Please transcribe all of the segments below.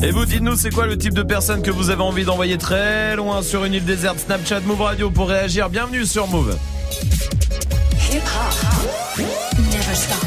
Et vous, dites-nous, c'est quoi le type de personne que vous avez envie d'envoyer très loin sur une île déserte? Snapchat Move Radio pour réagir. Bienvenue sur Move. Hip-hop, never stop.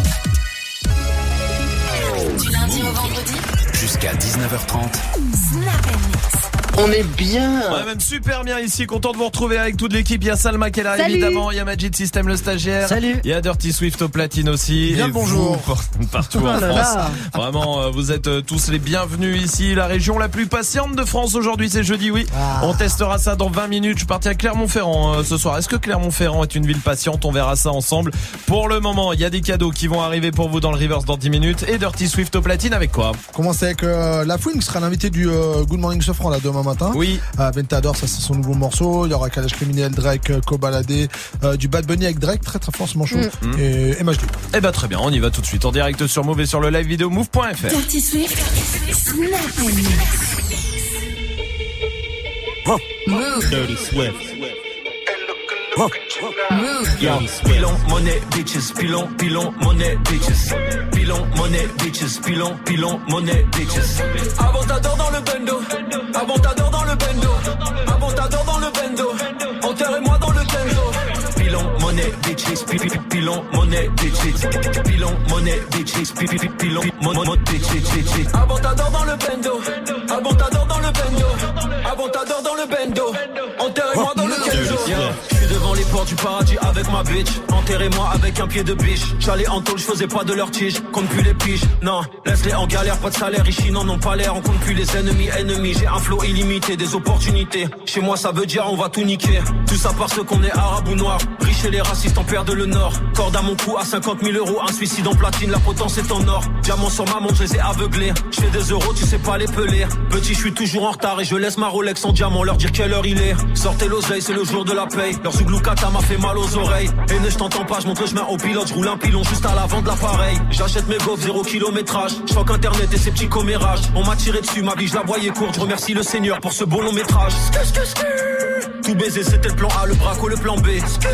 Du lundi au vendredi, jusqu'à 19h30. Snap & Mix. On est bien. On est même super bien ici, content de vous retrouver avec toute l'équipe. Il y a Salma qui est là, évidemment, il y a Majid System le stagiaire. Salut. Il y a Dirty Swift au platine aussi. Bien et le bonjour. vous, partout en France. Vraiment, vous êtes tous les bienvenus ici. La région la plus patiente de France aujourd'hui, c'est jeudi, oui. On testera ça dans 20 minutes. Je suis parti à Clermont-Ferrand ce soir. Est-ce que Clermont-Ferrand est une ville patiente? On verra ça ensemble. Pour le moment, il y a des cadeaux qui vont arriver pour vous dans le Reverse dans 10 minutes. Et Dirty Swift au platine avec quoi? Commence avec La Fouine qui sera l'invité du Good Morning Sofran là demain matin. Oui. Ventador, ça c'est son nouveau morceau. Il y aura Kalash Criminel, Drake, Kobalade, du Bad Bunny avec Drake, très très fort ce morceau. Et MHD. Eh ben très bien, on y va tout de suite en direct sur Move et sur le live vidéo move.fr. Dirty Swift, Snap & Mix. Move. Dirty Swift. Move. Yo, pilon, money, bitches, pilon, money, bitches. Pilon, money, bitches, pilon, money, bitches. Avantador dans le bendo, avantador dans le bendo, avantador dans le bendo. Enterrez-moi dans le kenzo. Pilon, money, bitches, pilon, money, bitches. Pilon, money, bitches, pilon, money, bitches. Avantador dans le bendo, avantador dans le bendo, avantador dans le bendo. Enterrez-moi dans le kenzo. Devant les portes du paradis avec ma bitch. Enterrez-moi avec un pied de biche. J'allais en tôle, je faisais pas de leur tige. Compte plus les piges, non, laisse-les en galère. Pas de salaire, ici n'en pas l'air. On compte plus les ennemis. J'ai un flow illimité, des opportunités. Chez moi ça veut dire on va tout niquer. Tout ça parce qu'on est arabe ou noir. Riche et les racistes en perdent le nord. Corde à mon cou à 50 000 euros. Un suicide en platine, la potence est en or. Diamant sur ma montre, je les ai aveuglés. Je fais des euros, tu sais pas les peler. Petit, je suis toujours en retard et je laisse ma Rolex en diamant. Leur dire quelle heure il est. Sortez l'oseille, c'est le jour de la paye. Leur Zouglou-Kata m'a fait mal aux oreilles. Et ne je t'entends pas, je montre le chemin au pilote. Je roule un pilon juste à l'avant de l'appareil. J'achète mes gaufres, 0 kilométrage. Je choque internet et ses petits commérages. On m'a tiré dessus, ma vie je la voyais courte. Je remercie le Seigneur pour ce beau long métrage. Tout baiser c'était le plan A, le braco le plan B.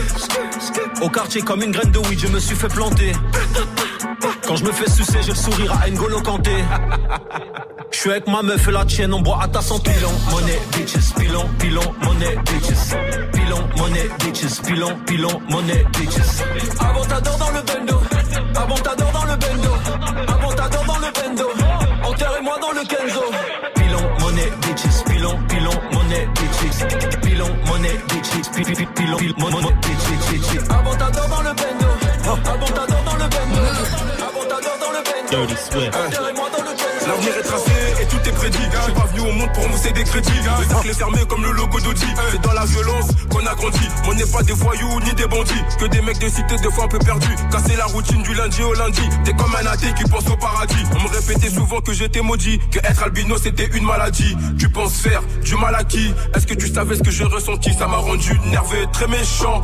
Au quartier comme une graine de weed, je me suis fait planter. Quand je me fais sucer, j'ai le sourire à N'Golo Kanté. Je suis avec ma meuf et la tienne, on boit à ta santé. Pilon, money, bitches, pilon, money, bitches. Pilon, money, bitches, pilon, money, bitches. Avantador dans le bendo, avantador dans le bendo, avantador dans le bendo. Enterrez-moi dans le kenzo. Pilon, money, bitches, pilon, money, bitches. Pilon, money, bitches, pilon, money, bitches. Avantador dans le bendo, avantador dans le bendo, avantador dans le bendo. Dirty Swift. Enterrez-moi dans le kenzo. L'avenir est tracé et tout est prédit. Je suis pas venu au monde pour mousser des crédits. Le cercle est fermé comme le logo d'Audi. C'est dans la violence qu'on a grandi. On n'est pas des voyous ni des bandits. Que des mecs de cité des fois un peu perdus. Casser la routine du lundi au lundi. T'es comme un athée qui pense au paradis. On me répétait souvent que j'étais maudit. Que être albino c'était une maladie. Tu penses faire du mal à qui? Est-ce que tu savais ce que j'ai ressenti? Ça m'a rendu nerveux, très méchant.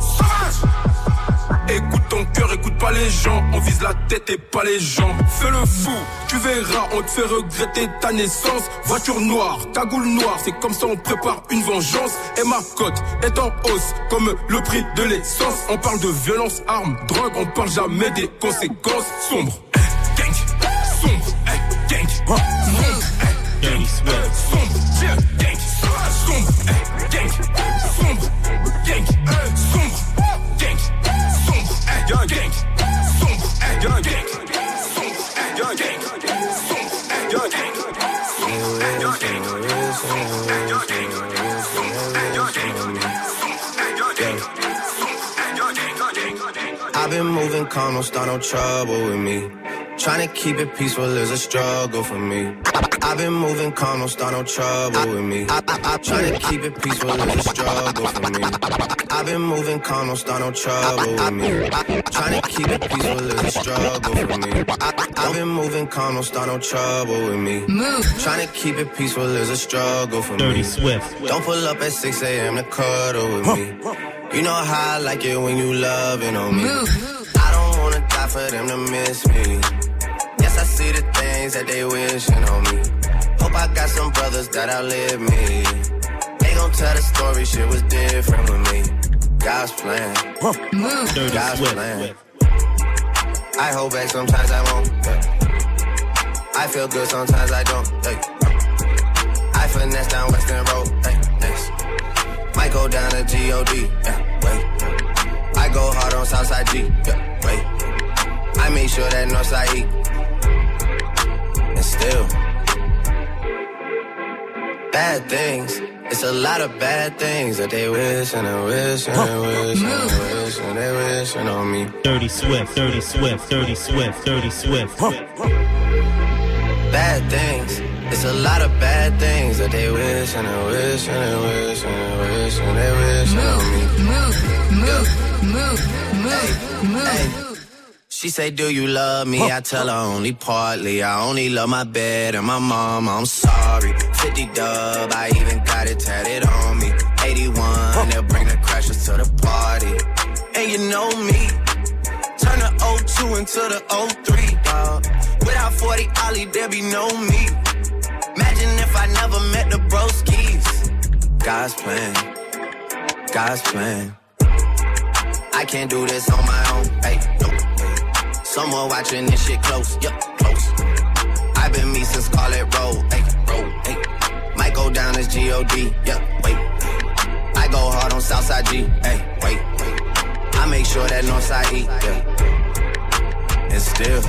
Écoute ton cœur, écoute pas les gens. On vise la tête et pas les gens. Fais le fou, tu verras, on te fait regretter ta naissance. Voiture noire, cagoule noire, c'est comme ça on prépare une vengeance. Et ma cote est en hausse, comme le prix de l'essence. On parle de violence, armes, drogue, on parle jamais des conséquences. Sombre, gang, sombre, gang, sombre, gang, sombre, gang, sombre, gang, sombre, gang, sombre. Gang, gang, sombre, gang, gang, sombre, gang, gang, sombre, gang, I've been moving calm, don't start no trouble with me. Trying to keep it peaceful is a struggle for me. I've been moving calm, don't start no trouble with me. Trying to keep it peaceful is a struggle for me. I've been moving calm, don't start no trouble with me. Trying to keep it peaceful is a struggle for me. I've been moving calm, don't start no trouble with me. Trying to keep it peaceful is a struggle for Dirty me. Swift. Don't pull up at 6 a.m. to cuddle with me. You know how I like it when you loving on me. I don't wanna die for them to miss me. Yes, I see the things that they wishing on me. Hope I got some brothers that outlive me. They gon' tell the story, shit was different with me. God's plan, God's plan. I hold back, sometimes I won't. I feel good, sometimes I don't. finesse down Western Road. Hey, next. Might go down to G.O.D. Yeah, wait. I go hard on Southside G. Yeah, wait. I make sure that Northside eat. And still, bad things. It's a lot of bad things that they wish and they wish and they wish and they wish and they wishing on me. Dirty Swift, Dirty Swift, Dirty Swift, Dirty Swift. Bad things. It's a lot of bad things that they wish and they wish and they wish and they wish and they wishing on me. Move. She say, do you love me? I tell her only partly. I only love my bed and my mama. I'm sorry. 50 dub, I even got it tatted on me. 81, they'll bring the crashers to the party. And you know me, turn the 02 into the 03, dog. Without 40 Ollie, there be no me. Imagine if I never met the broskies. God's plan, God's plan. I can't do this on my own, hey, no. Someone watching this shit close, yup, close. I've been me since Scarlet Road, hey, road, hey. Might go down as G.O.D., yeah, wait. I go hard on Southside G, hey, wait. I make sure that Northside eat, yeah. And still.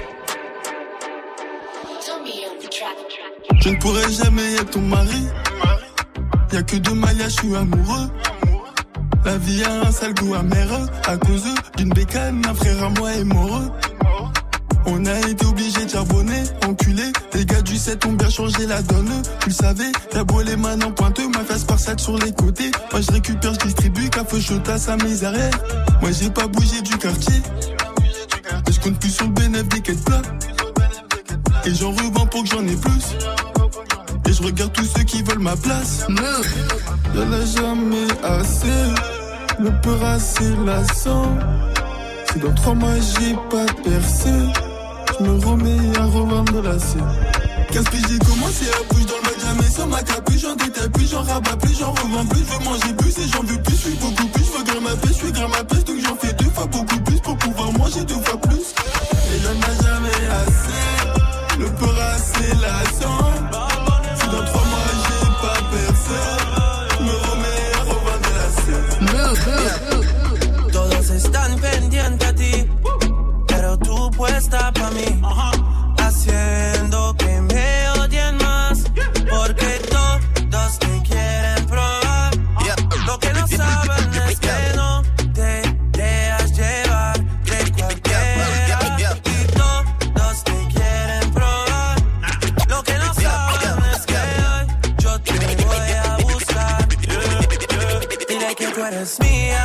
Je ne pourrai jamais être ton mari. Y'a que de Maya, je suis amoureux. La vie a un sale goût amer. À cause d'une bécane, un frère à moi est mort. On a été obligés de charbonner, enculé. Les gars du 7 ont bien changé la donne. Tu le savais, t'as beau les mains en pointeux, ma face par sac sur les côtés. Moi je récupère, je distribue, café chaud à sa mes arrières. Moi j'ai pas bougé du quartier. Et je compte plus sur le bénéfice des quêtes plats. Et j'en revends pour que j'en ai plus. Et je regarde tous ceux qui veulent ma place. Y'en a jamais assez. Le peur assez lassant. Si dans 3 mois j'ai pas percé, je me remets à revendre la scène. 15 piges j'ai commencé à bouger dans le bac, jamais sans ma capuche. J'en détaille plus, j'en rabats plus, j'en revends plus. Je veux manger plus et j'en veux plus, je suis beaucoup plus. Je veux grimper ma pêche, je suis grimper ma pêche. Donc j'en fais 2 fois beaucoup plus pour pouvoir manger 2 fois plus. Et y'en a jamais assez. Le peur assez lassant. Si dans 3 mois j'ai pas percé, je me remets à revendre la scène. Todos están pendientes a ti, pero tú puesta pa' mí, haciendo que me odien más, porque todos te quieren probar. Lo que no saben es que no te dejas llevar de cualquiera, y todos te quieren probar. Lo que no saben es que hoy yo te voy a buscar. Dile que tú eres mía.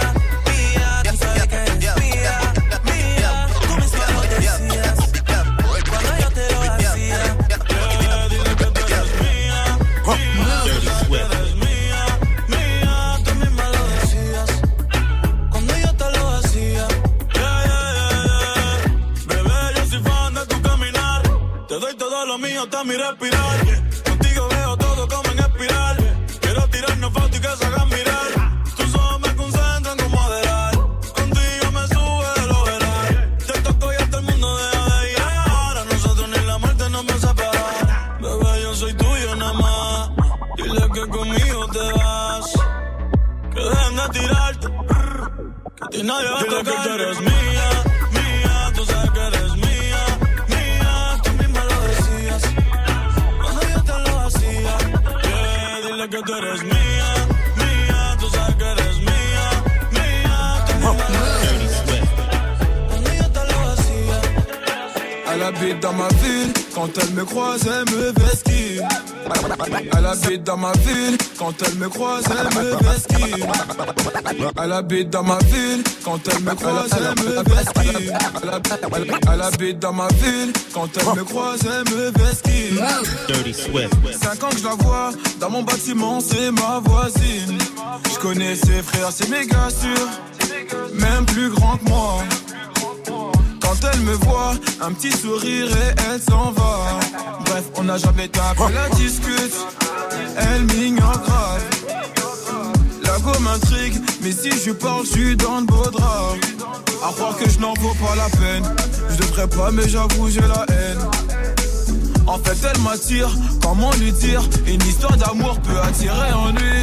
Está mi respirar. Contigo veo todo como en espiral. Quiero tirarnos fotos y que se hagan mirar. Tus ojos me concentran como moderar. Contigo me sube de lo veral. Te toco y hasta el mundo deja de ir. Ahora nosotros ni la muerte nos va a separar. Bebé, yo soy tuyo nada más. Dile que conmigo te vas. Que dejen de tirarte. Que a ti nadie va a tocar. Dile que tú eres mía, mía. Tú sabes que eres mía. Que tú eres mía, mía, tú sabes que eres mía, mía, tú cuando yo te lo hacía. Elle habite dans ma ville, quand elle me croise, elle me vesquille. Elle habite dans ma ville, quand elle me croise, elle me vesquille. Elle habite dans ma ville, quand elle me croise, elle me vesquille. Elle habite dans ma ville, quand elle me croise, elle me vesquille. Dirty Swift. 5 ans que je la vois, dans mon bâtiment, c'est ma voisine. Je connais ses frères, c'est méga sûr, même plus grand que moi. Quand elle me voit, un petit sourire et elle s'en va. Bref, on n'a jamais tapé, la discute, elle m'ignore grave. La go m'intrigue, mais si je parle, je suis dans de beaux draps. À croire que je n'en vaux pas la peine, je devrais pas mais j'avoue j'ai la haine. En fait elle m'attire, comment lui dire? Une histoire d'amour peut attirer ennui.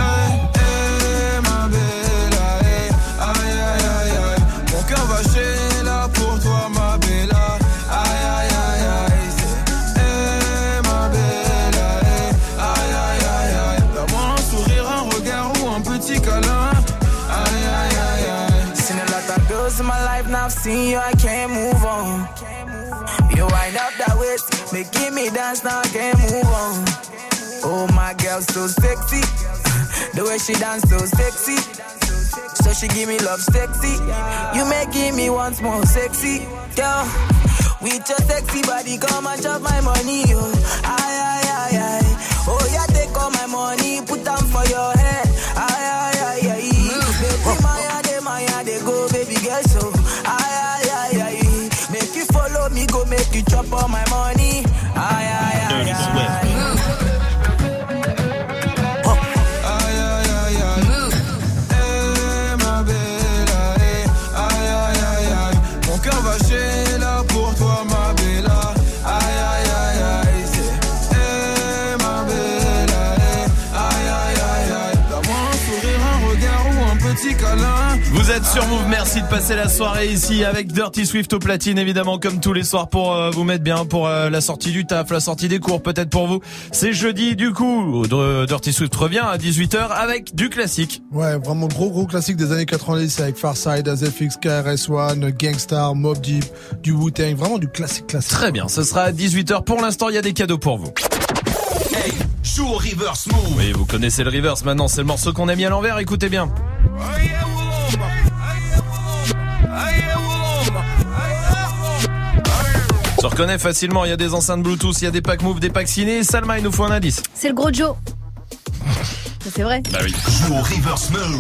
Ma belle, aïe aïe aïe aïe. Mon cœur va chez là pour toi ma belle. Aïe aïe aïe aïe. Ma belle, aïe aïe aïe aïe. Donne-moi un sourire, un regard ou un petit câlin. Aïe aïe aïe aïe. Seen a lot of girls in my life, now I've seen you, I can't move on. You wind up that waist, making me dance, now I can't move on. Oh my girl, so sexy. The way she dance, so sexy. So she give me love sexy. You making me once more sexy. Girl, with your sexy body, come and chop my money, yo. Aye, aye, aye, aye. Oh yeah, take all my money, put them for your head. Aye, aye, aye, aye. Baby, Maya, they go, baby girl, so. Aye, aye, aye, aye. Make you follow me, go make you chop all my money. Aye, aye, aye, Dirty aye. Swift. Vous êtes sur Move, merci de passer la soirée ici avec Dirty Swift au platine, évidemment comme tous les soirs pour vous mettre bien pour la sortie du taf, la sortie des cours peut-être pour vous. C'est jeudi du coup, Dirty Swift revient à 18h avec du classique. Ouais, vraiment gros classique des années 90 avec Pharcyde, AZFX, KRS-One, Gangstar, Mobb Deep, du Wu-Tang, vraiment du classique. Très bien, ce sera à 18h. Pour l'instant, il y a des cadeaux pour vous. Hey, joue au reverse move. Oui, vous connaissez le reverse maintenant, c'est le morceau qu'on a mis à l'envers, écoutez bien. Se reconnaît facilement, il y a des enceintes Bluetooth, il y a des packs Move, des packs ciné. Salma, il nous faut un indice. C'est le gros Joe. C'est vrai. Bah oui. Joue au reverse move.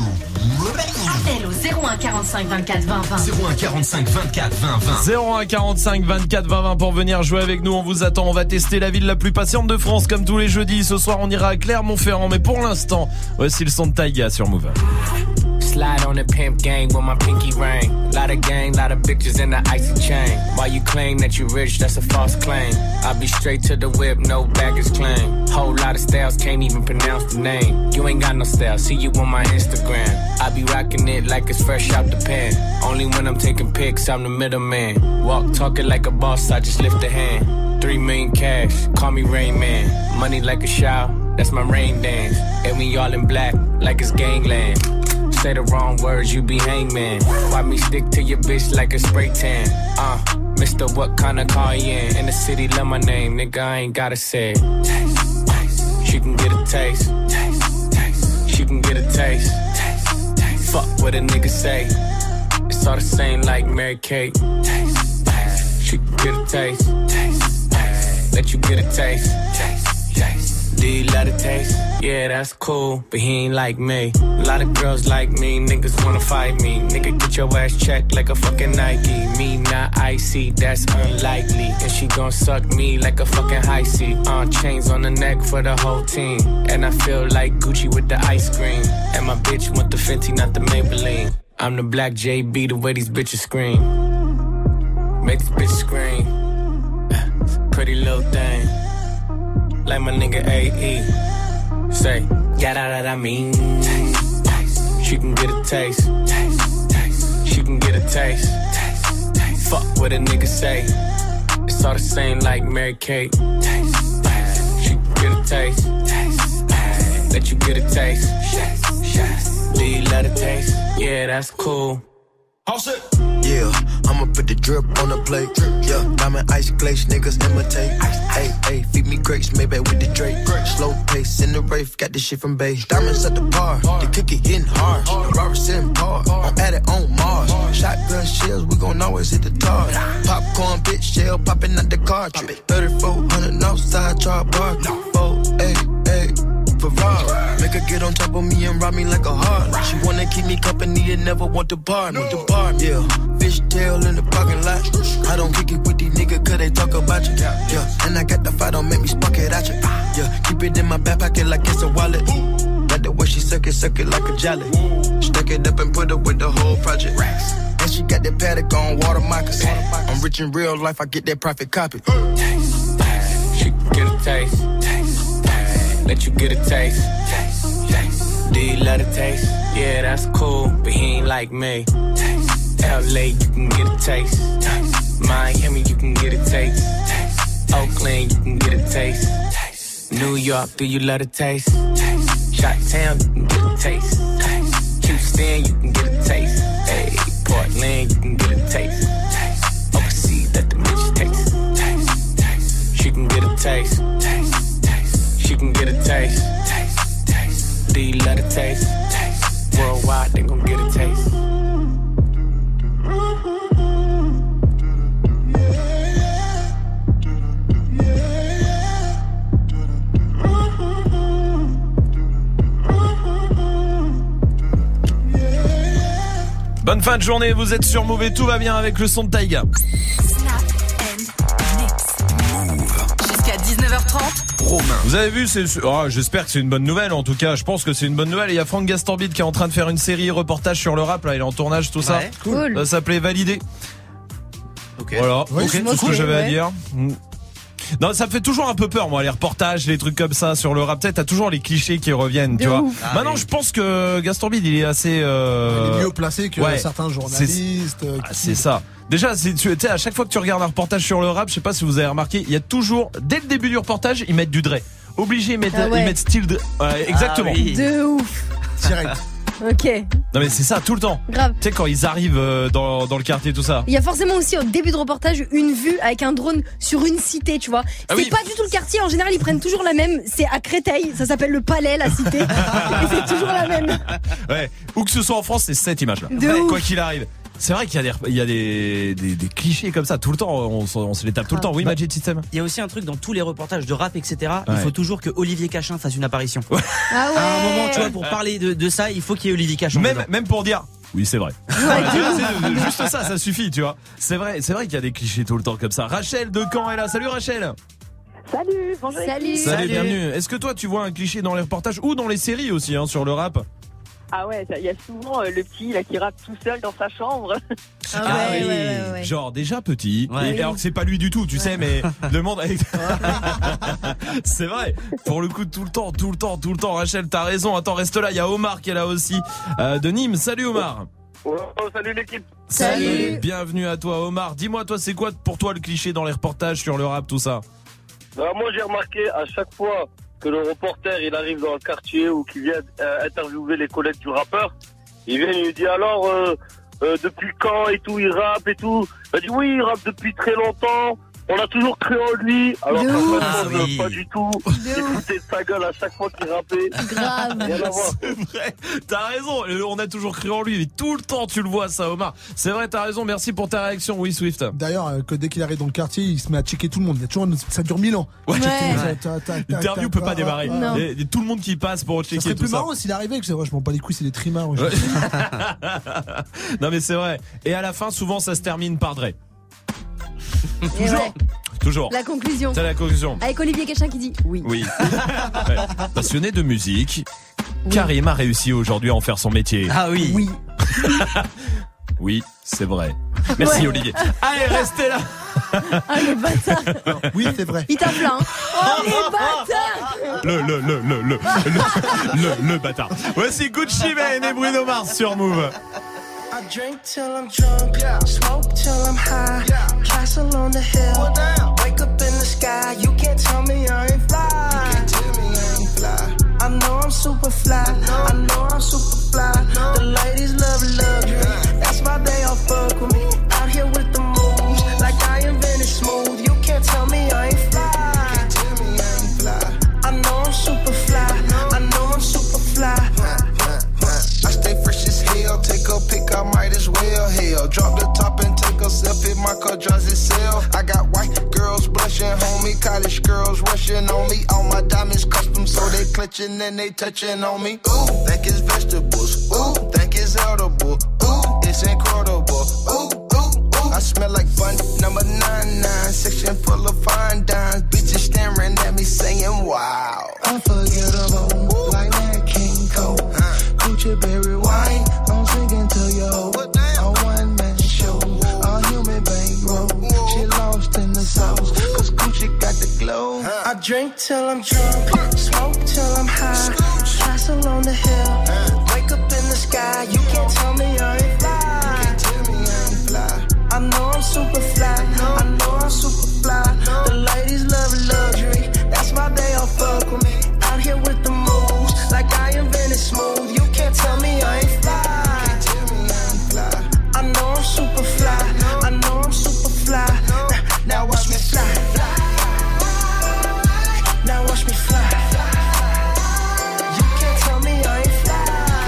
Appel au 01 45 24 20 20. 01 45 24 20 20. 01 45 24 20 20 pour venir jouer avec nous. On vous attend. On va tester la ville la plus patiente de France comme tous les jeudis. Ce soir, on ira à Clermont-Ferrand. Mais pour l'instant, voici le son de Taiga sur Move. Slide on the pimp gang with my pinky ring. Lot of gang, lot of bitches in the icy chain. While you claim that you rich, that's a false claim. I'll be straight to the whip, no baggage claim. Whole lot of styles, can't even pronounce the name. You ain't got no style, see you on my Instagram. I be rocking it like it's fresh out the pan. Only when I'm taking pics, I'm the middleman. Walk talking like a boss, I just lift a hand. 3 million cash, call me Rain Man. Money like a shower, that's my rain dance. And we all in black, like it's gangland. Say the wrong words, you be hangman. Why me stick to your bitch like a spray tan? Mister, what kind of car you in? In the city, love my name, nigga, I ain't gotta say it. Taste, taste. She can get a taste. Taste, taste. She can get a taste. Taste, taste. Fuck what a nigga say. It's all the same like Mary Kate. Taste, taste. She can get a taste. Taste, taste. Let you get a taste. Taste, taste. Do you love the taste? Yeah, that's cool, but he ain't like me. A lot of girls like me, niggas wanna fight me. Nigga, get your ass checked like a fucking Nike. Me not icy, that's unlikely. And she gon' suck me like a fucking high C. Chains on the neck for the whole team. And I feel like Gucci with the ice cream. And my bitch want the Fenty, not the Maybelline. I'm the black JB, the way these bitches scream. Make this bitch scream. Pretty little thing. Like my nigga AE. Say, yeah, that I mean. Taste, taste. She can get a taste. Taste, taste. She can get a taste. Taste, taste. Fuck what a nigga say. It's all the same like Mary Kate. Taste, taste. She can get a taste. Taste, taste. Let you get a taste. Yes, yes. Do you love the taste? Yeah, that's cool. Yeah, I'ma put the drip on the plate. Yeah, diamond ice glaze, niggas imitate. Hey, hey, feed me grapes, maybe with the Drake. Slow pace in the rave, got this shit from Bay. Diamonds at the bar, the cookie getting hard. Robert sitting par, I'm at it on Mars. Shotgun shells, we gon' always hit the tar. Popcorn, bitch, shell popping out the cartridge. 3400 outside, char bar. 488. Ferrari. Make her get on top of me and rob me like a heart. She wanna keep me company and never want to bar me. Yeah, fishtail in the parking lot. I don't kick it with these niggas cause they talk about you. Yeah, and I got the fight, don't make me spark it at you. Yeah, keep it in my back pocket like it's a wallet. Like the way she suck it like a jelly. Stuck it up and put it with the whole project. And she got that paddock on water moccasins. I'm rich in real life, I get that profit copy. Taste, taste. She get a taste? Do you love the taste? Yeah, that's cool, but he ain't like me. LA, you can get a taste. Miami, you can get a taste. Oakland, you can get a taste. New York, do you love the taste? Chi-Town, you can get a taste. Houston, you can get a taste. Hey, Portland, you can get a taste. Overseas, let the bitch taste. She can get a taste. She can get a taste. Do you love the taste? Worldwide, they gon' get a taste. Bonne fin de journée, vous êtes sur Move et tout va bien avec le son de Taïga. Jusqu'à 19h30. Romain. Vous avez vu, j'espère que c'est une bonne nouvelle. En tout cas, je pense que c'est une bonne nouvelle. Il y a Franck Gastambide qui est en train de faire une série reportage sur le rap. Là, il est en tournage, tout ça. Cool. Ça s'appelait Validé. Ok. Voilà. Oui, C'est tout ce que j'avais à dire. Non, ça me fait toujours un peu peur, moi, les reportages, les trucs comme ça sur le rap. Tu sais, t'as toujours les clichés qui reviennent, tu vois. Maintenant, je pense que Gastambide, il est assez. Il est mieux placé que certains journalistes. C'est ça. Déjà, tu sais, à chaque fois que tu regardes un reportage sur le rap, je sais pas si vous avez remarqué, il y a toujours, dès le début du reportage, ils mettent du Dre. Obligé, ils mettent style de. Exactement. Oui. De ouf. Direct. Ok. Non mais c'est ça tout le temps. Grave. Tu sais quand ils arrivent dans le quartier tout ça. Il y a forcément aussi au début de reportage une vue avec un drone sur une cité, tu vois. C'est pas du tout le quartier, en général ils prennent toujours la même, c'est à Créteil, ça s'appelle le Palais, la cité. Et c'est toujours la même. Ouais, où que ce soit en France, c'est cette image là. Quoi qu'il arrive. C'est vrai qu'il y a des clichés comme ça tout le temps, on se les tape tout le temps. Oui, Magic System. Il y a aussi un truc dans tous les reportages de rap, etc. Il faut toujours que Olivier Cachin fasse une apparition. Ah ouais. À un moment, tu vois, pour parler de ça, il faut qu'il y ait Olivier Cachin. Même pour dire. Oui, c'est vrai. Juste ça suffit, tu vois. C'est vrai qu'il y a des clichés tout le temps comme ça. Rachel de Caen est là. Salut Rachel. Salut, bonjour. Salut, bienvenue. Est-ce que toi tu vois un cliché dans les reportages ou dans les séries aussi sur le rap? Ah ouais, il y a souvent le petit là qui rappe tout seul dans sa chambre. Ouais. Genre déjà petit, ouais. et alors que c'est pas lui du tout, tu sais, mais le monde avec... C'est vrai, pour le coup tout le temps, Rachel, t'as raison. Attends, reste là, il y a Omar qui est là aussi, de Nîmes. Salut Omar. Oh, salut l'équipe. Salut. Bienvenue à toi Omar. Dis-moi, toi c'est quoi pour toi le cliché dans les reportages sur le rap, tout ça? Moi j'ai remarqué à chaque fois que le reporter il arrive dans le quartier ou qu'il vient interviewer les collègues du rappeur, il vient et il lui dit alors depuis quand et tout il rappe et tout. Il dit oui, il rappe depuis très longtemps. On a toujours cru en lui, alors pas du tout. Il foutait de sa gueule à chaque fois qu'il rappait. Grave. C'est vrai, t'as raison, on a toujours cru en lui, mais tout le temps tu le vois ça Omar. C'est vrai, t'as raison, merci pour ta réaction, oui Swift. D'ailleurs, que dès qu'il arrive dans le quartier, il se met à checker tout le monde. Il y a toujours ça dure 1000 ans. L'interview peut pas démarrer. Il y a tout le monde qui passe pour checker tout ça. C'est plus marrant s'il arrivait, que c'est vrai, je m'en bats les couilles, c'est des trimards. Non mais c'est vrai. Et à la fin, souvent ça se termine par Dre. Toujours. La conclusion. C'est la conclusion. Avec Olivier Cachin qui dit oui. Ouais. Passionné de musique, Karim a réussi aujourd'hui à en faire son métier. Ah oui. Oui, c'est vrai. Merci Olivier. Allez, restez là. Ah les bâtards. Oui, c'est vrai. Il tape là. Oh les bâtards. Le bâtard. Voici Gucci Mane et Bruno Mars sur Move. I drink till I'm drunk, smoke till I'm high, castle on the hill, wake up in the sky, you can't tell me I ain't fly, I know I'm super fly, I know I'm super fly, the ladies love luxury, that's why they all fuck with me, out here with the moves, like I invented smooth, you can't tell me I ain't fly, I know I'm super fly, I know I'm super fly. I stay fresh as hell, take a pic, I might as well, hell. Drop the top and take a selfie, my car drives itself. I got white girls blushing, homie, college girls rushing on me. All my diamonds custom, so they clutching and they touching on me. Ooh, think it's vegetables, ooh, think it's edible, ooh, it's incredible, ooh, ooh, ooh. I smell like bun number 99, section full of fine dimes. Bitches staring at me saying wow. Unforgettable, like that King Cole. Gucci berry wine, I'm singing to you. A one-man show, a human bankroll. She lost in the sauce, cause Gucci got the glow. I drink till I'm drunk, smoke till till I'm high. Castle on the hill. Wake up in the sky. You can't tell me I ain't fly. I know I'm super fly. I know I'm super fly. The ladies love luxury. That's why they all fuck with me. Out here with the moves, like I invented smooth. You can't tell me I ain't fly. I know I'm super fly. I know I'm super fly. Now watch me fly. Now watch me fly. You can't tell me I ain't fly.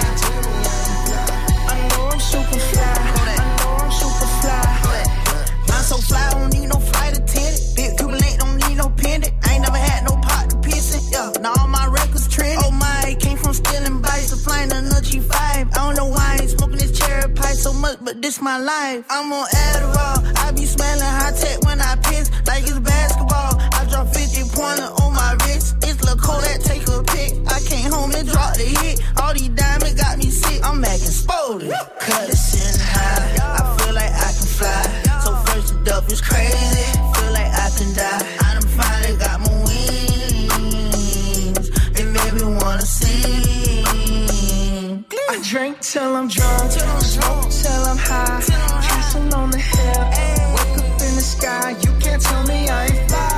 I know I'm super fly. I know I'm super fly. I'm so fly, I don't need no flight attendant. Big Kubalate, don't need no pendant. I ain't never had no pot to piss in. Yeah, now all my records trending. Oh my, came from stealing bikes to flying another G5. I don't know why I ain't smoking this cherry pie so much, but this my life. I'm on Adderall. I be smelling high tech when I piss, like it's basketball. I drop 50-pointer on my wrist. It's Lil' Kodak, take a pic. I came home and dropped the hit. All these diamonds got me sick. I'm acting spoiled. Cut it sitting high. I feel like I can fly. So first it up is crazy. Feel like I can die. I done finally got my wings. It made me wanna sing. I drink till I'm drunk, smoke till I'm high. Castle on the hill, wake up in the sky. You can't tell me I ain't fly.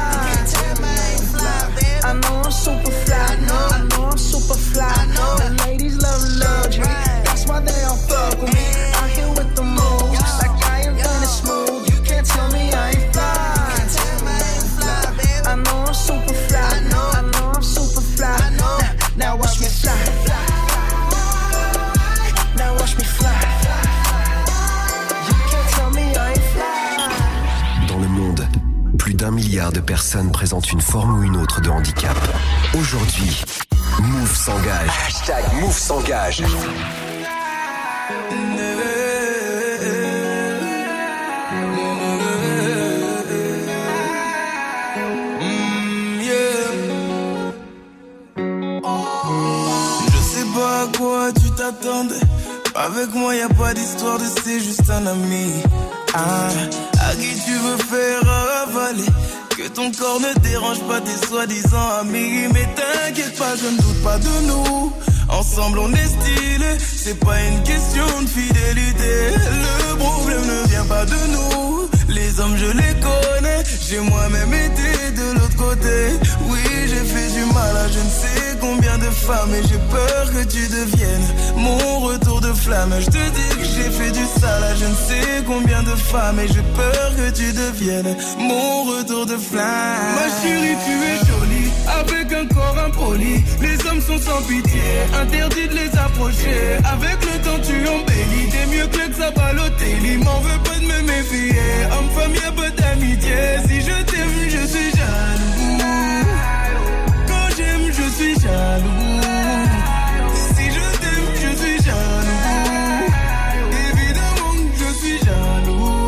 I know I'm super fly. I know I'm super fly. The ladies love luxury. That's why they all fuck with me. Out here with the moves, like I invented smooth. You can't tell me I ain't fly. I know I'm super fly. I know I'm super fly. Now watch me fly. Now watch me fly. You can't tell me I ain't fly. Dans le monde, plus d'1 milliard de personnes présentent une forme ou une autre de handicap. Aujourd'hui, Move s'engage. Hashtag Move s'engage. Avec moi y'a pas d'histoire de c'est juste un ami. À qui tu veux faire avaler. Que ton corps ne dérange pas tes soi-disant amis. Mais t'inquiète pas, je ne doute pas de nous. Ensemble on est stylé. C'est pas une question de fidélité. Le problème ne vient pas de nous. Les hommes je les connais. J'ai moi-même été de l'autre côté. Oui j'ai fait du mal à je ne sais combien de femmes. Et j'ai peur que tu deviennes mon retour de flamme. Je te dis que j'ai fait du sale à je ne sais combien de femmes. Et j'ai peur que tu deviennes mon retour de flamme. Ma chérie tu es jolie avec un corps impoli. Les hommes sont sans pitié, interdit de les approcher. Avec le temps tu embellis. T'es mieux que ça Balotelli. M'en veux pas de me méfier. Homme-femme y'a pas d'amitié. Si je t'aime je suis jaloux. Quand j'aime je suis jaloux. Si je t'aime je suis jaloux. Évidemment que je suis jaloux.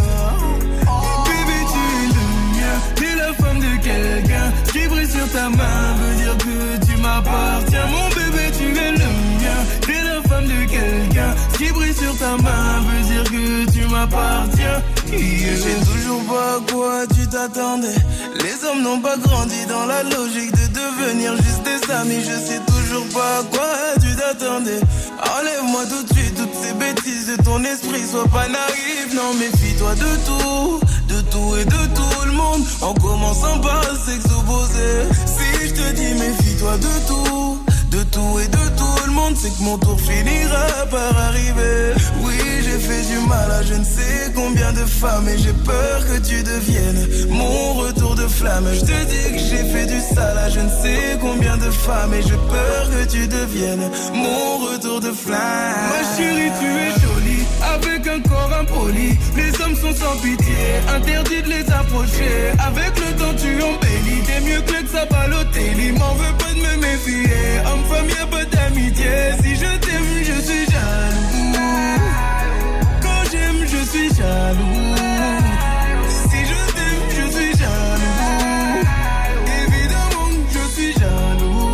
Bébé tu es le mien. T'es la femme de quelqu'un. Qui brille sur ta main veut dire que tu m'appartiens. Mon bébé tu es le mien. T'es la femme de quelqu'un. Qui brille sur ta main veut dire que tu m'appartiens. Je sais toujours pas à quoi tu t'attendais. Les hommes n'ont pas grandi dans la logique de devenir juste des amis. Je sais toujours pas à quoi tu t'attendais. Enlève-moi tout de suite toutes ces bêtises de ton esprit. Sois pas naïf, non méfie-toi de tout et de tout le monde. En commençant par le sexe opposé. Si je te dis méfie-toi de tout et de tout le monde, c'est que mon tour finira par arriver. Oui, j'ai fait du mal à je ne sais combien de femmes. Et j'ai peur que tu deviennes mon retour de flamme. Je te dis que j'ai fait du sale à je ne sais combien de femmes. Et j'ai peur que tu deviennes mon retour de flamme. Ma chérie, tu es jolie avec un corps impoli. Les hommes sont sans pitié, interdit de les approcher. Avec le temps tu embellis. T'es mieux que ça Balotelli. M'en veux pas de me méfier. Homme-femme y'a pas d'amitié. Si je t'aime je suis jaloux. Quand j'aime je suis jaloux. Si je t'aime je suis jaloux. Évidemment que je suis jaloux.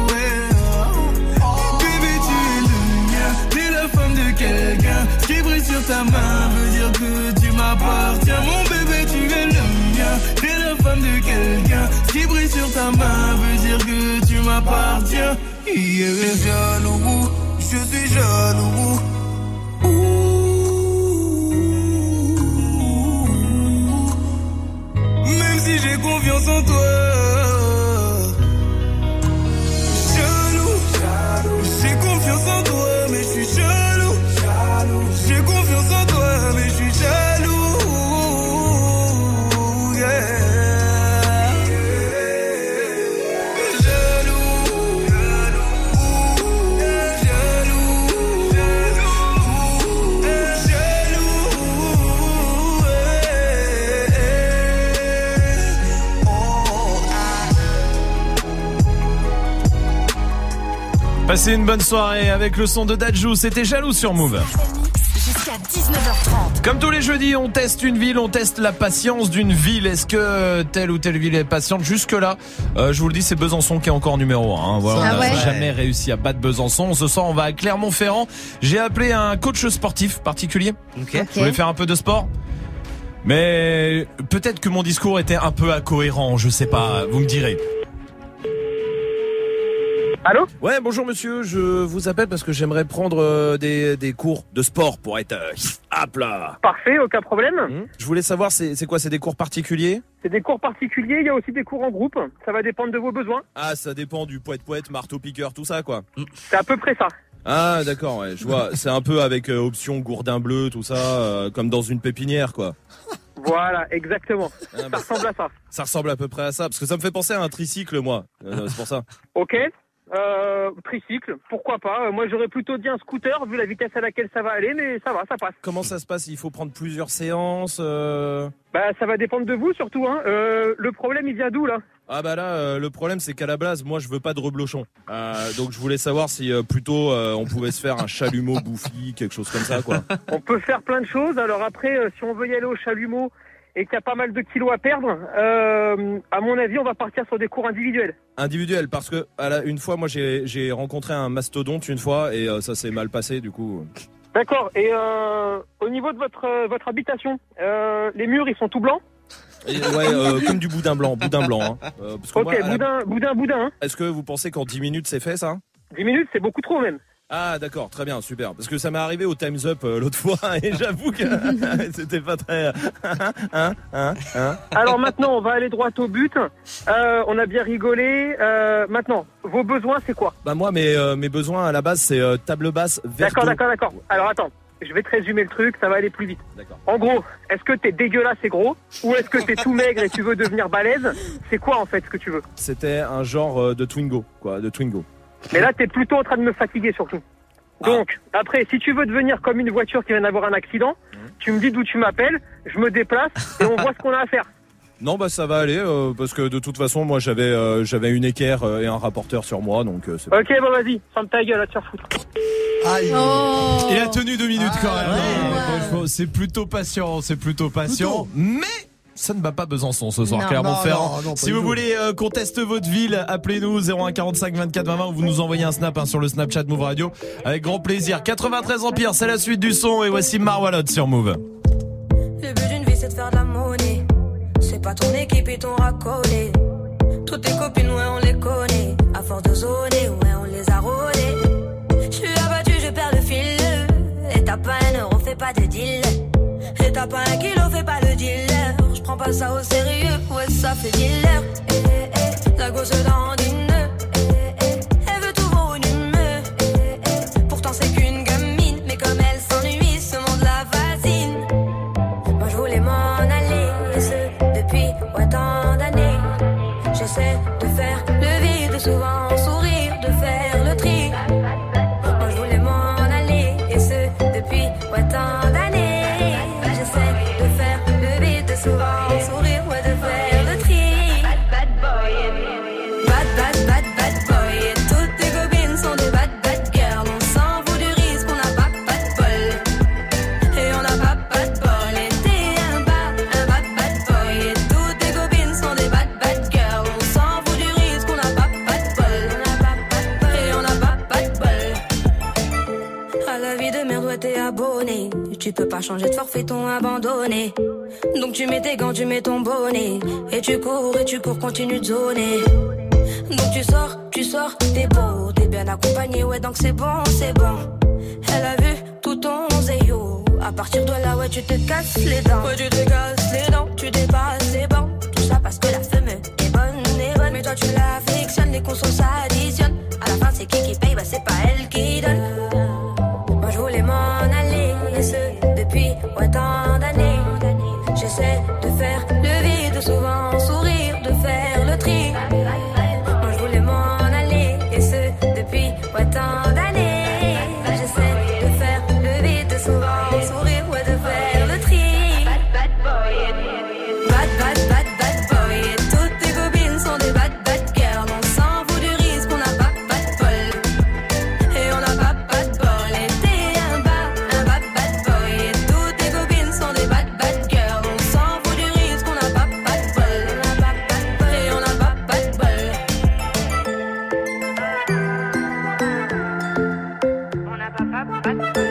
Bébé tu es le mien. T'es la femme de quelqu'un. Qui brille sur ta main veut dire que tu m'appartiens. Mon bébé tu es le mien. T'es la femme de quelqu'un. qui brille sur ta main veut dire que tu m'appartiens. Yeah. Je suis jaloux, je suis jaloux. Même si j'ai confiance en toi. Jaloux, j'ai confiance en toi, mais je suis jaloux. J'ai confiance en toi, mais je suis jaloux. Yeah. Passez une bonne soirée avec le son de Dadju, c'était Jaloux sur Move. Jusqu'à 19h30. Comme tous les jeudis, on teste une ville, on teste la patience d'une ville. Est-ce que telle ou telle ville est patiente? Jusque-là, je vous le dis, c'est Besançon qui est encore numéro 1. Voilà, on n'a jamais réussi à battre Besançon. Ce soir, on va à Clermont-Ferrand. J'ai appelé un coach sportif particulier. Okay. Je voulais faire un peu de sport. Mais peut-être que mon discours était un peu incohérent, je sais pas, vous me direz. Allô? Ouais, bonjour monsieur, je vous appelle parce que j'aimerais prendre des cours de sport pour être hop là. Parfait, aucun problème. Je voulais savoir, c'est quoi, c'est des cours particuliers? C'est des cours particuliers, il y a aussi des cours en groupe, ça va dépendre de vos besoins. Ah, ça dépend du poète-poète, marteau-piqueur, tout ça quoi. C'est à peu près ça. Ah d'accord, ouais, je vois, c'est un peu avec option gourdin bleu, tout ça, comme dans une pépinière quoi. Voilà, exactement. Ça ressemble à ça. Ça ressemble à peu près à ça, parce que ça me fait penser à un tricycle moi, c'est pour ça. Ok. Tricycle, pourquoi pas. Moi j'aurais plutôt dit un scooter vu la vitesse à laquelle ça va aller, mais ça va, ça passe. Comment ça se passe? Il faut prendre plusieurs séances Bah ça va dépendre de vous surtout hein. Le problème il vient d'où là? Ah bah là le problème c'est qu'à la base moi je veux pas de reblochon. Donc je voulais savoir si plutôt on pouvait se faire un chalumeau bouffi, quelque chose comme ça quoi. On peut faire plein de choses. Alors après si on veut y aller au chalumeau et qu'il y a pas mal de kilos à perdre, à mon avis, on va partir sur des cours individuels. Individuels, parce que une fois, moi, j'ai rencontré un mastodonte une fois et ça s'est mal passé, du coup. D'accord. Et au niveau de votre habitation, les murs, ils sont tout blancs? Ouais, comme du boudin blanc, hein. Parce que ok, moi, boudin. Hein. Est-ce que vous pensez qu'en 10 minutes, c'est fait, ça? 10 minutes, c'est beaucoup trop, même. Ah d'accord, très bien, super. Parce que ça m'est arrivé au Time's Up l'autre fois et j'avoue que c'était pas très... Alors maintenant, on va aller droit au but. On a bien rigolé. Maintenant, vos besoins, c'est quoi? Bah moi, mes besoins à la base, c'est table basse, verre. D'accord. Alors attends, je vais te résumer le truc, ça va aller plus vite. D'accord. En gros, est-ce que t'es dégueulasse et gros? Ou est-ce que t'es tout maigre et tu veux devenir balèze? C'est quoi en fait ce que tu veux? C'était un genre de Twingo, quoi, de Twingo. Mais là, t'es plutôt en train de me fatiguer surtout. Donc, après, si tu veux devenir comme une voiture qui vient d'avoir un accident, tu me dis d'où tu m'appelles, je me déplace et on voit ce qu'on a à faire. Non, bah ça va aller, parce que de toute façon, moi j'avais une équerre et un rapporteur sur moi, donc c'est... Ok, bon vas-y, ferme ta gueule, à te faire foutre. Aïe. Il a tenu 2 minutes quand même. Ouais. C'est plutôt patient, mais... Ça ne bat pas Besançon ce soir, Clermont-Ferrand. Si vous voulez qu'on teste votre ville, appelez-nous 01 45 24 20 20 ou vous nous envoyez un snap sur le Snapchat Move Radio. Avec grand plaisir. 93 Empire, c'est la suite du son et voici Marwalot sur Move. Le but d'une vie c'est de faire de la monnaie. C'est pas ton équipe et ton racolé. Toutes tes copines, ouais on les connaît. À force de zoner, ouais on les a rôlées. Je suis abattu, je perds le fil. Et t'as pas un euro, fais pas de deal. Et t'as pas un kilo, fais pas le dealer. Prends pas ça au sérieux, ouais ça fait dealer. La gosse dans une nœud. Elle veut tout volumineux. Pourtant c'est qu'une gamine, mais comme elle s'ennuie, ce monde la fascine. Moi je voulais m'en aller, et ce depuis tant d'années. J'essaie de faire le vide, souvent sourire, de faire le tri. Moi je voulais m'en aller, et ce depuis tant d'années. J'essaie de faire le vide, souvent sourire, ouais, de faire le tri. Bad boy, bad boy. Et toutes tes copines sont des bad girls. On s'en fout du risque, on n'a pas de bol. Et on n'a pas de bol. Et t'es un bad boy. Et toutes tes copines sont des bad girls. On s'en fout abonné. Tu peux pas changer de forfait, ton abandonné. Donc tu mets tes gants, tu mets ton bonnet. Et tu cours, continue de zoner. Donc tu sors, t'es beau, t'es bien accompagné, ouais donc c'est bon, c'est bon. Elle a vu tout ton zéyo. À partir de là, ouais tu te casses les dents. Ouais tu te casses les dents, tu dépasses les bancs. Tout ça parce que la femme est bonne. Mais toi tu l'affectionnes, les consos s'additionnent. À la fin c'est qui paye, bah c'est pas elle qui donne. Moi je voulais m'en aller, et ce depuis tant d'années. J'essaie de faire le vide, souvent sourire, de faire le tri. Moi je voulais m'en aller, et ce depuis tant d'années. J'essaie de faire le vide, souvent sourire, ouais, de faire le tri. Bad boy, bad boy. Et toutes tes copines sont des bad girls. On s'en fout du risque, on n'a pas de bol. Et on n'a pas de bol. Et t'es un bad boy. Et toutes tes copines sont des bad girls. On s'en fout du risque, on n'a pas de bol. Et on n'a pas de bol. On n'a pas de bol.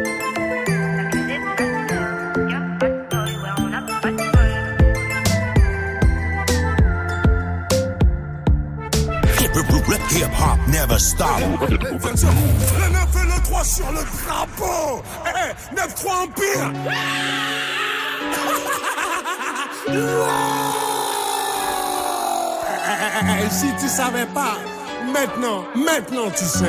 Hip-hop never stop. Le 9 et le 3 sur le drapeau. 9-3 Empire. Si tu savais pas, maintenant tu sais.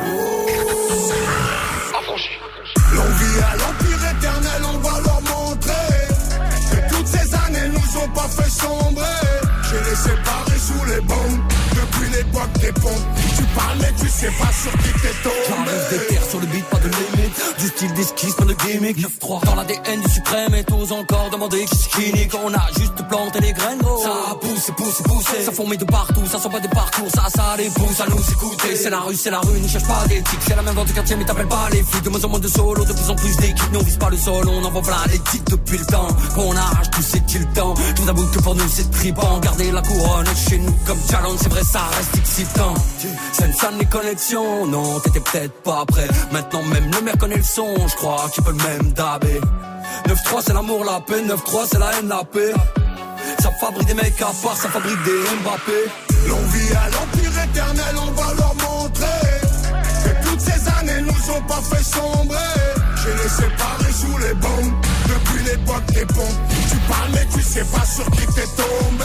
L'envie à l'Empire éternel, on va leur montrer que toutes ces années nous ont pas fait sombrer. J'ai les séparés sous les bombes depuis l'époque des pompes. Tu parles mais tu sais pas sur qui t'es tombé. J'arrive des terres sur le beat, pas de limite. Du style d'esquisse, pas de gimmick. 9-3 dans l'ADN du suprême et t'oses encore demander qui skinny. Quand on a juste planté les graines, gros. Ça a poussé. Ça fourmille de partout, ça sent pas des parcours. Ça les pousse à nous écouter. C'est la rue, ne cherche pas d'éthique. C'est la même dans tes quartiers, mais t'appelles pas les flics. De moins en moins de solo, de plus en plus d'équipes. Nous on vise pas le sol, on envoie plein les titres depuis le temps. Quand on arrache tout, c'est-il le temps. Je vous avoue que pour nous c'est tripant. Garder la couronne chez nous comme challenge, c'est vrai, ça reste excitant. Sensan les connexions, non, t'étais peut-être pas prêt. Maintenant même le maire connaît le son, je crois qu'il peut le même dabé. 9-3 c'est l'amour, la paix, 9-3 c'est la haine, la paix. Ça fabrique des mecs à part, ça fabrique des Mbappé. L'envie à l'Empire éternel, on va leur montrer que toutes ces années nous ont pas fait sombrer. J'ai les séparés sous les bombes depuis l'époque des pompes. Tu parles mais tu sais pas sur qui t'es tombé.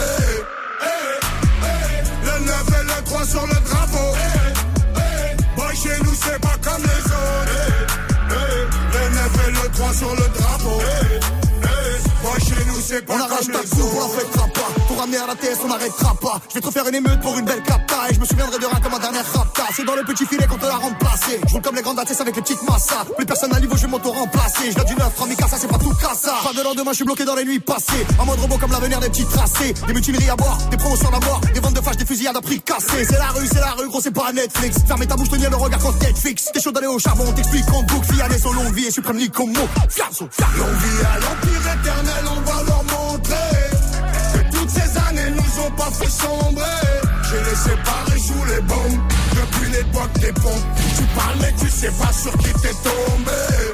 Le 9 et le 3 sur le drapeau. Boy chez nous c'est pas comme les autres. Le 9 et le 3 sur le drapeau. Boy chez nous c'est pas comme les autres. On la fêtera pas. Pour ramener à la TS on n'arrêtera pas. Je vais te refaire une émeute pour une belle capta. Et je me souviendrai de rien comme ma dernière rapta. C'est dans le petit filet qu'on te la remplacé. Je roule comme les grandes ATS avec les petites massas. Plus personne à niveau, je vais m'auto-remplacer. Je viens du 9, Ramikasa, c'est pas tout cassa. Pas de lendemain, je suis bloqué dans les nuits passées. En mode robot comme l'avenir des petits tracés. Des mutineries à boire, des promotions à mort. Des ventes de flash, des fusillades à prix cassés. C'est la rue, gros, c'est pas Netflix. Fermez ta bouche, tenir le regard quand Netflix. T'es chaud d'aller au charbon, on t'explique qu'on boucle. Fianès au longue vie et suprême Nicomo. Fianso, l'envie à l'Empire éternel, on va leur montrer que toutes ces années nous ont pas fait sombrer. J'ai les séparés sous les bombes depuis l'époque des pompes. Tu parles mais tu sais pas sur qui t'es tombé.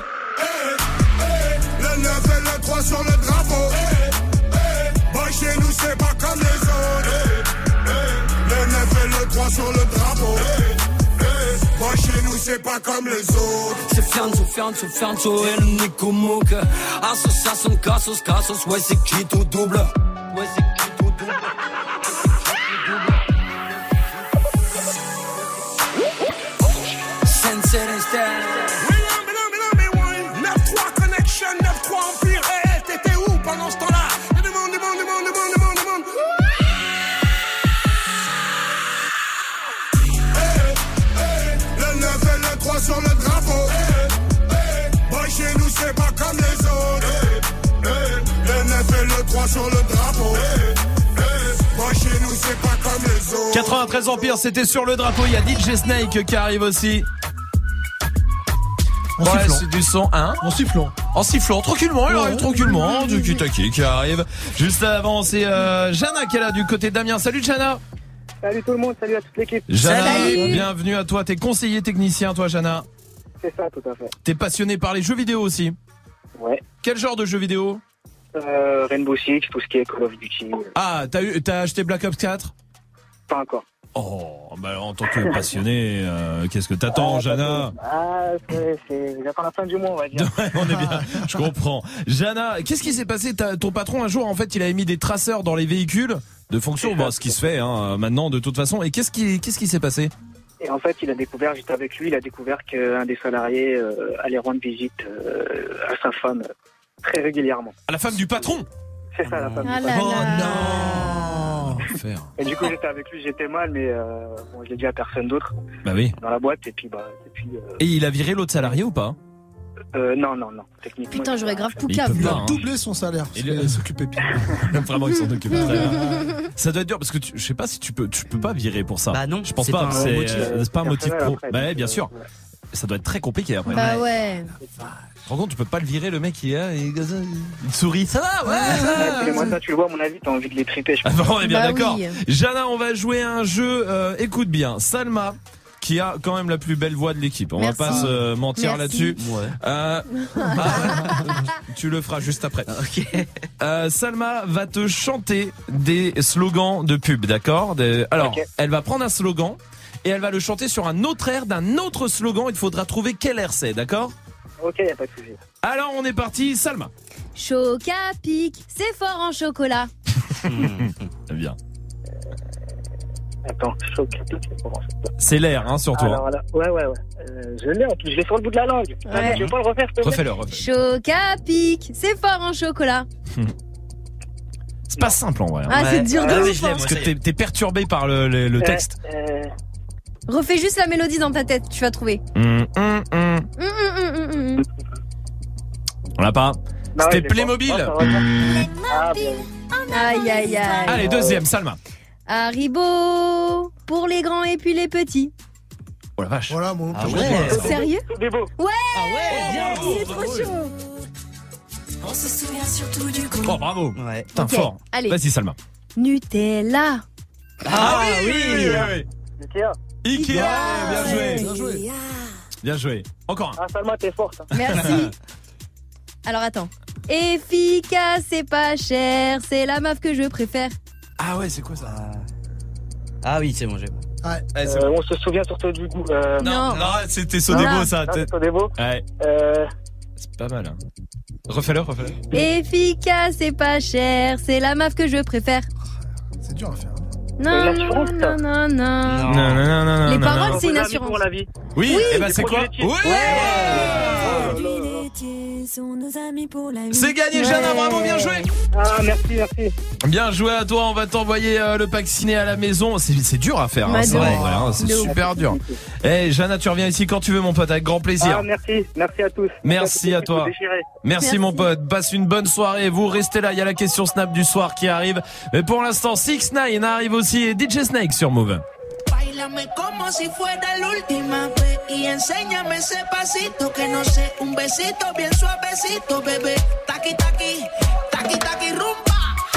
Le 9 et le 3 sur le drapeau. Boy chez nous c'est pas comme les autres. Le 9 et le 3 sur le drapeau. Boy chez nous c'est pas comme les autres. C'est Fianso et le Nicomouk. Association Cassos, ouais c'est qui tout double. Ouais c'est qui tout double. Sensei Style. 9-3 Connection, 9-3 Empire. T'étais où pendant ce temps-là? Demande. Le 9 et le 3 sur le drapeau. Boy chez nous c'est pas comme les autres. Le 9 et le 3 sur le drapeau. Boy chez nous c'est pas comme les autres. 93 Empire, c'était sur le drapeau. Il y a DJ Snake qui arrive aussi. En sifflant. C'est du son, hein? En sifflant, tranquillement, il arrive tranquillement. Du Kitaki qui arrive. Juste avant, c'est Jana qui est là du côté d'Amiens. Salut Jana. Salut tout le monde, salut à toute l'équipe. Jana, bienvenue à toi. T'es conseiller technicien, toi, Jana. C'est ça, tout à fait. T'es passionné par les jeux vidéo aussi? Ouais. Quel genre de jeux vidéo? Rainbow Six, tout ce qui est Call of Duty. Ah, t'as acheté Black Ops 4? Pas encore. Oh, bah en tant que passionné, qu'est-ce que t'attends, Jana? J'attends la fin du mois, on va dire. Ouais, on est bien, je comprends. Jana, qu'est-ce qui s'est passé? Ton patron, un jour, en fait, il avait mis des traceurs dans les véhicules de fonction, ce qui se fait maintenant de toute façon. Et qu'est-ce qui s'est passé? Et en fait, il a découvert, j'étais avec lui, il a découvert qu'un des salariés allait rendre visite à sa femme très régulièrement. À la femme du patron? C'est ça, la femme du patron. patron. Oh non! Et du coup, j'étais avec lui, j'étais mal, mais je l'ai dit à personne d'autre. Bah oui. Dans la boîte, et puis. Et il a viré l'autre salarié ou pas? Non. Techniquement. Putain, j'aurais grave tout Il cave. peut Il pas, a hein. doublé son salaire. Il s'occupait bien. Vraiment, ils s'en occupent très bien. Ça doit être dur parce que je sais pas si tu peux pas virer pour ça. Bah non, je pense c'est pas. pas un motif. C'est pas un motif pro. Après, Bah ouais, bien sûr. Ça doit être très compliqué après. Bah ouais. Tu te rends compte, tu peux pas le virer, le mec il sourit, ça va, ouais. Moi, ça, tu le vois, à mon avis, t'as envie de les triper, je pense. On est bien Bah d'accord. oui. Jana, on va jouer à un jeu, écoute bien. Salma, qui a quand même la plus belle voix de l'équipe. On Merci. va pas se mentir là-dessus. Ouais. Tu le feras juste après. Ok. Salma va te chanter des slogans de pub, d'accord? Alors, Ok. elle va prendre un slogan et elle va le chanter sur un autre air d'un autre slogan. Il faudra trouver quel air c'est, d'accord? Ok, y a pas de souci. Alors, on est parti, Salma. Chocapic, c'est fort en chocolat. Bien. Attends, Chocapic, c'est pour moi. C'est l'air, hein, surtout. Alors là, ouais. Je l'ai en plus, je l'ai sur le bout de la langue. Ouais. Allez, tu veux pas le refaire, s'il te plaît? Refais-le. Chocapic, c'est fort en chocolat. C'est pas simple en vrai. Ah, c'est dur de ouf, hein. Parce que t'es perturbé par le texte. Refais juste la mélodie dans ta tête, tu vas trouver. On l'a pas. Non, C'était il est Playmobil. pas. Ah, bien. Aïe, aïe, aïe. Allez, deuxième, Salma. Haribo, pour les grands et puis les petits. Oh la vache. Voilà, mon Ah ouais. Sérieux? C'est beau. Ouais. Ah ouais, bien. C'est trop chaud. On se souvient surtout du goût. Oh, bravo. Ouais. Putain, Ok, fort. allez. Vas-y, Salma. Nutella. Ah oui. Ikea. Ikea. Bien joué. Bien joué. Bien joué. Encore un. Ah, Salma, t'es forte. hein. Merci. Alors attends. Efficace et pas cher, c'est la meuf que je préfère. Ah ouais, c'est quoi ça? Ah oui, c'est bon, j'ai. Ouais, c'est bon. On se souvient surtout du goût. Non. Non, c'était Sodebo ça. Ah, c'est Sodebo. Ouais. C'est pas mal. Hein. Refais-le. Efficace et pas cher, c'est la meuf que je préfère. C'est dur à faire. Non, Une assurance, ça. non. Non. Les paroles, On c'est vous une invite assurance. pour la vie. Oui, et bah c'est quoi? produits Oui. C'est gagné, Jana, bravo, bien joué. Ah, merci. Bien joué à toi, on va t'envoyer le pack ciné à la maison. C'est dur à faire, hein, Ouais, ça, de en ouf. vrai, hein, c'est De ouf. super dur. Eh, Jana, tu reviens ici quand tu veux, mon pote, avec grand plaisir. Ah, merci à tous. Merci à tous, toi. vous déchirez. Merci mon pote, passe une bonne soirée. Vous restez là, il y a la question Snap du soir qui arrive. Mais pour l'instant, 6ix9ine arrive aussi et DJ Snake sur Move. Báilame como si fuera la última vez y enséñame ese pasito que no sé, un besito bien suavecito, bebé. Taqui taqui, taqui taqui rumba.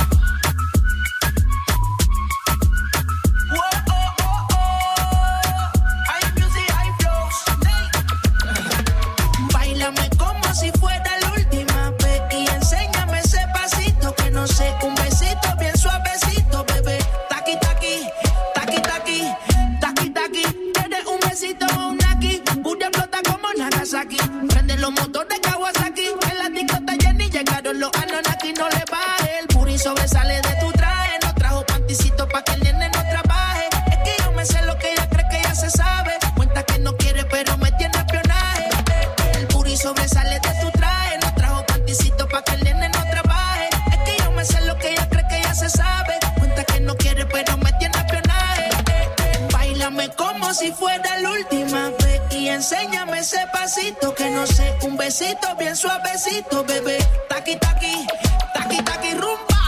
Whoa, oh, oh, oh. Hay music, hay flows. Báilame como si fuera la última vez y enséñame ese pasito que no sé, un besito bien suavecito, bebé. Taqui taqui, taqui taqui. Tienes un besito o un aquí. Booty explota como Nagasaki. Prende los motores Kawasaki. En la disco está llena y llegaron los Anunnaki. No le baje. El puri sobresale de tu traje. No trajo panticito pa' que el nene no trabaje. Es que yo me sé lo que ella cree que ya se sabe. Cuenta que no quiere pero me tiene espionaje. El puri sobresale de tu traje. No trajo panticito pa' que el nene no trabaje. Es que yo me sé lo que ella cree que ya se sabe. Cuenta que no quiere pero me tiene espionaje. Báilame como si fuera la última vez y enséñame ese pasito que no sé, un besito bien suavecito, bebé. Taqui taqui, taqui taqui rumba.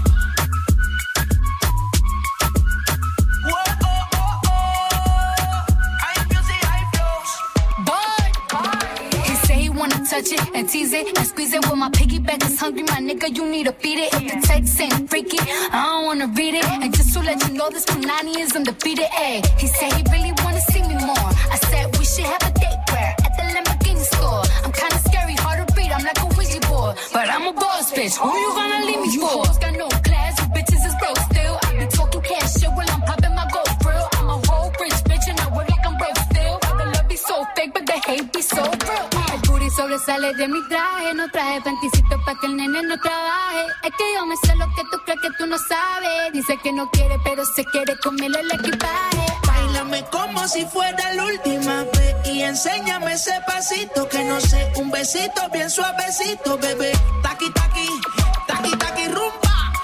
Whoa, oh, oh, oh. Hay music, hay flows. Boy, he say he wanna touch it and tease it and squeeze it. Well, my piggyback is hungry, my nigga, you need to feed it. If the text ain't freaky, I don't wanna read it. And just to let you know, this Punani is undefeated. Ay, he said he really wanna see me more. I said we should have a date where at the Lamborghini bitch. Who you gonna leave me for? You got no class, you bitches is broke still. I be talking cash shit while I'm popping my gold grill. I'm a whole rich bitch and I work like I'm broke still. The love be so fake, but the hate be so real. El booty sobresale de mi traje, no traje panticito pa' que el nene no trabaje. Es que yo me sé lo que tú crees que tú no sabes. Dice que no quiere, pero se quiere comerle el equipaje. Báilame como si fuera la última vez y enséñame ese pasito que no sé, un besito bien suavecito, bebé. Taqui, taqui, taqui, taqui, rumba.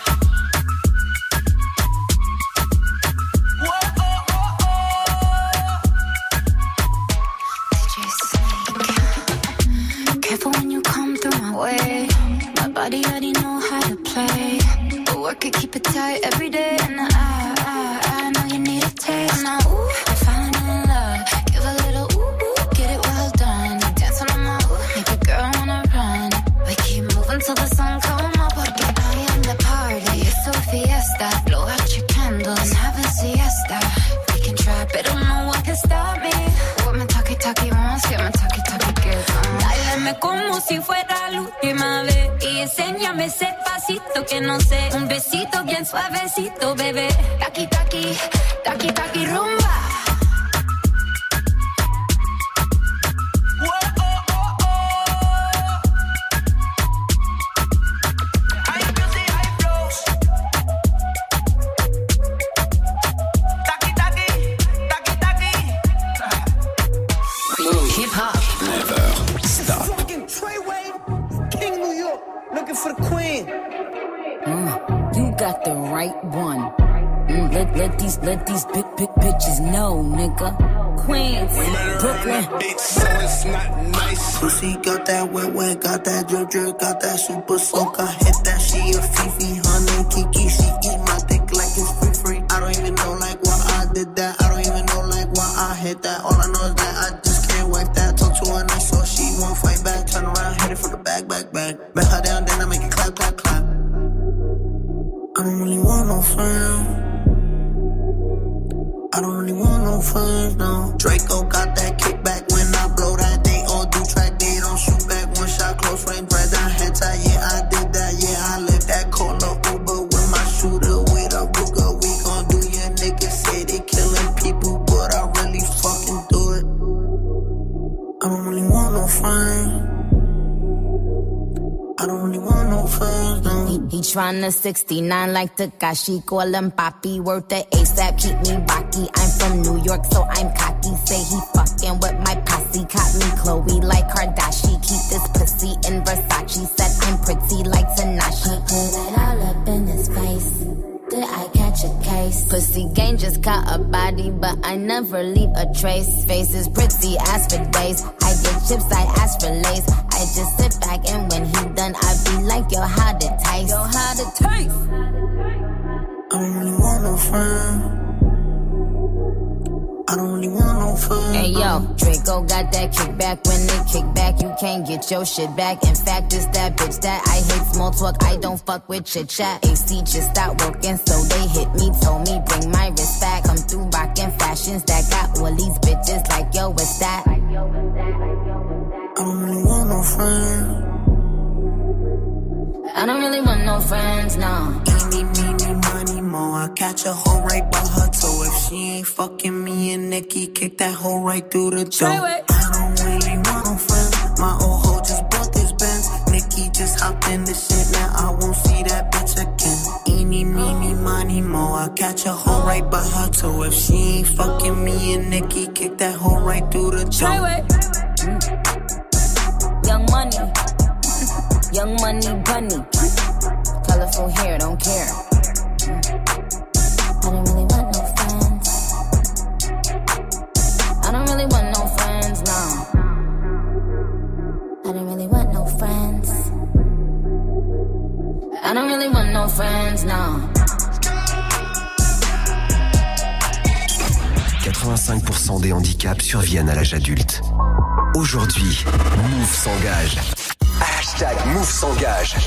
Careful when you come through my way. My body already know how to play. But work it, keep it tight every day. And I know you need a taste. Now, ooh, I'm falling in love. Give a little ooh, get it well done. Dancing on my ooh, make a girl wanna run. We keep moving till the sun come up. Porque I am the party. It's a fiesta. Blow out your candles and have a siesta. We can try, but don't know what can stop me. What my talkie wants, get my talkie gives. Dáleme como si fuera la última vez y enséñame ese pasito que no sé, un besito bien suavecito, bebé. Taqui, taqui, taqui, taqui, rumba. You got the right one. Let these big bitches know, nigga. Queens, Brooklyn. So it's not nice. Pussy got that wet, got that drip, got that super soak. I hit that, she a Fifi, honey, Kiki. She eat my dick like it's free. I don't even know like why I did that. I don't even know like why I hit that. All I know is that I just can't wipe that. Talk to her nice so she won't fight back. Turn around, hit it from the back. Bet her down, then I make it clap. I don't really want no friends. I don't really want no friends, no. Draco got that kickback when I blow that. They all do track, they don't shoot back. One shot, close range, right down head tie. Yeah, I did that, yeah, I lived that. Call a Uber with my shooter, with a Ruger. We gon' do your niggas say they killing people, but I really fucking do it. I don't really want no friends. I don't really want no friends, no. He tryna 69 like Takashi, call him Papi, worth the ASAP, keep me rocky. I'm from New York, so I'm cocky. Say he fucking with my posse, caught me Chloe like Kardashian. Keep this pussy in Versace, said I'm pretty like Tanashi. Put it all up in his face. Did I catch a case? Pussy gang just caught a body, but I never leave a trace. Face is pretty as for days. I get chips, I ask for lace. I just sit back and when he done, I be like, yo, how to taste? Yo, how to taste? I don't really want no friends. I don't really want no fun. Hey yo, Draco got that kickback. When they kick back, you can't get your shit back. In fact, it's that bitch that I hate small talk. I don't fuck with chit chat. AC just stopped working, so they hit me. Told me bring my wrist back. Come through rockin' fashions that got all these bitches like yo, what's that? I don't really want no friends. I don't really want no friends, no. Eeny, meeny, money, more. I catch a hoe right by her toe. If she ain't fucking me and Nikki, kick that hoe right through the door. I don't really want no friends. My old hoe just bought this Benz. Nikki just hopped in the shit, now I won't see that bitch again. Eeny, meeny, money, more. I catch a hoe right by her toe. If she ain't fucking me and Nikki, kick that hoe right through the door. Young money. Young money bunny. Colorful hair, don't care. I don't really want no friends. I don't really want no friends, no. I don't really want no friends. I don't really want no friends, no. 85% des handicaps surviennent à l'âge adulte. Aujourd'hui, Move s'engage. Hashtag Move s'engage.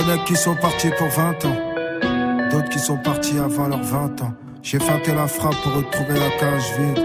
connais qui sont partis pour 20 ans. D'autres qui sont partis avant leurs 20 ans. J'ai feinté la frappe pour retrouver la cage vide.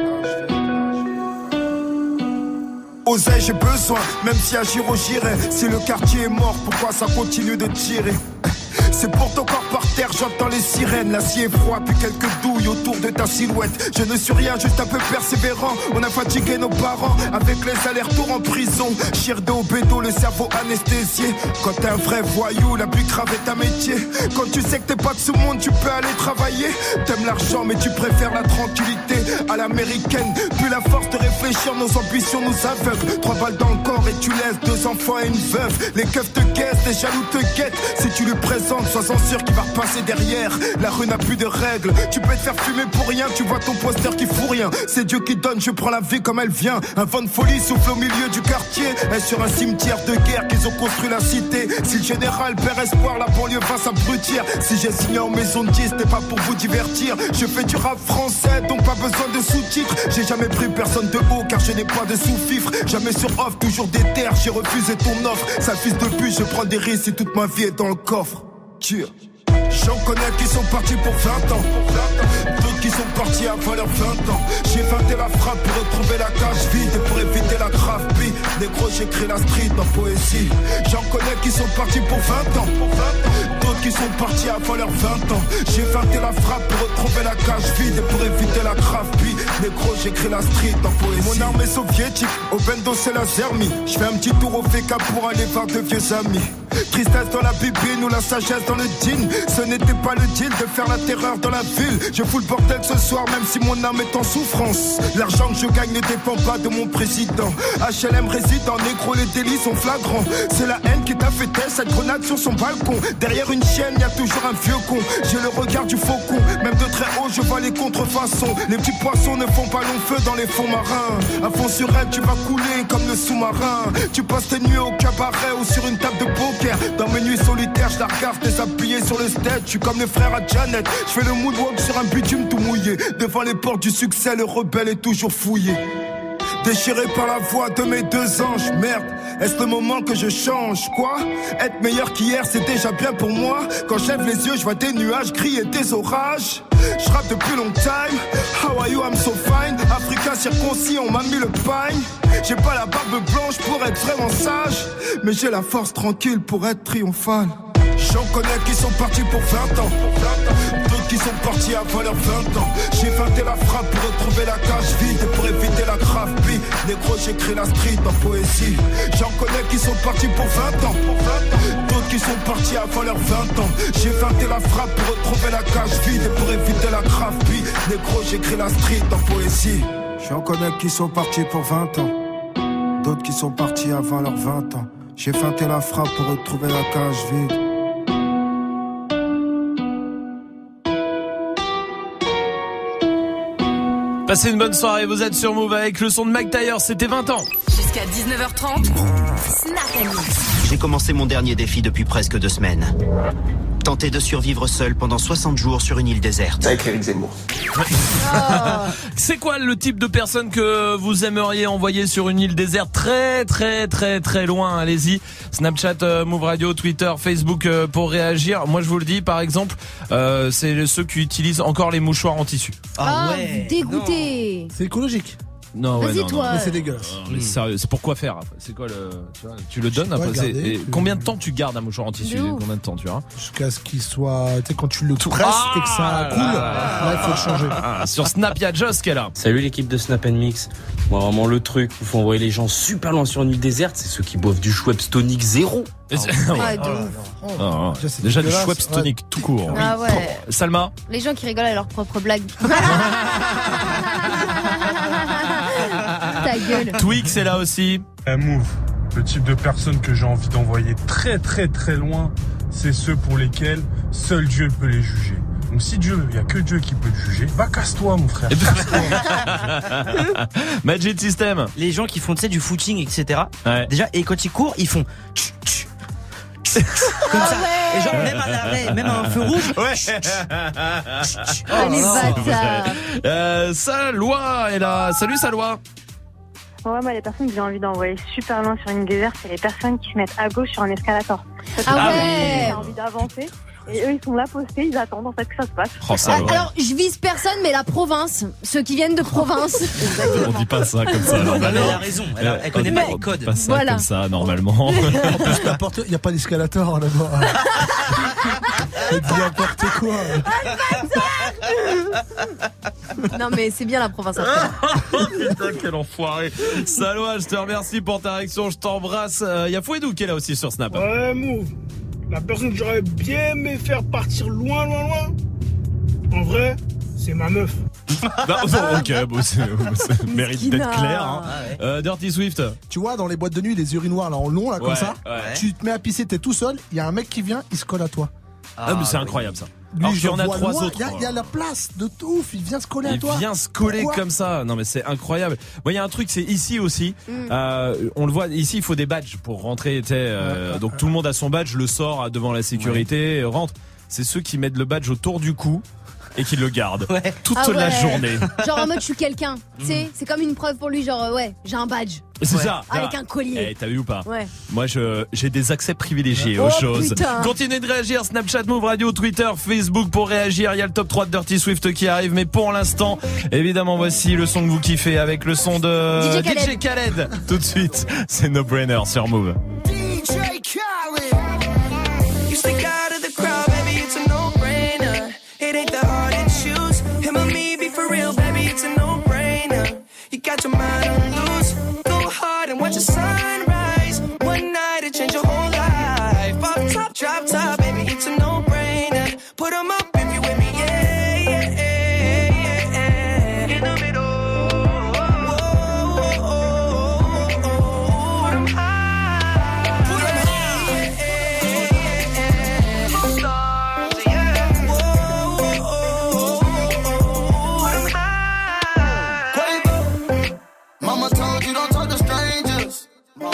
Oseille, j'ai besoin, même si à Giro j'irai. Si le quartier est mort, pourquoi ça continue de tirer? C'est pour ton corps par terre, j'entends les sirènes. L'acier est froid, puis quelques douilles autour de ta silhouette. Je ne suis rien, juste un peu persévérant. On a fatigué nos parents avec les allers-retours en prison. Chir de au bédo, le cerveau anesthésié. Quand t'es un vrai voyou, la plus grave est un métier. Quand tu sais que t'es pas de ce monde, tu peux aller travailler. T'aimes l'argent, mais tu préfères la tranquillité à l'américaine. Plus la force de réfléchir, nos ambitions nous aveuglent. 3 balles dans le corps et tu laisses 2 enfants et une veuve. Les keufs te guettent, les jaloux te guettent. Si tu lui présentes, sois-en sûr qu'il va repasser derrière. La rue n'a plus de règles. Tu peux te faire fumer pour rien. Tu vois ton poster qui fout rien. C'est Dieu qui donne, je prends la vie comme elle vient. Un vent de folie souffle au milieu du quartier. Et sur un cimetière de guerre qu'ils ont construit la cité. Si le général perd espoir, la banlieue va s'abrutir. Si j'ai signé en maison de 10, c'était pas pour vous divertir. Je fais du rap français, donc pas besoin de sous-titres. J'ai jamais pris personne de haut car je n'ai pas de sous-fifre. Jamais sur off, toujours des terres. J'ai refusé ton offre. Sale fils de pute, je prends des risques et toute ma vie est dans le coffre. J'en connais qui sont partis pour 20 ans. D'autres qui sont partis avant leurs 20 ans. J'ai feinté la frappe pour retrouver la cage vide. Et pour éviter la grave bille, négro j'écris la street en poésie. J'en connais qui sont partis pour 20 ans. D'autres qui sont partis avant leurs 20 ans. J'ai feinté la frappe pour retrouver la cage vide. Et pour éviter la grave bille, négro j'écris la street en poésie. Mon arme est soviétique, au bendo c'est la zermie. Je fais un petit tour au FK pour aller voir de vieux amis. Tristesse dans la bibine ou la sagesse dans le jean. Ce n'était pas le deal de faire la terreur dans la ville. Je fous le bordel ce soir même si mon âme est en souffrance. L'argent que je gagne ne dépend pas de mon président. HLM réside en négro, les délits sont flagrants. C'est la haine qui t'a fait taire cette grenade sur son balcon. Derrière une chienne y a toujours un vieux con. J'ai le regard du faucon, même de très haut je vois les contrefaçons. Les petits poissons ne font pas long feu dans les fonds marins. À fond sur elle tu vas couler comme le sous-marin. Tu passes tes nuits au cabaret ou sur une table de poker. Dans mes nuits solitaires, je la regarde déshabillée sur le stage. Je suis comme le frère à Janet. Je fais le moonwalk sur un bitume tout mouillé. Devant les portes du succès, le rebelle est toujours fouillé. Déchiré par la voix de mes 2 anges. Merde, est-ce le moment que je change? Quoi? Être meilleur qu'hier, c'est déjà bien pour moi. Quand je lève les yeux, je vois des nuages gris et des orages. Je rappe depuis long time. How are you, I'm so fine. Africain circoncis, on m'a mis le pagne. J'ai pas la barbe blanche pour être vraiment sage, mais j'ai la force tranquille pour être triomphal. J'en connais qui sont partis pour 20 ans. D'autres qui sont partis avant leurs 20 ans. J'ai feinté la frappe pour retrouver la cage vide. Et pour éviter la grave bille, négro j'écris la street en poésie. J'en connais qui sont partis pour 20 ans. D'autres qui sont partis avant leurs 20 ans. J'ai feinté la frappe pour retrouver la cage vide. Et pour éviter la grave bille, négro j'écris la street en poésie. J'en connais qui sont partis pour 20 ans. D'autres qui sont partis avant leurs 20 ans. J'ai feinté la frappe pour retrouver la cage vide. Passez une bonne soirée, vous êtes sur Move avec le son de Mac Taylor, c'était 20 ans. Jusqu'à 19h30, Snap & Mix. J'ai commencé mon dernier défi depuis presque 2 semaines. Tenter de survivre seul pendant 60 jours sur une île déserte. Avec Éric Zemmour. C'est quoi le type de personne que vous aimeriez envoyer sur une île déserte très loin? Allez-y, Snapchat, Move Radio, Twitter, Facebook pour réagir. Moi je vous le dis, par exemple, c'est ceux qui utilisent encore les mouchoirs en tissu. Ouais, dégoûté. C'est écologique. Non, Vas-y, ouais, toi. Mais c'est dégueulasse. Mais sérieux, c'est pour quoi faire? C'est quoi tu le donnes après, garder, combien de temps tu gardes un mouchoir en tissu? Combien de temps, tu vois? Jusqu'à ce qu'il soit, tu sais, quand tu le presses et que ça coule, là, il faut le changer. Sur Snap, il y a Joss qui est là. Salut l'équipe de Snap & Mix. Moi, vraiment, le truc où il faut envoyer les gens super loin sur une île déserte, c'est ceux qui boivent du Schweppes Tonic 0. Déjà du Schweppes Tonic tout court. Ah ouais. Salma? Les gens qui rigolent à leurs propres blagues. Ta gueule. Twix est là aussi. Move, le type de personne que j'ai envie d'envoyer très loin, c'est ceux pour lesquels seul Dieu peut les juger. Donc si Dieu, il n'y a que Dieu qui peut te juger, va casse-toi mon frère. Magic System. Les gens qui font, tu sais, du footing, etc. Ouais. Déjà, et quand ils courent, ils font comme ça. Et genre, même à l'arrêt, même à un feu rouge. Ouais. Les bâtards. Salwa est là. Salut Salwa. Ouais, moi, les personnes que j'ai envie d'envoyer super loin sur une déserte, c'est les personnes qui se mettent à gauche sur un escalator. Ah ouais. J'ai envie d'avancer. Et eux, ils sont là postés, ils attendent en fait que ça se passe. Oh, ça, ouais. Alors, je vise personne, mais la province, ceux qui viennent de province. On dit pas ça comme ça. Elle a raison, elle connaît pas les codes. Pas ça comme ça, normalement. En plus, il n'y a pas d'escalator là-bas. N'importe quoi. Non, mais c'est bien la province. Putain, quel enfoiré. Salwa, je te remercie pour ta réaction, je t'embrasse. Il y a Fouedou qui est là aussi sur Snap. Ouais, Move. La personne que j'aurais bien aimé faire partir loin, en vrai, c'est ma meuf. Ok, bon, ça mérite d'être clair. Hein. Ah ouais. Dirty Swift. Tu vois, dans les boîtes de nuit, les urinoirs là en long, là, comme ça, ouais. tu te mets à pisser, t'es tout seul, il y a un mec qui vient, il se colle à toi. Ah, mais c'est incroyable ça. Lui, Alors qu'il y en a vois 3 loin, autres. Il y a la place de ouf, il vient se coller à toi. Il vient se coller Pourquoi comme ça. Non mais c'est incroyable. Moi il y a un truc, c'est ici aussi. On le voit ici, il faut des badges pour rentrer. Donc tout le monde a son badge, le sort devant la sécurité, rentre. C'est ceux qui mettent le badge autour du cou et qui le gardent toute la journée. Genre en mode je suis quelqu'un. Tu sais, c'est comme une preuve pour lui. Genre j'ai un badge. C'est ça. Avec un collier. T'as vu ou pas? Ouais. Moi, j'ai des accès privilégiés aux choses. Putain. Continuez de réagir. Snapchat, Move Radio, Twitter, Facebook pour réagir. Il y a le top 3 de Dirty Swift qui arrive. Mais pour l'instant, évidemment, voici le son que vous kiffez avec le son de DJ Khaled. Tout de suite, c'est No Brainer sur Move. DJ Khaled. You stick out of the crowd, baby, it's a no-brainer. It ain't that hard to choose. Him or me, be for real, baby, it's a no-brainer. You got your mind on loose. Hard and watch the sunrise. One night it change your whole life. Off top, drop top, baby, it's a no-brainer. Put 'em up if you with me, yeah. In the middle. Put 'em high. Put 'em high. Stars, yeah. Put 'em high. Mama told you don't talk to strangers.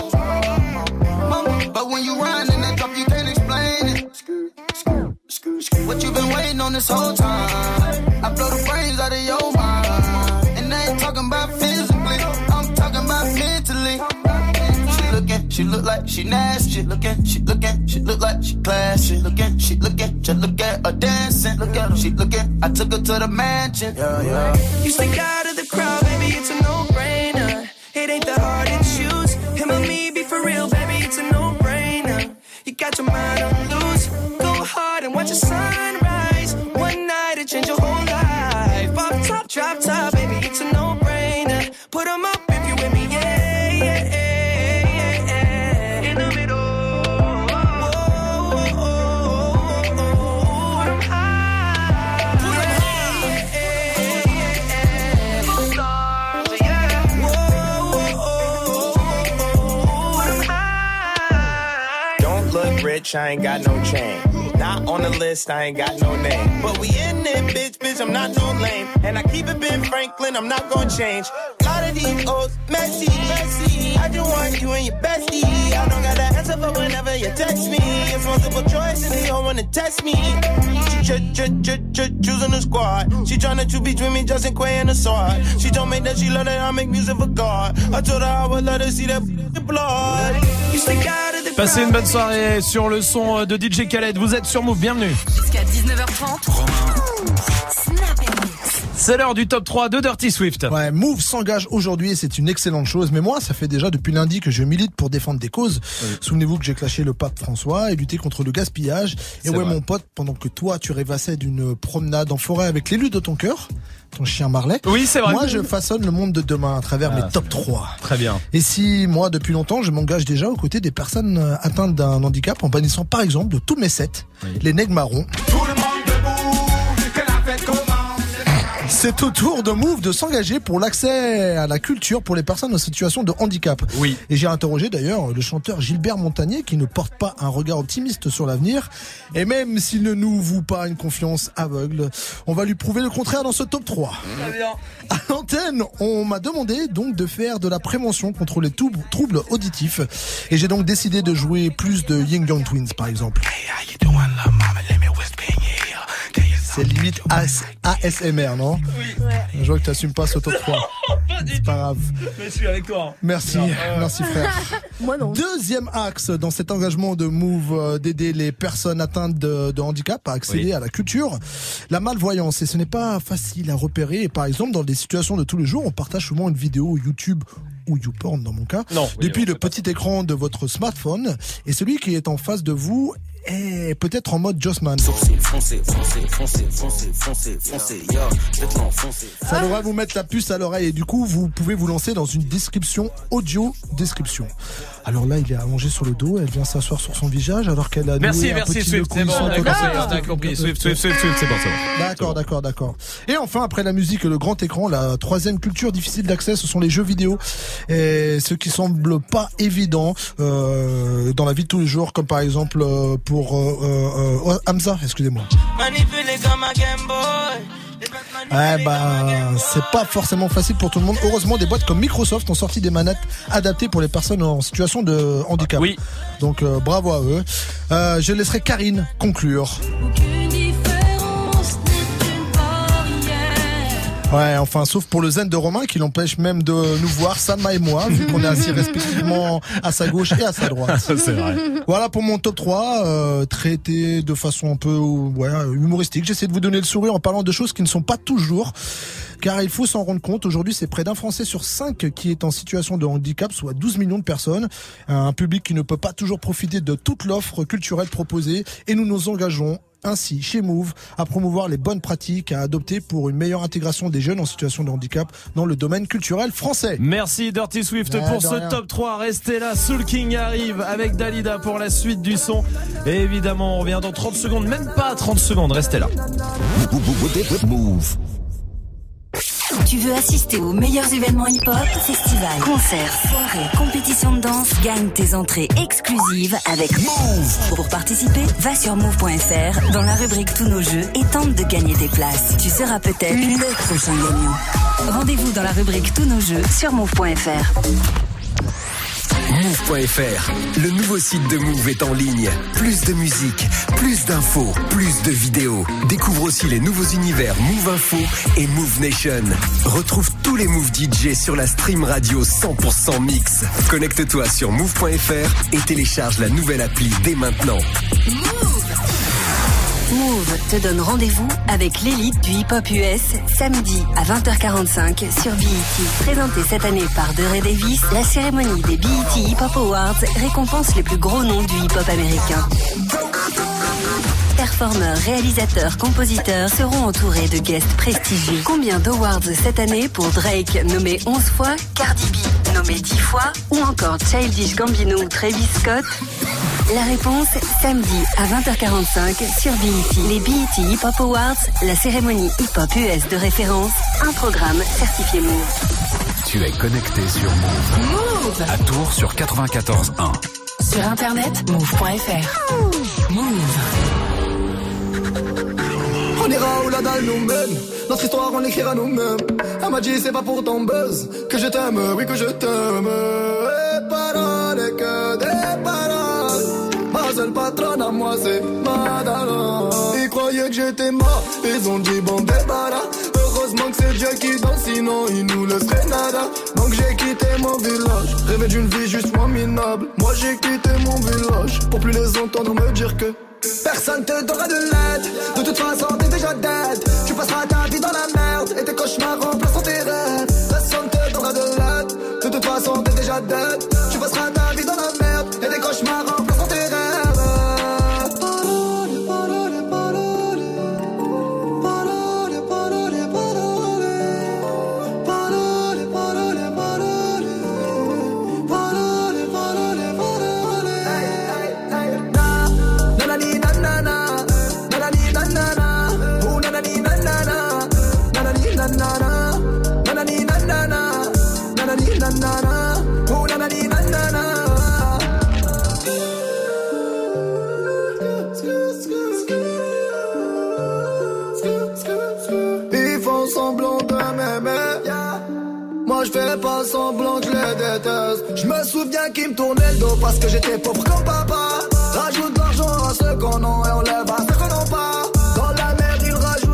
Mama, but when you run in that drop, you can't explain it. What you been waiting on this whole time? I blow the brains out of your mind. And I ain't talking about physically, I'm talking about mentally. She look like she nasty. She look like she classy. Just look at her dancing. She looking, I took her to the mansion. Yeah. You stick out of the crowd, baby, it's a no-brainer. It ain't that hard to choose. Him or me, be for real, baby, it's a no-brainer. You got your mind on loose. Go hard and watch the sunrise. One night it change your whole life. Off top, drop top, baby, it's a no-brainer. Put 'em up if you with me, yeah. In the middle. Put 'em high. Put 'em high. Stars, yeah. Don't look rich, I ain't got no chain. Not on the list, I ain't got no name. But we in it, bitch, I'm not no lame. And I keep it Ben Franklin, I'm not gonna change. Lot of these O's, messy. I just want you and your bestie. I don't got an answer for whenever you text me. It's multiple choice and they all wanna test me. She choosing the squad. She tryna choose between me, Justin Quay and the sword. She told me that she love that I make music for God. I told her I would let her see that blood. You stick out of the Passez une bonne soirée sur le son de DJ Khaled. Vous êtes sur Move, bienvenue. Jusqu'à 19h30. C'est l'heure du top 3 de Dirty Swift. Ouais, Move s'engage aujourd'hui et c'est une excellente chose. Mais moi, ça fait déjà depuis lundi que je milite pour défendre des causes. Oui. Souvenez-vous que j'ai clashé le pape François et lutté contre le gaspillage. Et ouais, mon pote, pendant que toi, tu rêvassais d'une promenade en forêt avec l'élu de ton cœur, ton chien Marley. Oui, c'est vrai. Moi, je façonne le monde de demain à travers mes top 3. Très bien. Et si, moi, depuis longtemps, je m'engage déjà aux côtés des personnes atteintes d'un handicap en bannissant, par exemple, de tous mes sets, les nègres marrons. Tout le monde debout, que la fête commence. C'est au tour de Move de s'engager pour l'accès à la culture pour les personnes en situation de handicap. Oui. Et j'ai interrogé d'ailleurs le chanteur Gilbert Montagnier qui ne porte pas un regard optimiste sur l'avenir. Et même s'il ne nous voue pas une confiance aveugle, on va lui prouver le contraire dans ce top 3. Très bien. À l'antenne, on m'a demandé donc de faire de la prévention contre les troubles auditifs. Et j'ai donc décidé de jouer plus de Ying Yang Twins par exemple. Hey, how you doing, love mama? Let me whisper in your ear. Can you C'est limite ASMR, non? Oui. Ouais. Je vois que t'assumes pas ce top 3. C'est pas grave. Mais je suis avec toi. Merci, merci frère. Moi non. Deuxième axe dans cet engagement de Move d'aider les personnes atteintes de handicap à accéder à la culture, la malvoyance. Et ce n'est pas facile à repérer. Et par exemple, dans des situations de tous les jours, on partage souvent une vidéo YouTube ou YouPorn dans mon cas, depuis le petit écran de votre smartphone, et celui qui est en face de vous est peut-être en mode Jossman. Ça devrait vous mettre la puce à l'oreille et du coup vous pouvez vous lancer dans une description audio description. Alors là il est allongé sur le dos, elle vient s'asseoir sur son visage alors qu'elle a merci Swift, c'est bon, d'accord, compris. Swift, c'est bon. D'accord. Et enfin après la musique et le grand écran, la troisième culture difficile d'accès, ce sont les jeux vidéo, et ce qui semble pas évident dans la vie de tous les jours, comme par exemple pour Hamza, excusez-moi. Ouais, c'est pas forcément facile pour tout le monde. Heureusement, des boîtes comme Microsoft ont sorti des manettes adaptées pour les personnes en situation de handicap. Oui. Donc bravo à eux. Je laisserai Karine conclure. Ouais, enfin, sauf pour le zen de Romain qui l'empêche même de nous voir, Salma et moi, vu qu'on est assis respectivement à sa gauche et à sa droite. C'est vrai. Voilà pour mon top 3, traité de façon un peu humoristique. J'essaie de vous donner le sourire en parlant de choses qui ne sont pas toujours. Car il faut s'en rendre compte, aujourd'hui c'est près d'un Français sur 5 qui est en situation de handicap, soit 12 millions de personnes. Un public qui ne peut pas toujours profiter de toute l'offre culturelle proposée, et nous nous engageons ainsi chez Move à promouvoir les bonnes pratiques à adopter pour une meilleure intégration des jeunes en situation de handicap dans le domaine culturel français. Merci Dirty Swift pour ce top 3. Restez là, Soul King arrive avec Dalida pour la suite du son. Et évidemment, on revient dans 30 secondes, même pas 30 secondes, restez là. Move. Tu veux assister aux meilleurs événements hip-hop, festivals, concerts, soirées, compétitions de danse? Gagne tes entrées exclusives avec Move. Pour participer, va sur move.fr dans la rubrique Tous nos jeux et tente de gagner des places. Tu seras peut-être le prochain gagnant. Rendez-vous dans la rubrique Tous nos jeux sur move.fr. Move.fr, le nouveau site de Move est en ligne. Plus de musique, plus d'infos, plus de vidéos. Découvre aussi les nouveaux univers Move Info et Move Nation. Retrouve tous les Move DJ sur la stream radio 100% mix. Connecte-toi sur Move.fr et télécharge la nouvelle appli dès maintenant. Move te donne rendez-vous avec l'élite du hip-hop US samedi à 20h45 sur BET. Présentée cette année par Ray Davis, la cérémonie des BET Hip Hop Awards récompense les plus gros noms du hip-hop américain. Performeurs, réalisateurs, compositeurs seront entourés de guests prestigieux. Combien d'awards cette année pour Drake, nommé 11 fois, Cardi B, nommé 10 fois, ou encore Childish Gambino ou Travis Scott? La réponse, samedi à 20h45 sur BET. Les BET Hip Hop Awards, la cérémonie hip-hop US de référence, un programme certifié Move. Tu es connecté sur Move. Move à Tours sur 94.1. Sur internet, move.fr. Move. On ira où la dalle nous mène. Notre histoire on l'écrira nous-mêmes. Elle m'a dit c'est pas pour ton buzz que je t'aime, oui que je t'aime. Et paroles et que des paroles. Ma seule patronne à moi c'est Madara. Ils croyaient que j'étais mort, ils ont dit bon débarras. Heureusement que c'est Dieu qui danse, sinon il nous laisserait nada. Donc j'ai quitté mon village, rêvé d'une vie juste moins minable. Moi j'ai quitté mon village pour plus les entendre me dire que personne te donnera de l'aide. De toute façon t'es déjà dead. Tu passeras ta vie dans la merde et tes cauchemars remplaceront tes rêves. Personne te donnera de l'aide. De toute façon t'es déjà dead. Tu passeras ta vie dans la merde et tes cauchemars remplaceront tes rêves. Ils font semblant de m'aimer. Moi je fais pas semblant que je les déteste. Je me souviens qu'ils me tournaient le dos parce que j'étais pauvre comme papa. Rajoute de l'argent à ceux qu'on a et on lève à ceux qu'on n'a pas. Dans la merde ils rajoutent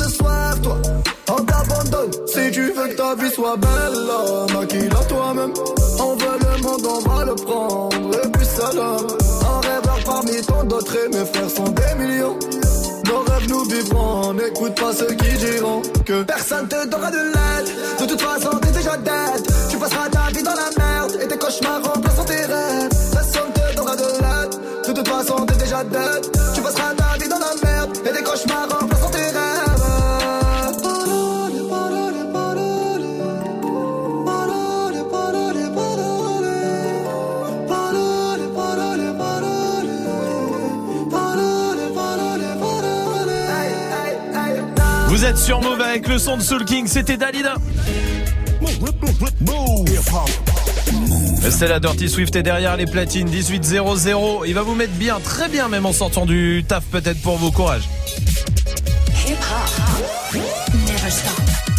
de soif, toi. On t'abandonne si tu veux que ta vie soit belle. Maquille-la toi-même. On veut le monde, on va le prendre. Et puis salam. Un rêveur parmi tant d'autres et mes frères sont des millions. Nos rêves nous vivrons, n'écoute pas ceux qui diront que personne te donnera de l'aide. De toute façon t'es déjà dead. Tu passeras ta vie dans la merde et tes cauchemars remplaceront tes rêves. Personne te donnera de l'aide. De toute façon t'es déjà dead. Tu passeras ta vie dans la merde et tes cauchemars remplaceront tes rêves. Vous êtes sur Move avec le son de Soul King, c'était Dalida. C'est la Dirty Swift et derrière les platines 18-0-0. Il va vous mettre bien, très bien même en sortant du taf peut-être pour vos courages. Never stop.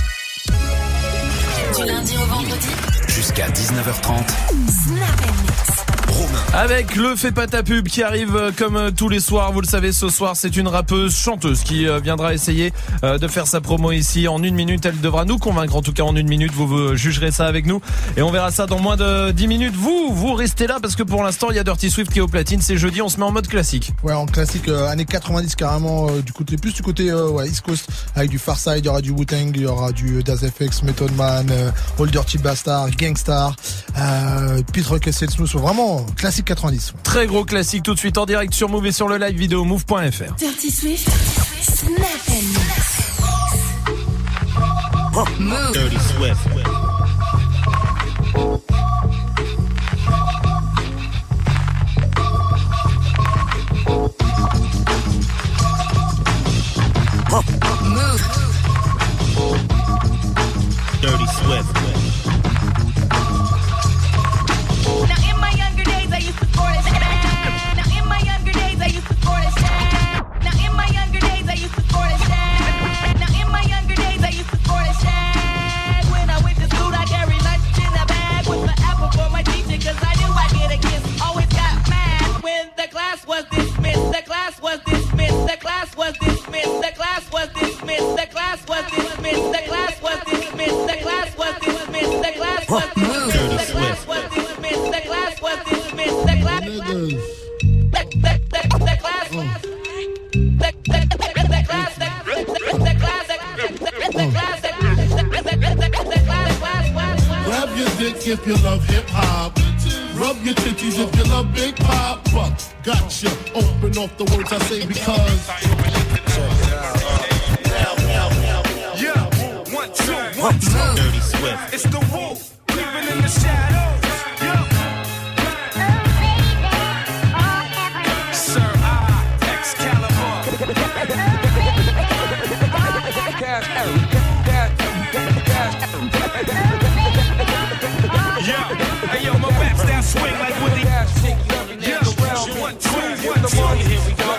Du lundi au vendredi. Jusqu'à 19h30. Snap and mix. Avec le Fais pas ta pub qui arrive comme tous les soirs. Vous le savez, ce soir c'est une rappeuse chanteuse qui viendra essayer de faire sa promo ici en 1 minute. Elle devra nous convaincre, en tout cas en 1 minute. Vous jugerez ça avec nous et on verra ça dans moins de 10 minutes. Vous restez là parce que pour l'instant il y a Dirty Swift qui est au platine. C'est jeudi, on se met en mode classique. Ouais, en classique années 90 carrément, du côté East Coast, avec du Pharcyde, il y aura du Wu-Tang, il y aura du Das FX, Method Man, All Dirty Bastard, Gangstar, Pete Rock et Seth Smooth. Vraiment classique 90. Très gros classique tout de suite en direct sur Move et sur le live vidéo move.fr. Dirty Swift, Snap and mix. Move. Dirty Swift. Move. Dirty Swift. Now in my younger days I used to score this. Now in my younger days I used to score this. Now in my younger days I used to score this. Now in my younger days I used to score this. When I went to school I carried lunch in a bag with the apple for my teacher 'cause I knew I'd get a kiss. Always got mad when the class was dismissed. The class was dismissed. The class was dismissed. The class was dismissed. The class was dismissed. The class was dismissed. The class was dismissed. The class was dismissed. The class was dismissed. The class was dismissed. The class was Grab your dick if you love hip hop. Rub your titties if you love Big Papa. Gotcha. Open off the words I say because. Yeah, 1, 2, 1, 2. Dirty Swift. It's the wolf, living in the shadows. Yeah. Sir, Excalibur. Yeah, hey yo, my rap style swing like Willie. Yeah, 1, 2, 1, 2. Here we go.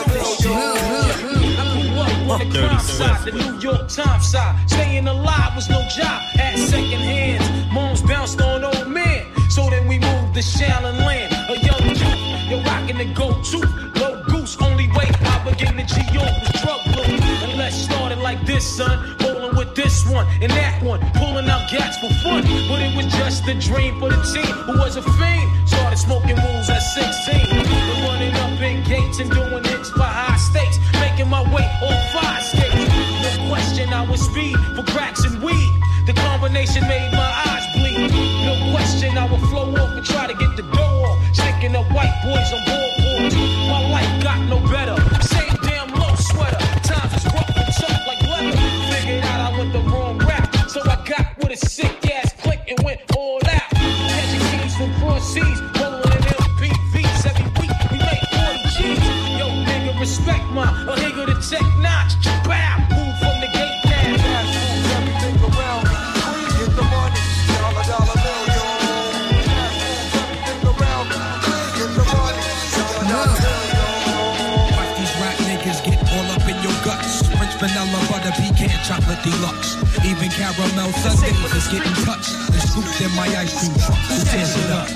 Dirty Swift. The New York Times side. Staying alive was no job at second hands. Moms bounced on old men. So then we moved to Shallon Land. A young youth, you're rocking the go-to. Low goose, only way I began to G.O. was drug loot. And let's start it like this, son. Rolling with this one and that one. Pulling out gats for fun. But it was just a dream for the team who was a fiend. Started smoking rules at 16. And running up in gates and doing hits for high stakes. Making my way on 5 skates. No question I was speed for cracks and weed. The combination made my eyes bleed. No question I would flow off and try to get the dough off. Sticking up white boys on boards. My life got no better. Same damn low sweater. Times is rough and tough like leather. Figured out I went the wrong rap. So I got with a sick ass click and went all out. Catching keys from cross seas. Rolling in LPVs every week. We make 40 G's. Yo, nigga, respect my a nigga to check notch. Bow, move from the gate now. Everything around me. Get the money. Dollar bill, yo. Everything around me. Get the money. Dollar bill, yo. Watch these rap niggas get all up in your guts. French vanilla, butter, pecan, chocolate deluxe. Even caramel sundaes is getting touched and scooped in my ice cream truck. Who tears it up?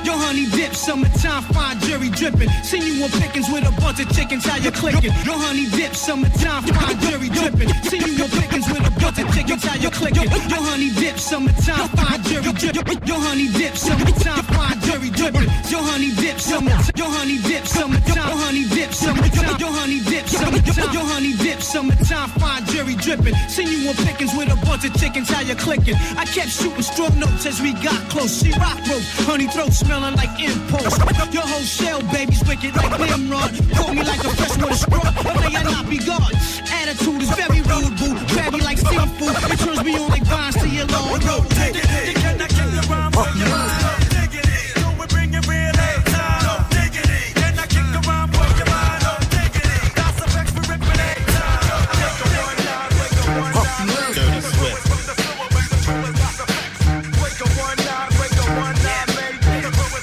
Your honey dip, summertime, fine jury dripping. Seen you on pickings with a bunch of chickens, how you clicking? Your honey dip, summertime, fine jury dripping. Seen you on pickings with a bunch of chickens, how you clicking? Your honey dip, summertime, fine jury dripping. Your honey dip, summertime, fine jury dripping. Your honey dip, summertime. Your honey dip, summertime. Your honey dip, summertime. Your honey dip, summertime. Your honey dip, summertime, fine jury dripping. Seen you on pickings with a bunch of chickens, how you clicking? I kept shooting strong notes as we got close. She rock rope, honey throat smelling like impulse. Your whole shell, baby's wicked like Nimrod. Call me like a freshwater straw, or may I not be God? Attitude is very rude, boo. Grab me like seafood. It turns me on like vines to your long road. Take it, you cannot kick the rhyme for your mind. Dig it in, so we bring it real every time. Dig it in, can I kick the rhyme for your mind? Dig it in, that's a vex for ripping every time. Take a one down, wake a one down. Dirty Swift. Wake a one down, wake a one down, baby. Wake a one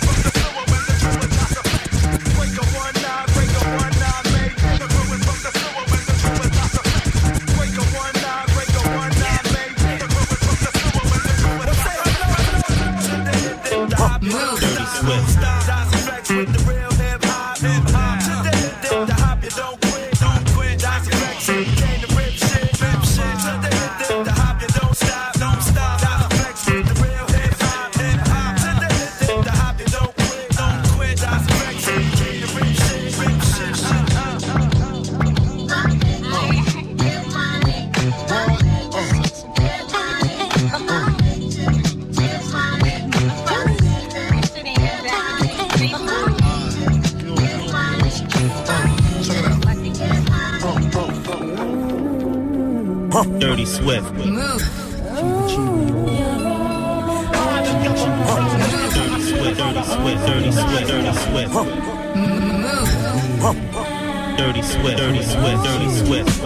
down, wake a one down, baby. Wake a one down, wake a one down, baby. Dirty Swift. With the real hip hop, the hop, you don't quit, don't quit. That's flex, came to rip shit, the hop, you don't stop, don't stop. That's flex with the real hip hop, the hop, you don't quit, that's flex, came to rip shit, Dirty Swift. Move. Dirty Swift, Dirty Swift, Dirty Swift, Dirty Swift. Move. Dirty Swift, Dirty Swift, Dirty Swift.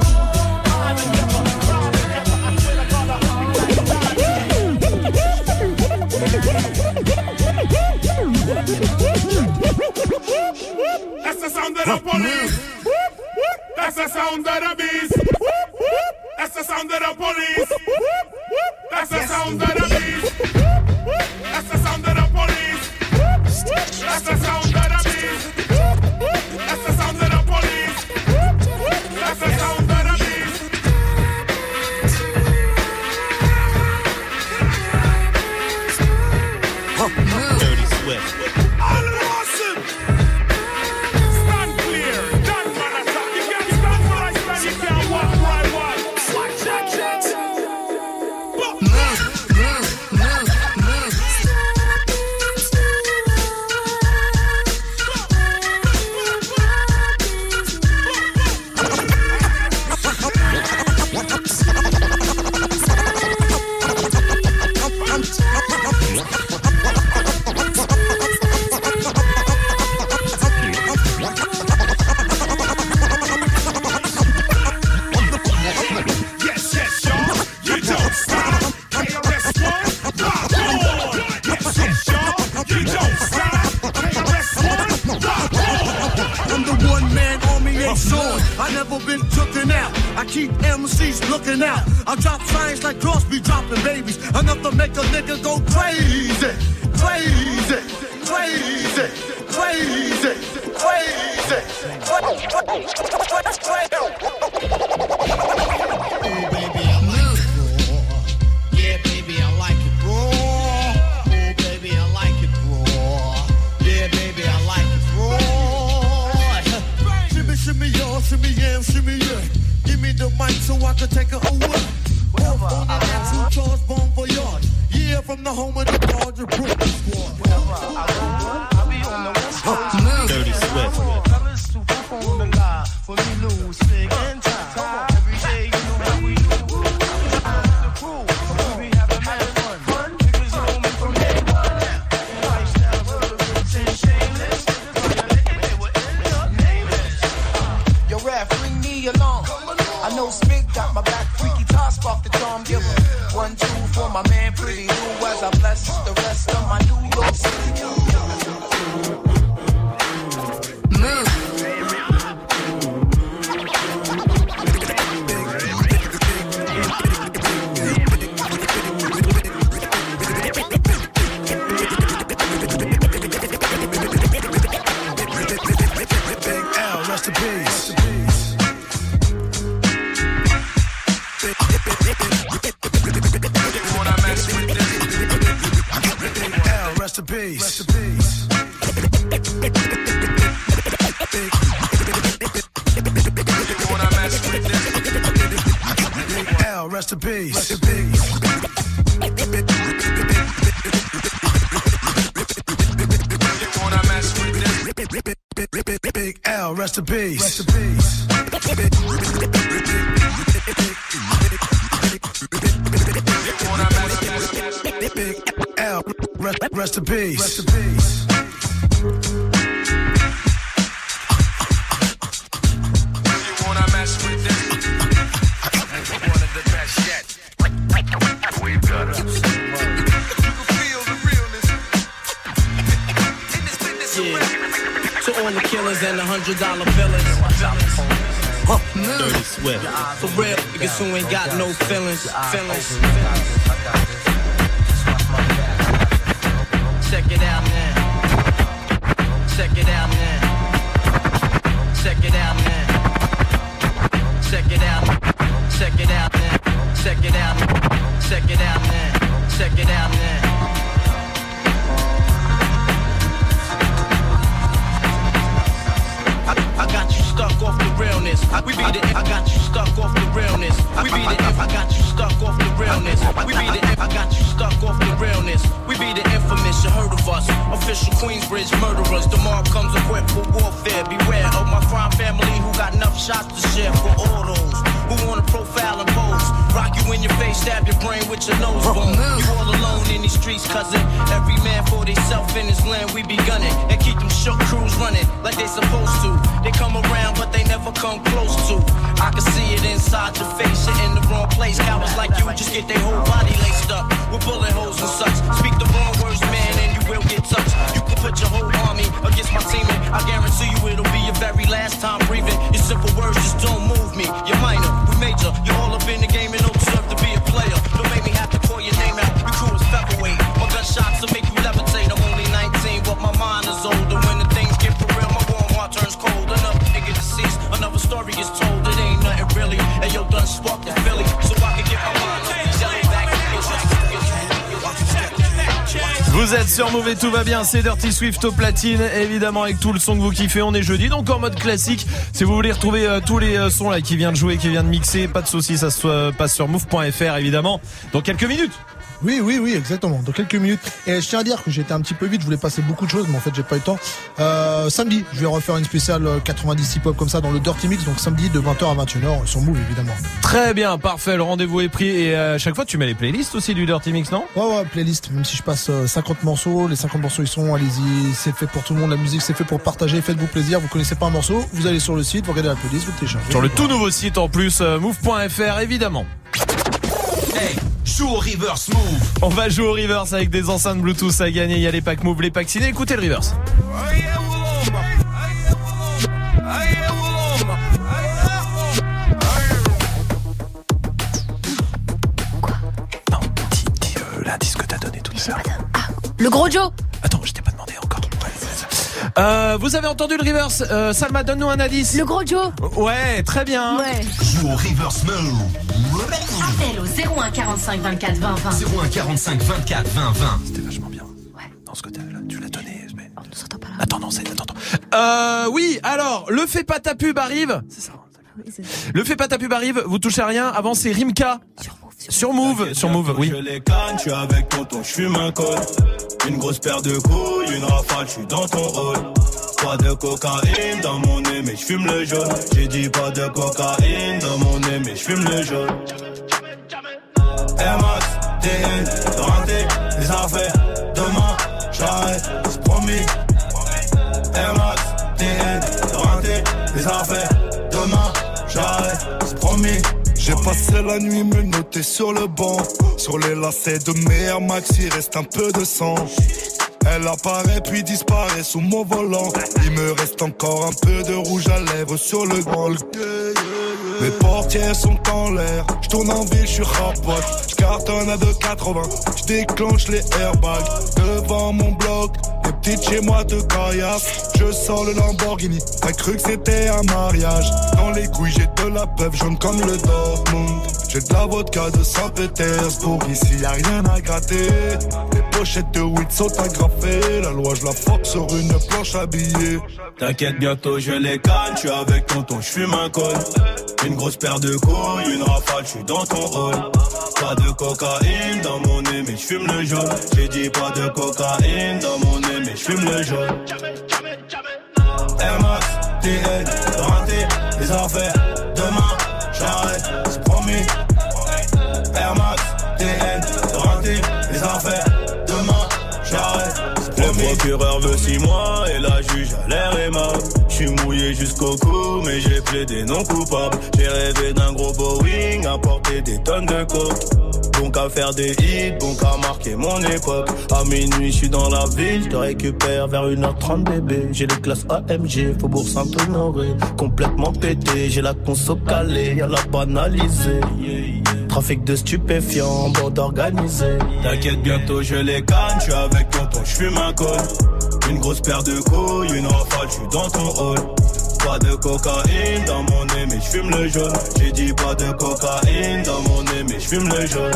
That's the sound of the police. That's the sound of the beast. That's the sound of the police. That's the sound of the beast. That's the sound of the police. That's the sound of the beast. That's the sound of the police. That's the sound of the beast. Dirty Swift. All awesome. Stand clear. Don't man attack. You can't stand where I stand. You can't walk where I walk. Watch that. I never been tooken out. I keep MCs looking out. I drop signs like Crosby dropping babies. Enough to make a nigga go crazy. Crazy. Crazy. Crazy. Crazy. Oh, baby, I like it raw. Yeah, baby, I like it raw. Oh, baby, I like it raw. Yeah, baby, I like it raw. Shimmy, y'all, shimmy, yeah, shimmy, yeah. Give me the mic so I can take it away. On the next two charge, bon voyage. Yeah, from the home of the Georgia Brooklyn squad. I'll be on the West Coast. Dirty Swift. Colors to perform the lie. For me, lose, big and time. Every day, you know how we do. The crew, we be having mad fun. Niggas know me from day one. Lifestyle, rich and shameless. They were in the nameless. Yo, ref, ring me along. I know Spig got my back. Freaky toss off the charm giver. 1, 2 for my man, pretty new. As I bless the rest of my New York City. Move. Rest in peace. Rest in peace. L, rest in peace. Rest in peace. Big L, rest in peace. Rest in peace. Big L, rest in peace. Rest in peace. To all the killers and the $100 billers. Dirty Swift. For real, niggas who ain't got no feelings. Check it out now. Check it out now. Check it out now. Check it out. Check it out now. Check it out. Check it out now. Check it out now. I got you stuck off the realness. I got you stuck off the realness. We be the I got you stuck off the realness. We be the I got you stuck off the realness. We be the infamous, you heard of us. Official Queensbridge murderers. The mob comes equipped for warfare. Beware of my crime family who got enough shots to share for all those who wanna profile and pose. Rock you in your face, stab your brain with your nose bone. You all alone in these streets, cousin. Every man for theyself in his land, we be gunning. And keep them shook crews running like they supposed to. They come around, but they never come close to. I can see it inside your face, you're in the wrong place. Cowards like you just get their whole body laced up with bullet holes and such. Speak the wrong words, man, and you will get touched. You can put your whole army against my team, and I guarantee you it'll be your very last time breathing. Your simple words just don't move me. You're minor, we major. You're all up in the game and don't deserve to be a player. Don't make me have to call your name out. We crew is featherweight. My gunshots will make you levitate. I'm only 19, but my mind is older. When the things get for real, my warm heart turns cold. Another nigga deceased, another story is told. It ain't nothing really. And yo, done sparked the Philly, so I can get my mind up. Yellow back. Vous êtes sur Move et tout va bien, c'est Dirty Swift au platine, évidemment avec tout le son que vous kiffez, on est jeudi, donc en mode classique. Si vous voulez retrouver tous les sons là qui vient de jouer, qui vient de mixer, pas de soucis, ça se passe sur move.fr évidemment, dans quelques minutes. Oui, exactement. Dans quelques minutes. Et je tiens à dire que j'étais un petit peu vite, je voulais passer beaucoup de choses, mais en fait j'ai pas eu le temps. Samedi, je vais refaire une spéciale 90 hip-hop comme ça dans le Dirty Mix, donc samedi de 20h à 21h sur Move évidemment. Très bien, parfait, le rendez-vous est pris. Et à chaque fois tu mets les playlists aussi du Dirty Mix, non? Ouais, playlist, même si je passe 50 morceaux, les 50 morceaux ils sont, allez-y, c'est fait pour tout le monde, la musique c'est fait pour partager, faites-vous plaisir, vous connaissez pas un morceau, vous allez sur le site, vous regardez la playlist, vous téléchargez. Sur le tout nouveau site en plus, move.fr évidemment. Hey, joue au reverse Move. On va jouer au reverse avec des enceintes Bluetooth à gagner. Il y a les packs Move, les packs ciné. Écoutez le reverse. Dis l'indice que t'as donné tout à l'heure. Le gros Joe. Attends, je t'ai pas demandé encore. Vous avez entendu le reverse? Salma, donne-nous un indice. Le gros Joe. Ouais, très bien. Ouais. Joue au reverse Move. Appel au 01 45 24 20 20. 01 45 24 20 20. C'était vachement bien. Ouais. Dans ce côté-là, tu l'as donné. Mais... On ne s'entend pas là. Attends. Oui, alors, le fais pas ta pub arrive. C'est ça. Oui, c'est ça. Le fais pas ta pub arrive, vous touchez à rien. Avant, c'est Rimka. Sur Move, oui. Je les canne, tu es avec tonton, je fume un col. Une grosse paire de couilles, une rafale, je suis dans ton rôle. Pas de cocaïne dans mon nez, mais je fume le jaune. J'ai dit pas de cocaïne dans mon nez, mais je fume le jaune. Air Max, TN, rentré, les affaires. Demain, j'arrête, c'est promis. Air Max, TN, rentré, les affaires. Demain, j'arrête, c'est promis. J'ai passé la nuit menotté sur le banc. Sur les lacets de mes Air Max, il reste un peu de sang. Elle apparaît puis disparaît sous mon volant. Il me reste encore un peu de rouge à lèvres sur le grand. Mes portières sont en l'air. Je tourne en ville, je suis rapote. Je cartonne à 2,80. Je déclenche les airbags devant mon bloc. Les petites chez moi te caillassent. Je sors le Lamborghini. T'as cru que c'était un mariage. Dans les couilles j'ai de la peuple jaune comme le Dortmund. J'ai de la vodka de Saint-Pétersbourg, ici y'a rien à gratter. Les pochettes de weed sont agrafées, la loi je la fuck sur une planche habillée. T'inquiète, bientôt je les canne, je suis avec tonton, je fume un col. Une grosse paire de couilles, une rafale, je suis dans ton rôle. Pas de cocaïne dans mon nez, mais je fume le jaune. J'ai dit pas de cocaïne dans mon nez, mais je fume le jaune. Air Max, TN, raté, les affaires. Demain, j'arrête, c'est promis. Air Max, TN, raté, les affaires. Demain, j'arrête, c'est promis. Le procureur veut 6 mois et la juge a l'air aimable. J'suis mouillé jusqu'au cou, mais j'ai plaidé non coupable. J'ai rêvé d'un gros Boeing, à porter des tonnes de coke. Bon qu'à faire des hits, bon qu'à marquer mon époque. À minuit, j'suis dans la ville, j'te récupère vers 1h30 bébé. J'ai les classes AMG, Faubourg Saint-Honoré. Complètement pété, j'ai la conso calée, y'a la banalisée. Trafic de stupéfiants, bande organisée. T'inquiète, bientôt je les canne, j'suis avec tonton, j'fume un col. Une grosse paire de couilles, une rafale, j'suis dans ton hall. Pas de cocaïne dans mon nez, mais j'fume le jaune. J'ai dit pas de cocaïne dans mon nez, mais j'fume le jaune.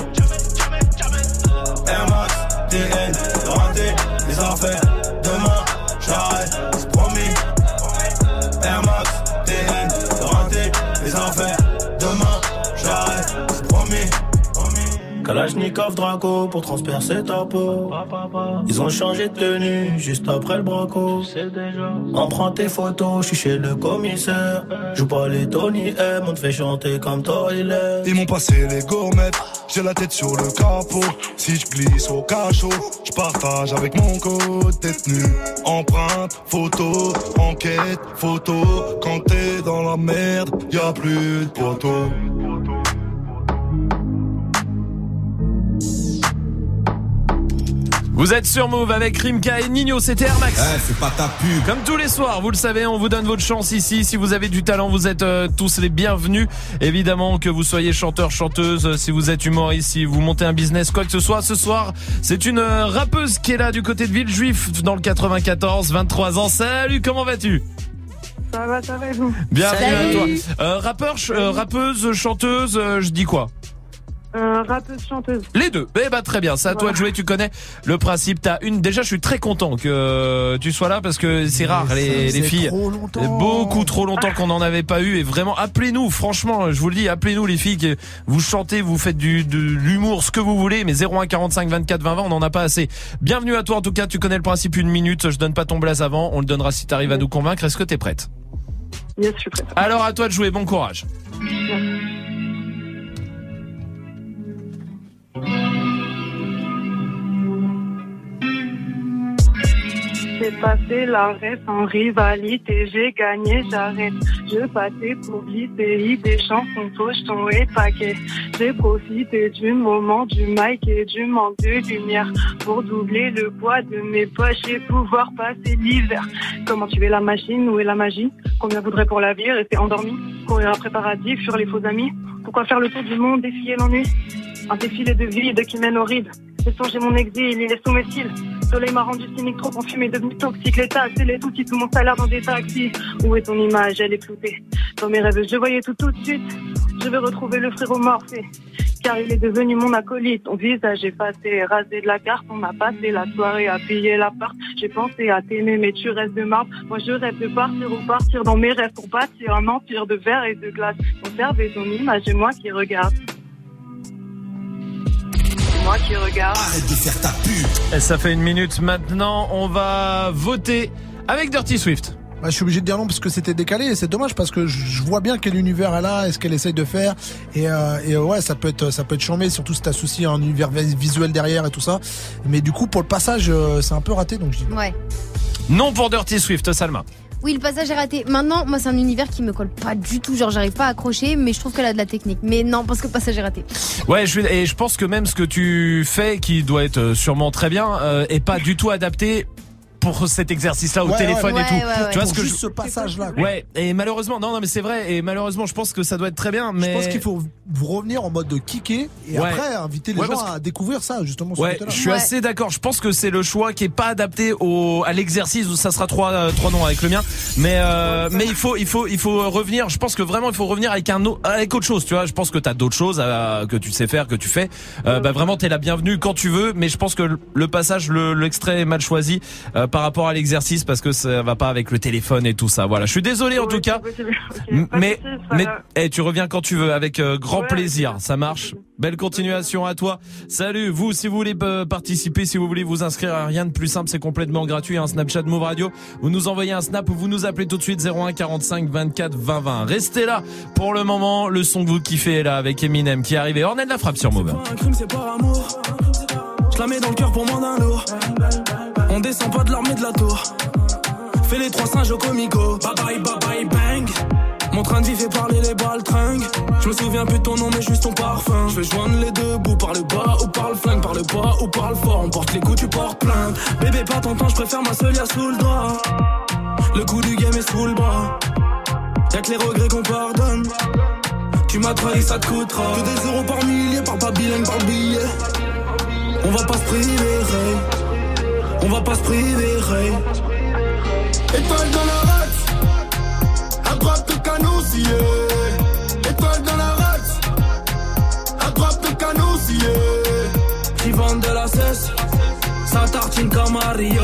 Air Max, TN, raté, les affaires. Demain, j'arrête, c'est promis. Air Max, TN, raté, les affaires. Demain, j'arrête, c'est promis. Kalachnikov Draco pour transpercer ta peau. Ils ont changé de tenue juste après le braco. Emprunte tes photos, je suis chez le commissaire. Joue pas les Tony M, on te fait chanter comme Toilet. Ils m'ont passé les gourmettes, j'ai la tête sur le capot. Si je glisse au cachot, je partage avec mon code détenu. Empreinte, photo, enquête, photo. Quand t'es dans la merde, y'a plus de poteau. Vous êtes sur Move avec Rimka et Nino, c'était Air Max. C'est pas ta pub. Comme tous les soirs, vous le savez, on vous donne votre chance ici. Si vous avez du talent, vous êtes tous les bienvenus. Évidemment, que vous soyez chanteur, chanteuse, si vous êtes humoriste, si vous montez un business, quoi que ce soit. Ce soir, c'est une rappeuse qui est là du côté de Villejuif, dans le 94, 23 ans. Salut, comment vas-tu ? Ça va, vous. Bienvenue à toi. Rappeuse, chanteuse, je dis quoi ? Rappeuse, chanteuse. Les deux. Eh ben très bien, c'est à toi de jouer, tu connais le principe. Déjà je suis très content que tu sois là parce que c'est rare les filles. Beaucoup trop longtemps qu'on n'en avait pas eu et vraiment appelez-nous, franchement, je vous le dis, appelez-nous les filles, que vous chantez, vous faites de l'humour, ce que vous voulez, mais 01 45 24 20 20, on n'en a pas assez. Bienvenue à toi en tout cas, tu connais le principe, 1 minute, je donne pas ton blaze avant, on le donnera si t'arrives à nous convaincre. Est-ce que t'es prête ? Yes, je suis prête. Alors à toi de jouer, bon courage. Yes. J'ai passé l'arrêt sans rivalité, j'ai gagné, j'arrête. Je passais pour l'ICI, des chansons, pochetons et paquets. J'ai profité du moment, du mic et du manque de lumière pour doubler le poids de mes poches et pouvoir passer l'hiver. Comment tuer la machine, où est la magie? Combien voudrait pour la vie, rester endormi? Courir après paradis, fuir les faux amis? Pourquoi faire le tour du monde, défier l'ennui? Un défilé de vide qui mène au ride. J'ai songé mon exil, il est sous mes cils. Le soleil m'a rendu cynique, trop enfumé, devenu toxique. Les taxes et les outils, tout mon salaire dans des taxis. Où est ton image, elle est floutée. Dans mes rêves, je voyais tout de suite. Je vais retrouver le frérot Morphée, car il est devenu mon acolyte. Ton visage effacé, rasé de la carte. On a passé la soirée à piller l'appart. J'ai pensé à t'aimer, mais tu restes de marbre. Moi, je rêve de partir ou partir dans mes rêves pour bâtir un empire de verre et de glace. Conserver ton image et moi qui regarde. Moi qui regarde. Arrête de faire ta pub. Et ça fait 1 minute maintenant. On va voter avec Dirty Swift. Bah, je suis obligé de dire non parce que c'était décalé et c'est dommage parce que je vois bien quel univers elle a et ce qu'elle essaye de faire et ouais ça peut être chambé, surtout si t'as souci un univers visuel derrière et tout ça, mais du coup pour le passage c'est un peu raté, donc je dis non. Ouais. Non pour Dirty Swift, Salma. Oui, le passage est raté. Maintenant, moi, c'est un univers qui me colle pas du tout. Genre, j'arrive pas à accrocher, mais je trouve qu'elle a de la technique. Mais non, parce que le passage est raté. Ouais, et je pense que même ce que tu fais, qui doit être sûrement très bien, est pas du tout adapté pour cet exercice-là au téléphone et tout. Tu vois ce que juste ce passage-là. Ouais, et malheureusement, non, mais c'est vrai, et malheureusement, je pense que ça doit être très bien, mais. Je pense qu'il faut revenir en mode de kicker et après inviter les gens à découvrir ça, justement. Ouais, je suis assez d'accord. Je pense que c'est le choix qui est pas adapté à l'exercice où ça sera trois noms avec le mien. Mais il faut revenir. Je pense que vraiment, il faut revenir avec autre chose, tu vois. Je pense que t'as d'autres choses que tu sais faire, que tu fais. Vraiment, t'es la bienvenue quand tu veux, mais je pense que le passage, l'extrait est mal choisi par rapport à l'exercice parce que ça va pas avec le téléphone et tout ça. Voilà, je suis désolé en tout cas, mais tu reviens quand tu veux avec grand plaisir. Ça marche. Belle continuation à toi. Salut. Vous, si vous voulez participer, si vous voulez vous inscrire, rien de plus simple, c'est complètement gratuit. Un Snapchat Move Radio. Vous nous envoyez un snap ou vous nous appelez tout de suite 01 45 24 20 20. Restez là pour le moment. Le son que vous kiffez est là avec Eminem qui est arrivé. Ornette la frappe sur Move. C'est pas un crime, c'est par amour. Je la mets dans le cœur pour moins d'un lourd. On descend pas de l'armée de la tour. Fais les trois singes au comico. Bye bye bye bye bang. Mon train de vie fait parler les baltringues. Je me souviens plus de ton nom mais juste ton parfum. Je vais joindre les deux bouts par le bas ou par le flingue. Par le bas ou par le fort. On porte les coups, tu portes plainte. Bébé pas ton temps, je préfère ma seule sous le doigt. Le coup du game est sous le bras. Y'a que les regrets qu'on pardonne. Tu m'as trahi, ça te coûtera. Que des euros par millier, par pas bilingue, par billet. On va pas se priver, on va pas se priver. Étoile dans la race, à droite le canon scié. Étoile dans la race, à droite le canon scié. Qui vendent de la cesse, ça tartine comme Mario.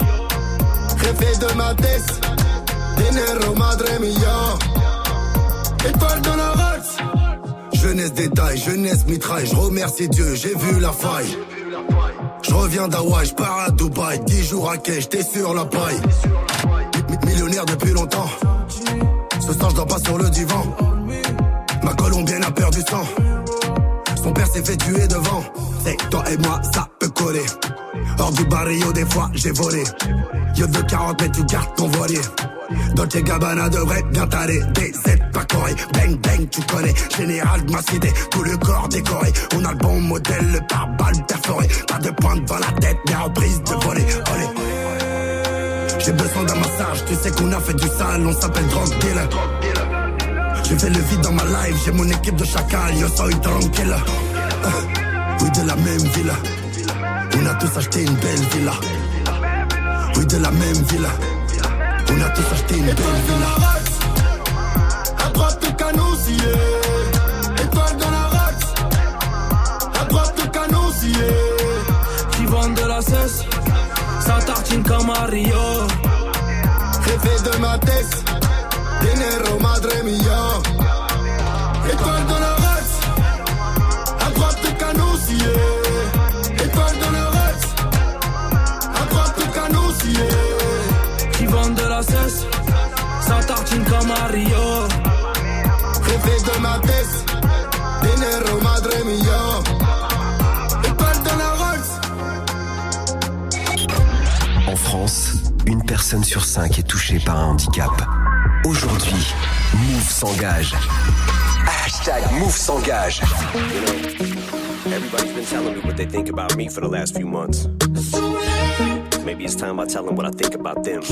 Jefe de ma tête, dinero madre mia. Étoile dans la race. Jeunesse détail, jeunesse mitraille. Je remercie Dieu, j'ai vu la faille. Je reviens d'Hawaï, je pars à Dubaï. 10 jours à quai, j'étais sur la paille. Millionnaire depuis longtemps. Ce soir je dors pas sur le divan. Ma colombienne a perdu sang. Son père s'est fait tuer devant. C'est toi et moi, ça peut coller. Hors du barrio, des fois j'ai volé. Yo de 40 mais tu gardes ton voilier. Dolce Gabbana devrait bien t'aller. DZ pas coré, bang bang tu connais. Général de ma cité, tout le corps décoré. On a le bon modèle, le pare-balles perforé. Pas de pointe devant la tête, mais reprise de voler. Olé. J'ai besoin d'un massage, tu sais qu'on a fait du sale. On s'appelle drug dealer. J'ai fait le vide dans ma life, j'ai mon équipe de chacal. Yo soy tranquille. Oui de la même villa. On a tous acheté une belle villa. Oui de la même villa. On a tous acheté une belle villa. À droite le canon scié. Étoile dans la race. À droite le canon scié. Qui vendent de la cesse, ça tartine comme Mario. Jefe de ma tête, dinero madre mia. Étoile dans la race. À droite le canon scié. Étoile dans la race. À droite le canon scié. Qui vendent de la cesse, ça tartine comme Mario. Jefe de ma tête, dinero madre mia. Étoile dans la race. En France, une personne sur 5 est touchée par un handicap. Aujourd'hui, Move s'engage. #Move s'engage. Everybody's been telling me what they think about me for the last few months. Maybe it's time I tell them what I think about them.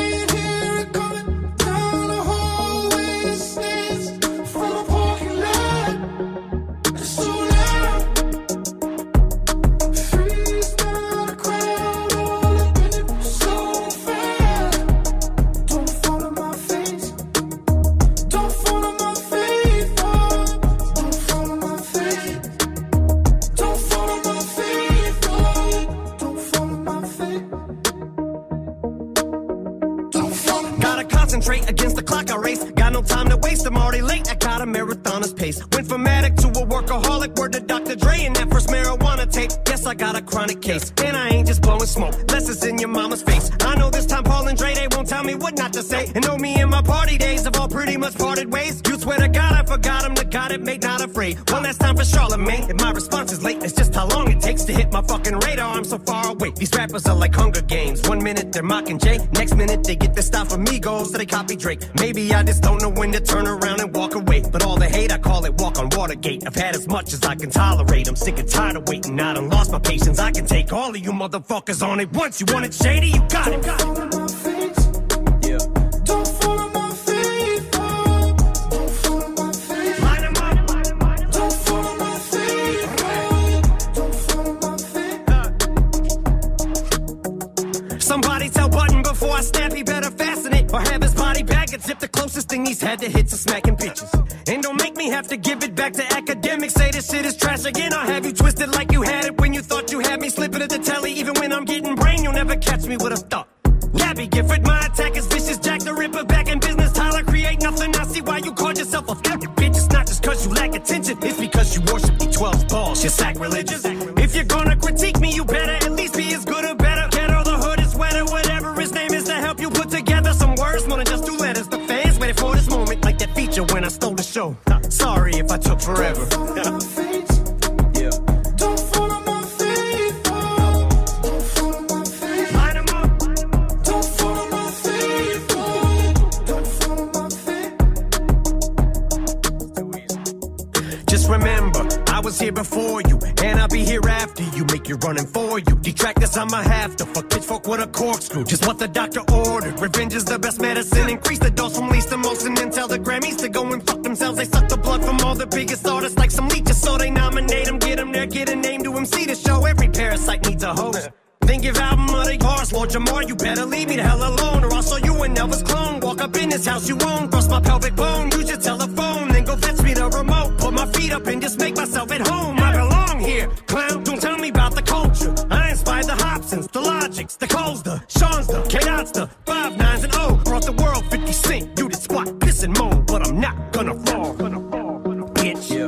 Against the clock I race, got no time to waste, I'm already late, I got a marathoner's pace. Went from addict to a workaholic, word to Dr. Dre and that first marijuana tape. Yes, I got a chronic case, and I ain't just blowing smoke, less it's in your mama's face. I know this time Paul and Dre, they won't tell me what not to say. And know me and my party days have all pretty much parted ways. You swear to God I forgot him, the God it made not a afraid. One last time for Charlemagne. If my response is late, it's just how long it takes to hit my fucking radar. I'm so far away. These rappers are like Hunger Games. 1 minute they're mocking Jay, next minute they get their style from Migos, so they copy Drake. Maybe I just don't know when to turn around and walk away. But all the hate, I call it walk on Watergate. I've had as much as I can tolerate. I'm sick and tired of waiting. I done lost my patience. I can take all of you motherfuckers on it once. You want it shady? You got it. Yeah. Don't follow my faith. Don't follow my faith. Line 'em up. Don't follow my faith. Don't follow my faith. Somebody tell Button before I snap, he better fasten it. Or have his body bag and zip the closest thing he's had to hits of smacking bitches. And don't make me have to give it back to academics. Say this shit is trash again. I'll have you twisted like you had it when you thought you had me. Slipping at the telly, even when I'm getting brain, you'll never catch me with a thought. Gabby Gifford, my attack is vicious. Jack the Ripper back in business. Tyler, create nothing. I see why you called yourself a fucking bitch. It's not just cause you lack attention. It's because you worship the 12 balls. You're sacrilegious. If you're gonna critique me, you better at least be as good or better. Ghetto, the hood is wetter. Whatever his name is to help you put together some words. More than just 2 letters. The fans waited for this moment like that feature when I stole the show. Sorry if I took forever. Yeah. Don't follow my faith. Don't follow my faith. Line 'em up. Don't follow my faith. Don't follow my faith. Just remember, I was here before you, and I'll be here after you. Make you running for you. Detractors, I'ma have to fuck pitchfork with a corkscrew. Just what the doctor ordered. Revenge is the best medicine. Increase the dose from least to most, and then tell the Grammys to go and fuck themselves. They suck the blood from all the biggest artists like some leeches, so they nominate them, get them there, get a name to MC to show. Every parasite needs a host. Then give album of the bars, Lord Jamar, you better leave me the hell alone, or I'll show you an Elvis clone. Walk up in this house you own, bust my pelvic bone, use your telephone, then go fetch me the remote. Put my feet up and just make myself at home. I belong here, clown, don't tell me about the culture. I inspired the Hobsons, the Logics, the Coles, the Sean's, the K-Dots, the 5 9s and O. Brought the world 50 Cent, you did squat, piss and moan, but I'm not gonna fall. Bitch. Yeah.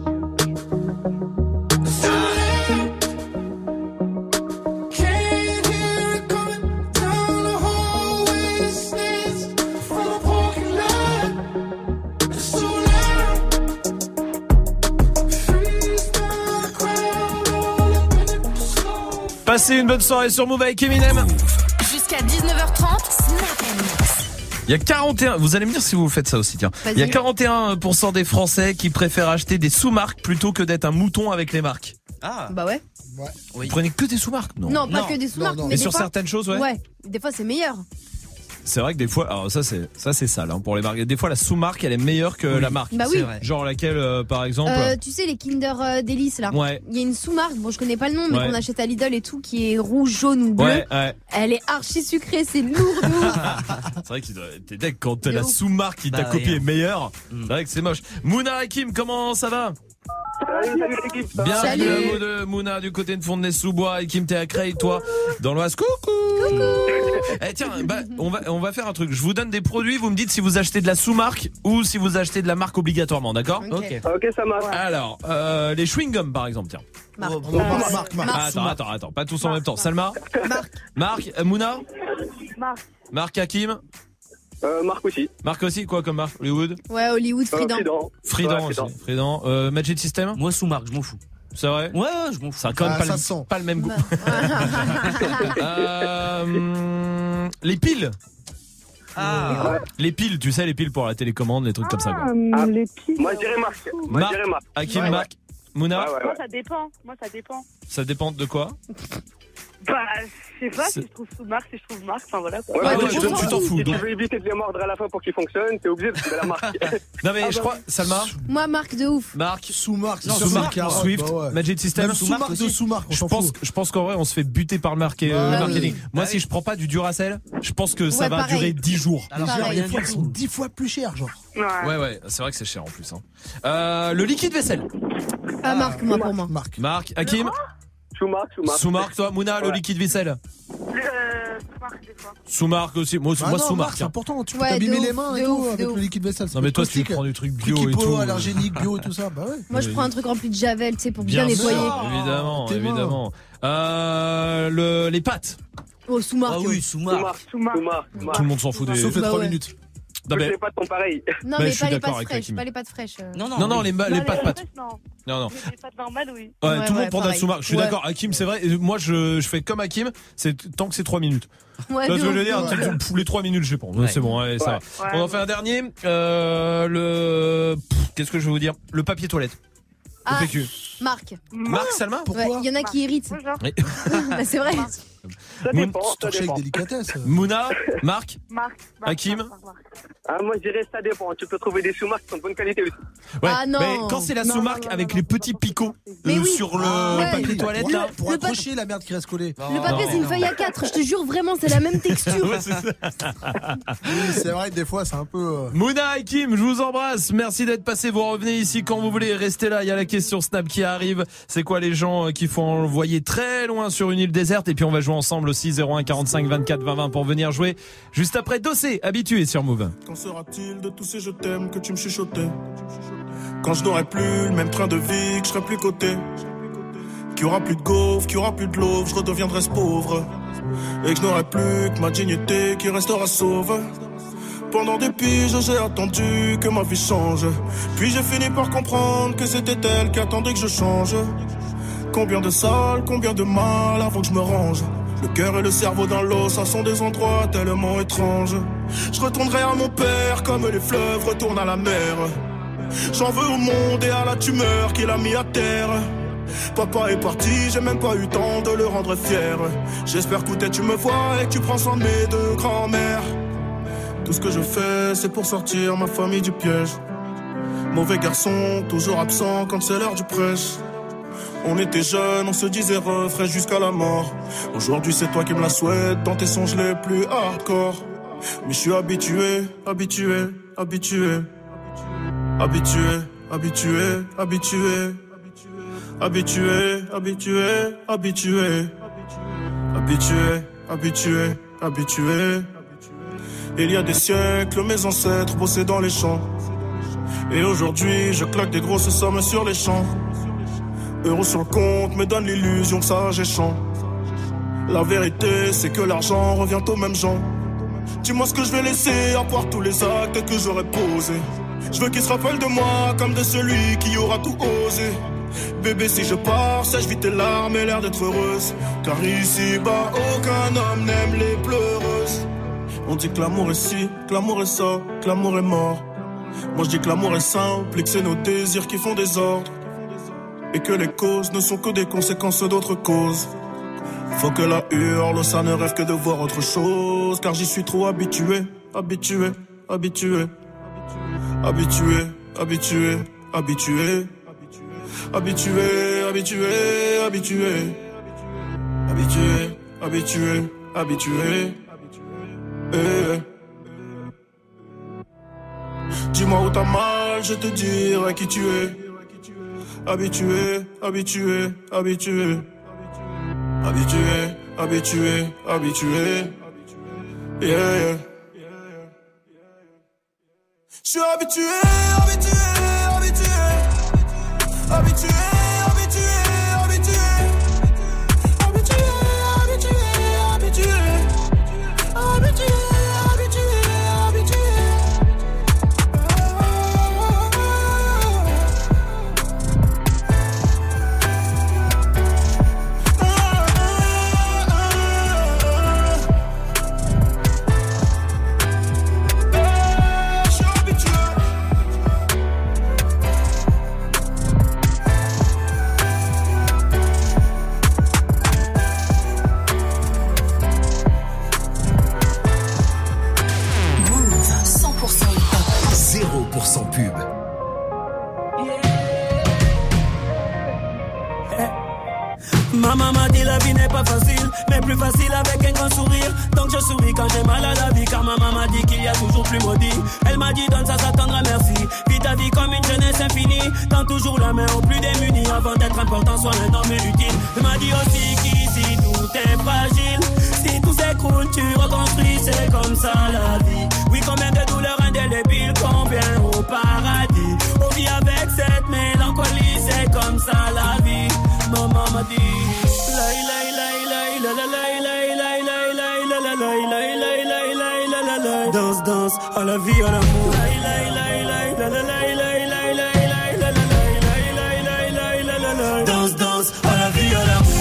Can't hear it coming down the hallway. It stands from a parking lot. It's so loud. Freeze my crowd all up in it slow. Passez une bonne soirée sur Move avec Eminem. Jusqu'à 19h30, Snap & Mix. Il y a 41, vous allez me dire si vous faites ça aussi, tiens. Vas-y. Il y a 41% des Français qui préfèrent acheter des sous-marques plutôt que d'être un mouton avec les marques. Ah. Bah ouais. Vous prenez que des sous-marques? Non. Non, pas que des sous-marques. Mais des sur fois- certaines choses, ouais. Ouais, des fois c'est meilleur. C'est vrai que des fois, alors ça c'est sale hein, pour les marques. Des fois la sous-marque elle est meilleure que la marque. Bah oui. C'est vrai. Genre laquelle par exemple Tu sais les Kinder Delice là. Ouais. Il y a une sous-marque, bon je connais pas le nom, mais Ouais. qu'on achète à Lidl et tout, qui est rouge, jaune ou bleu. Ouais. Elle est archi sucrée, c'est lourd de ouf. C'est vrai que t'es deck quand De la ouf. sous-marque qui t'a Bah, copié ouais. est meilleure. C'est vrai que c'est moche. Mouna Hakim, comment ça va? Salut l'équipe. Bienvenue Salut. à vous deux, Mouna du côté de Fontenay-sous-Bois, Hakim t'es à Creil, toi dans l'Oise. Coucou. Eh tiens, bah, on va faire un truc. Je vous donne des produits, vous me dites si vous achetez de la sous-marque ou si vous achetez de la marque obligatoirement, d'accord? Ok. Ok, ça marche. Alors, les chewing-gums par exemple, tiens. Marc. Attends, pas tous en même temps. Salma? Marc, Mouna? Marc Hakim? Marc aussi. Marc aussi, quoi comme marque? Hollywood? Ouais, Hollywood, Fridan. Fridan aussi. Fridan. Magic System? Moi, sous marque, je m'en fous. C'est vrai? Ouais, je m'en fous. Ça a quand même pas le même goût. Les piles. Ah. Les piles, tu sais, les piles pour la télécommande, les trucs comme ça. Quoi. Les piles. Moi, je dirais Marc. Marc. Hakim, Ouais, Marc. Mouna? Moi, ça dépend. Ça dépend de quoi? Bah, je sais pas C'est- si je trouve sous-marque, si je trouve marque, enfin voilà. Quoi. Ouais, tu t'en fous. Si donc. tu veux éviter de les mordre à la fin pour qu'ils fonctionnent, t'es obligé de trouver la marque. Non mais je crois, Salma? Moi, Marc de ouf. Marc. Sous-marque. Non, c'est sous-marque, carotte, Swift, bah ouais. Magic System. Même sous-marque de sous-marque, on s'en fout. Je pense qu'en vrai, on se fait buter par le marketing. Moi, si je prends pas du Duracell, je pense que ça va pareil. durer 10 jours. Alors, Pareil. des fois, ils sont 10 fois plus chers, genre. Ouais, c'est vrai que c'est cher en plus. Hein. Le liquide vaisselle. Ah, Marc, moi pour moi. Marc, Hakim. Sous-marque. Toi, Mouna, le liquide vaisselle. Sous-marque, des fois. Sous-marque aussi. Moi, Ah non, sous-marque. Marc, c'est important. Tu peux Ouais, t'abîmer de les ouf, mains de et tout ouf, de avec ouf. le liquide vaisselle. Non mais toi, tu prends du truc bio et tout. allergénique, bio et tout ça. Bah ouais. Moi, je prends un truc rempli de javel, tu sais, pour bien Bien nettoyer. sûr, évidemment. Les pâtes. Oh, sous-marque. Ah oui, sous marque. Sous-marque. Tout le monde s'en fout des. Sauf les Bah 3 ouais. minutes. Non, mais... les pâtes sont pareilles. Non, mais pas les pâtes fraîches. Pas les pâtes fraîches. Non, les pâtes. Non. Les pâtes normales, oui. Ouais, tout le monde prend Datsuma. Je suis d'accord, Hakim, c'est vrai. Moi, je fais comme Hakim, tant que c'est 3 minutes. Ouais, ce que je veux dire, les 3 minutes, je pense. C'est bon, allez, ça va. On en fait un dernier. Qu'est-ce que je vais vous dire? Le papier toilette. Ah, Marc, Salma? Pourquoi? Il y en a qui irritent. C'est vrai. Ça dépend. Mouna, Marc, Hakim. Moi je dirais ça dépend. Tu peux trouver des sous-marques qui sont de bonne qualité aussi. Ouais, non. Mais quand c'est la sous-marque avec les petits picots sur le papier toilette là, pour accrocher la merde qui reste collée. Le papier c'est une feuille A4, je te jure vraiment c'est la même texture. Ouais, c'est ça. Oui, c'est vrai que des fois c'est un peu. Mouna, Hakim, je vous embrasse. Merci d'être passé. Vous revenez ici quand vous voulez. Restez là. Il y a la question Snap qui arrive. C'est quoi les gens qu'il faut envoyer très loin sur une île déserte? Et puis on va jouer ensemble aussi 01 45 24 20 20 pour venir jouer juste après Dossé, habitué sur Move. Quand sera-t-il de tous ces je t'aime que tu me chuchotais? Quand je n'aurai plus le même train de vie, que je serai plus coté, qu'il y aura plus de gaufres, qu'il y aura plus de l'eau, je redeviendrai ce pauvre, et que je n'aurai plus que ma dignité qui restera sauve. Pendant des piges j'ai attendu que ma vie change, puis j'ai fini par comprendre que c'était elle qui attendait que je change. Combien de salles, combien de mal avant que je me range. Le cœur et le cerveau dans l'eau, ça sont des endroits tellement étranges. Je retournerai à mon père comme les fleuves retournent à la mer. J'en veux au monde et à la tumeur qu'il a mis à terre. Papa est parti, j'ai même pas eu temps de le rendre fier. J'espère que tu me vois et que tu prends soin de mes deux grands-mères. Tout ce que je fais, c'est pour sortir ma famille du piège. Mauvais garçon, toujours absent quand c'est l'heure du prêche. On était jeunes, on se disait refrain jusqu'à la mort. Aujourd'hui c'est toi qui me la souhaites dans tes songes les plus hardcore. Mais je suis habitué. Habitué. Habitué. Habitué. Habitué. Habitué. Habitué. Il y a des siècles, mes ancêtres bossaient dans les champs. Et aujourd'hui, je claque des grosses sommes sur les champs. Euros sur le compte me donne l'illusion que ça j'échange. La vérité c'est que l'argent revient aux mêmes gens. Dis-moi ce que je vais laisser à part tous les actes que j'aurais posés. Je veux qu'ils se rappellent de moi comme de celui qui aura tout osé. Bébé si je pars, sèche vite tes larmes et l'air d'être heureuse. Car ici-bas aucun homme n'aime les pleureuses. On dit que l'amour est ci, que l'amour est ça, que l'amour est mort. Moi je dis que l'amour est simple et que c'est nos désirs qui font des ordres. Et que les causes ne sont que des conséquences d'autres causes. Faut que la hurle, ça ne rêve que de voir autre chose. Car j'y suis trop habitué. Habitué. Habitué. Habitué. Habitué. Habitué. Habitué. Habitué. Habitué. Habitué. Habitué. Habitué. Dis-moi où t'as mal, je te dirai qui tu es. Habitué, habitué, habitué. Habitué, habitué, habitué. Yeah. Je suis habitué, habitué, habitué. Habitué, habitué, habitué. Habitué, habitué, habitué. Habitué, habitué, habitué. Pub. Maman m'a dit la vie n'est pas facile, mais plus facile avec un grand sourire. Donc je souris quand j'ai mal à la vie, car maman m'a dit qu'il y a toujours plus maudit. Elle m'a dit donne ça, ça tendra merci. Vis ta vie comme une jeunesse infinie. Tends toujours la main aux plus démunis. Avant d'être important, sois un homme utile. Elle m'a dit aussi qu'ici tout est fragile. Si tout s'écroule, tu reconstruis, c'est comme ça la vie. Oui, combien de douleurs indélébiles, combien au paradis. On vit avec cette mélancolie, c'est comme ça la vie. Maman m'a dit danse, danse, à la la vie, à l'amour. Danse, danse, à la vie, à l'amour.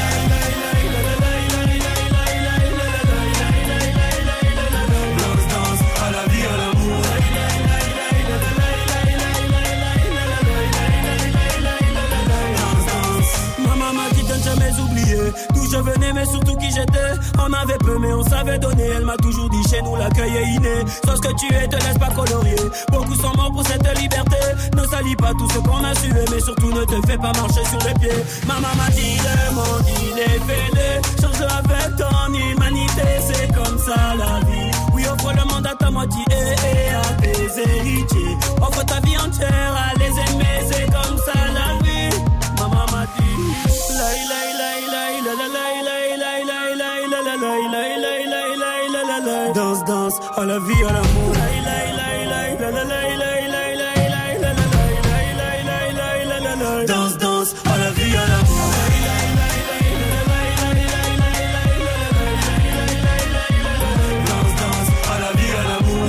D'où je venais mais surtout qui j'étais. On avait peu mais on savait donner. Elle m'a toujours dit chez nous l'accueil est inné. Sois ce que tu es, te laisse pas colorier. Beaucoup sont morts pour cette liberté. Ne salis pas tout ce qu'on a sué. Mais surtout ne te fais pas marcher sur les pieds. Maman m'a dit le monde il est fêlé. Change avec ton humanité. C'est comme ça la vie. Oui offre le monde à ta moitié et à tes héritiers. Offre ta vie entière à les aimer. C'est comme ça la vie. Maman m'a dit danse, danse, à la vie, à l'amour. Danse, danse, à la vie, à l'amour. Danse, danse, à la vie, à l'amour.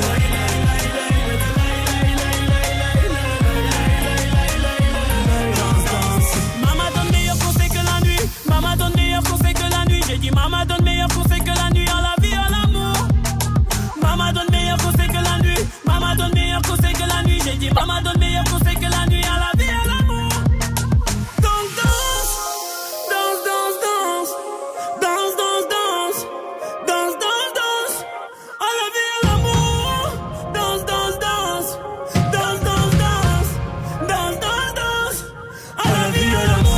Danse, danse. Maman donne meilleur conseil que la nuit. Maman donne meilleur conseil que la nuit. J'ai dit maman donne meilleur conseil que la nuit. À la vie, à l'amour. Maman donne meilleur conseil que la nuit. Maman donne meilleur conseil que la nuit. J'ai dit maman donne meilleur conseil que la nuit. À la vie, à l'amour. Danse, danse, danse, danse, danse, danse, danse, danse, danse, danse, danse. À la vie, à l'amour. Danse, danse, danse, danse, danse, danse, danse, danse, danse. À la vie, à l'amour.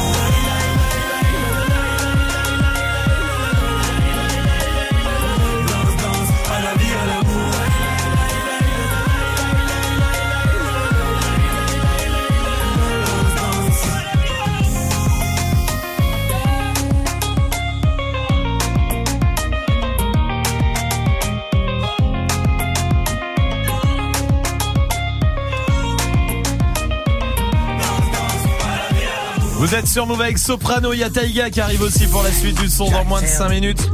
Vous êtes sur Move avec Soprano, il y a Taiga qui arrive aussi pour la suite du son dans moins de 5 minutes.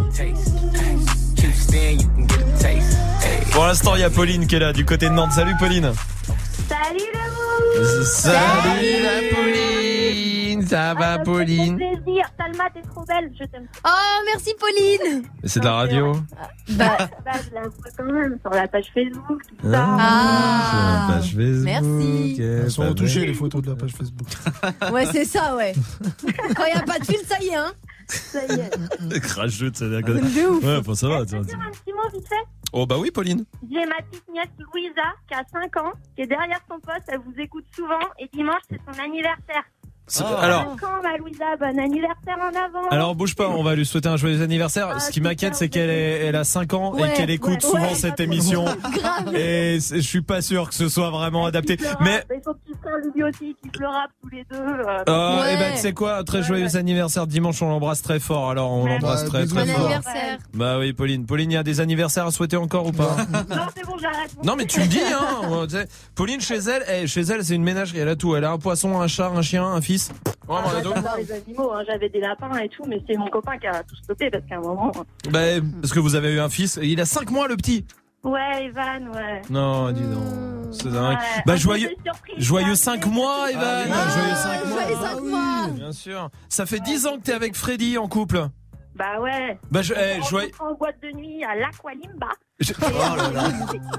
Pour l'instant, il y a Pauline qui est là du côté de Nantes. Salut Pauline. Salut le Salut la Pauline. Ça va Pauline? Ça fait plaisir. Salma, t'es trop belle, je t'aime. Oh, merci Pauline. C'est de la radio. Bah, je la vois quand même sur la page Facebook, tout ça. Sur la page Facebook. Merci. Elles sont retouchées les photos de la page Facebook. Ouais, c'est ça, ouais. Quand il n'y a pas de fil, ça y est, hein. Ça y est. Cracheux, ça De ouf. Ouais, bon, ça va. Je peux dire un petit mot vite fait. Oh bah oui Pauline. J'ai ma petite nièce Louisa qui a 5 ans, qui est derrière son poste, elle vous écoute souvent et dimanche c'est son anniversaire. Alors, 5 ans ma Louisa, bon anniversaire en avant. alors bouge pas, on va lui souhaiter un joyeux anniversaire. Ce qui m'inquiète c'est qu'elle a 5 ans et qu'elle écoute souvent cette émission. Et je suis pas sûr que ce soit vraiment adapté. Mais il faut que tu sois lui aussi qui pleura tous les deux. et ben tu sais quoi, très joyeux anniversaire dimanche, on l'embrasse très fort. Alors on l'embrasse très très Bon fort. anniversaire. Bah oui Pauline, il y a des anniversaires à souhaiter encore ou pas? Non, c'est bon, j'arrête. Non mais tu me dis hein, tu sais, Pauline chez elle c'est une ménagerie, elle a tout, elle a un poisson, un chat, un chien, un fils. Vraiment, j'adore les animaux, hein. J'avais des lapins et tout, mais c'est mon copain qui a tout stoppé parce qu'à un moment. Bah parce que vous avez eu un fils, il a 5 mois le petit. Ouais, Evan, ouais. Non, dis donc, c'est dingue. Ouais. Bah joyeux 5 mois Evan. Joyeux 5 mois. Joyeux 5 mois. Bien sûr. Ça fait 10 ans que t'es avec Freddy en couple. Bah ouais. Bah en boîte de nuit à l'Aqualimba. Oh là là.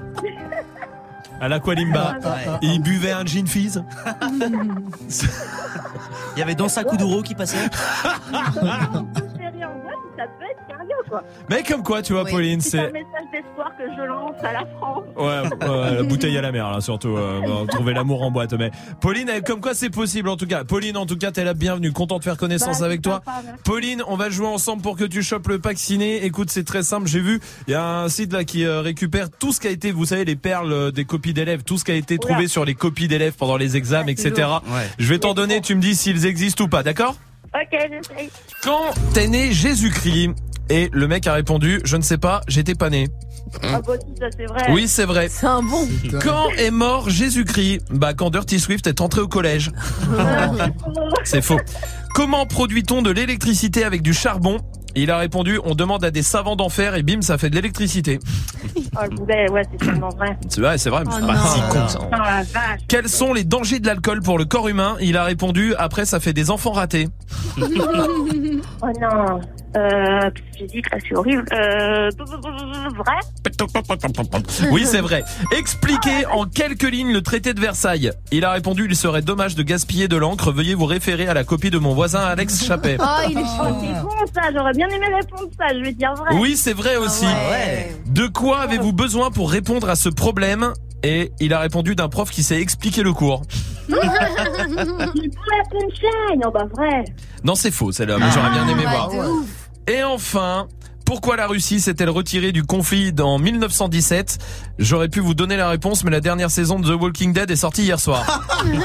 À l'Aqualimba. Et il buvait un gin fizz. Il y avait Dansa Kuduro qui passait. Ça peut être sérieux quoi. Mais comme quoi, tu vois, Pauline, c'est c'est un message d'espoir que je lance à la France. Ouais, la bouteille à la mer, là, surtout. Trouver l'amour en boîte. Mais Pauline, comme quoi c'est possible, en tout cas. Pauline, en tout cas, t'es la bienvenue. Content de faire connaissance avec toi. Pauline, on va jouer ensemble pour que tu chopes le pack ciné. Écoute, c'est très simple. J'ai vu, il y a un site là qui récupère tout ce qui a été, vous savez, les perles des copies d'élèves, tout ce qui a été trouvé sur les copies d'élèves pendant les examens, etc. Ouais. Je vais t'en donner, tu me dis s'ils existent ou pas, d'accord? Ok, j'essaye. Quand est né Jésus-Christ? Et le mec a répondu, je ne sais pas, j'étais pas né. Ah bah si, ça c'est vrai. Oui, c'est vrai. C'est un bon. Quand est mort Jésus-Christ? Bah quand Dirty Swift est entré au collège. C'est faux. Comment produit-on de l'électricité avec du charbon Il a répondu, on demande à des savants d'en faire et bim, ça fait de l'électricité. Oh, le boulet, ouais, c'est tellement vrai. C'est vrai, c'est Oh, pas non. si con ça. Oh, la vache. Quels sont les dangers de l'alcool pour le corps humain? Il a répondu, après ça fait des enfants ratés. Oh non. Physique, là, c'est horrible. Vrai? Oui, c'est vrai. Expliquez en quelques lignes le traité de Versailles. Il a répondu, il serait dommage de gaspiller de l'encre. Veuillez vous référer à la copie de mon voisin Alex Chappet. Oh, il est chaud. C'est bon, ça. J'aurais bien aimé répondre ça. Je vais dire vrai. Oui, c'est vrai aussi. De quoi avez-vous besoin pour répondre à ce problème? Et il a répondu d'un prof qui sait expliquer le cours. Pour la punchline. Oh, bah, vrai. Non, c'est faux, celle-là, mais j'aurais bien aimé voir. Et enfin, pourquoi la Russie s'est-elle retirée du conflit en 1917? J'aurais pu vous donner la réponse, mais la dernière saison de The Walking Dead est sortie hier soir.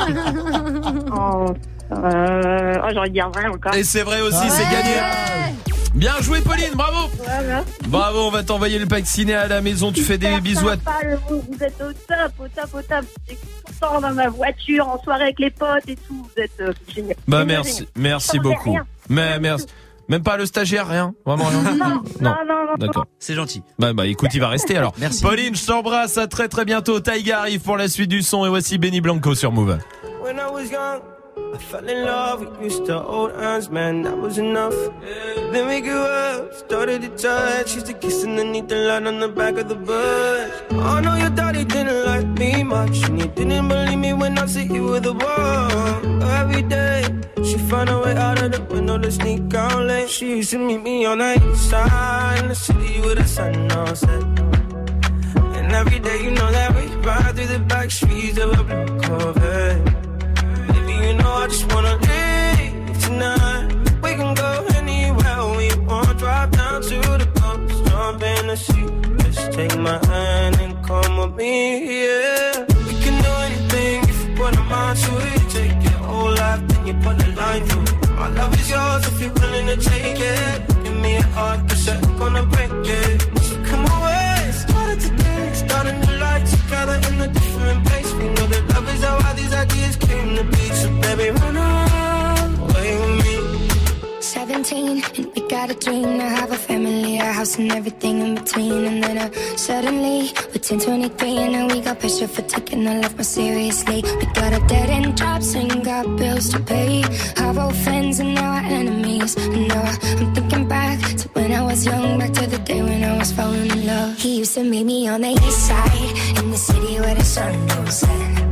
J'aurais dit vrai encore. Et c'est vrai aussi, c'est gagné. Bien joué, Pauline, bravo. Voilà. Bravo, on va t'envoyer le pack ciné à la maison. Tu fais des bisous à... Vous êtes au top. J'écoute tout le temps dans ma voiture, en soirée avec les potes et tout. Vous êtes génial. Bah merci beaucoup. Rien. Mais merci. Même pas le stagiaire, rien. Vraiment rien. Non. D'accord. C'est gentil. Bah écoute, il va rester alors. Merci. Pauline, je t'embrasse. À très très bientôt. Taïga arrive pour la suite du son et voici Benny Blanco sur Move. When I was young, I fell in love. We used to hold hands, man, that was enough. Then we grew up, started to touch. Used to kiss underneath the light on the back of the bus. Oh no, your daddy didn't like me much, and he didn't believe me when I said you were the one. Every day, she found a way out of the window to sneak out late. She used to meet me on the east side in the city with the sun on set. And every day, you know that we ride through the back streets of a blue Corvette. You know I just wanna leave tonight. We can go anywhere we want. Drive down to the coast, jump in the sea. Just take my hand and come with me, yeah. We can do anything if you put a mind to it. Take your whole life, then you put a line through it. My love is yours if you're willing to take it. Give me a heart, cause I'm gonna break it. So come away, started today. Start a new life together in a different place. We know that love is how all these ideas came to be. So baby, run away with me. 17, and we got a dream to have a family, a house and everything in between. And then suddenly, we're 10, 23, and now we got pressure for taking our life more seriously. We got a dead end jobs and got bills to pay. Our old friends and now our enemies. And now I'm thinking back to when I was young, back to the day when I was falling in love. He used to meet me on the east side, in the city where the sun don't set.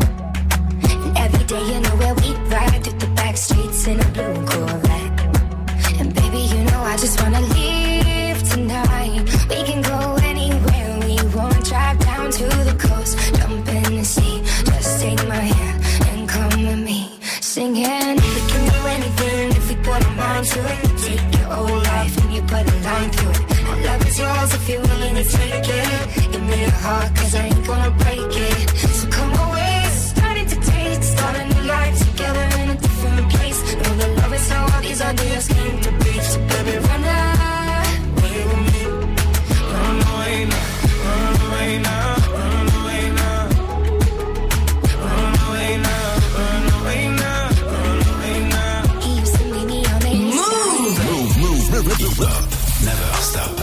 And every day, you know where we ride through the back streets in a blue Corvette. And baby, you know I just wanna leave tonight. We can go anywhere we want. Drive down to the coast, jump in the sea. Just take my hand and come with me. Singing, we can do anything if we put our mind to it. Take your whole life and you put a line through it. My love is yours if you're willing to take it. Give me your heart, cause I ain't gonna break it. So come away, starting to taste. Start a new life together in a different place. Know that love is how all these ideas came to be. So baby, run away with me. Run away now, run away now, run away now. Run away now, run away now, run away now. He used to meet me on the Move up, never stop.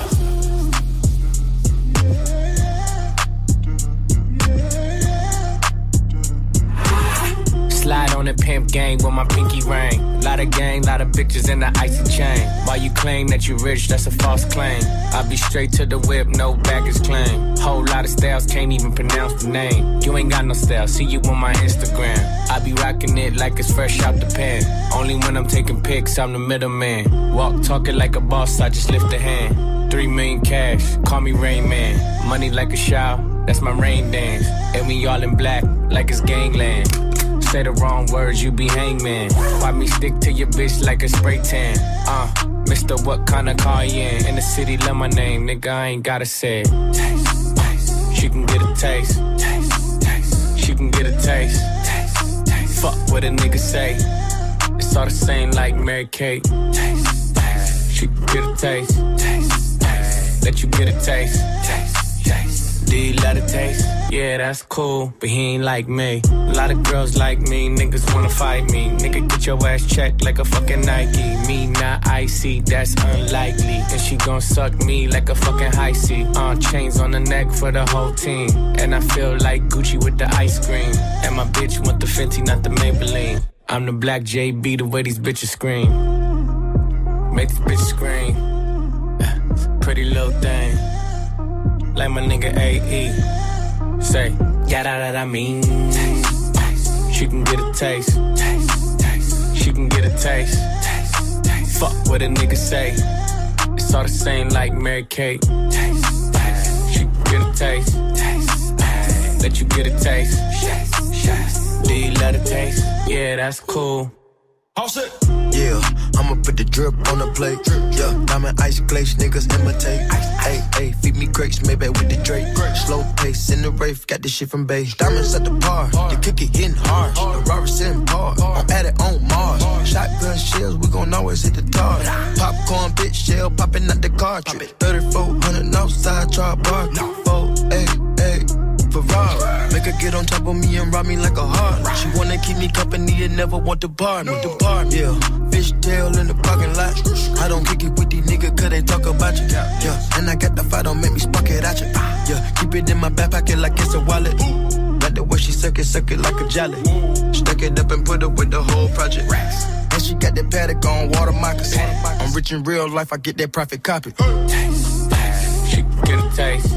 Slide on the pimp gang with my pinky ring. Lot of gang, lot of bitches in the icy chain. While you claim that you rich, that's a false claim. I be straight to the whip, no baggage claim. Whole lot of styles, can't even pronounce the name. You ain't got no style, see you on my Instagram. I be rocking it like it's fresh out the pen. Only when I'm taking pics, I'm the middleman. Walk talking like a boss, I just lift a hand. 3 million cash, call me Rain Man. Money like a shower, that's my rain dance. And we all in black, like it's gangland. Say the wrong words, you be hangman. Why me stick to your bitch like a spray tan? Mister, what kind of car you in the city, love my name, nigga, I ain't gotta say it. Taste, taste. She can get a taste. Taste, taste. She can get a taste. Taste, taste. Fuck what a nigga say. It's all the same like Mary Kate. Taste, taste. She can get a taste. Taste, taste. Let you get a taste. Taste, taste. Do you let it taste? Yeah, that's cool, but he ain't like me. A lot of girls like me, niggas wanna fight me. Nigga, get your ass checked like a fucking Nike. Me not not icy, that's unlikely. And she gon' suck me like a fucking high C. Chains on the neck for the whole team. And I feel like Gucci with the ice cream. And my bitch want the Fenty, not the Maybelline. I'm the black JB, the way these bitches scream. Make these bitches scream. Pretty little thing. Like my nigga AE. Say, yeah, that I mean. Taste, taste. She can get a taste. Taste, taste. She can get a taste. Taste, taste. Fuck what a nigga say. It's all the same like Mary Kate. Taste, taste. She can get a taste. Taste, taste. Let you get a taste. Taste, taste. Do you love the taste? Yeah, that's cool. All set. Yeah, I'ma put the drip on the plate. Yeah, diamond ice glaze, niggas imitate. Hey, hey, feed me grapes, maybe with the Drake. Slow pace in the rave, got this shit from base. Diamonds at the bar, the cookie hitting hard. The Robert sitting hard, I'm at it on Mars. Shotgun shells, we gon' always hit the target. Popcorn, bitch, shell popping out the cartridge. 3400 outside, try bar. 488. Ferrari. Make her get on top of me and rob me like a heart. She wanna keep me company and never want to bar me. Yeah, fishtail in the parking lot. I don't kick it with these niggas cause they talk about you. Yeah, and I got the fight, don't make me spark it at you. Yeah, keep it in my back pocket like it's a wallet. Like the way she suck it like a jelly. Stuck it up and put it with the whole project. And she got that paddock on water moccasin. I'm rich in real life, I get that profit copy. Taste, taste. She can get a taste.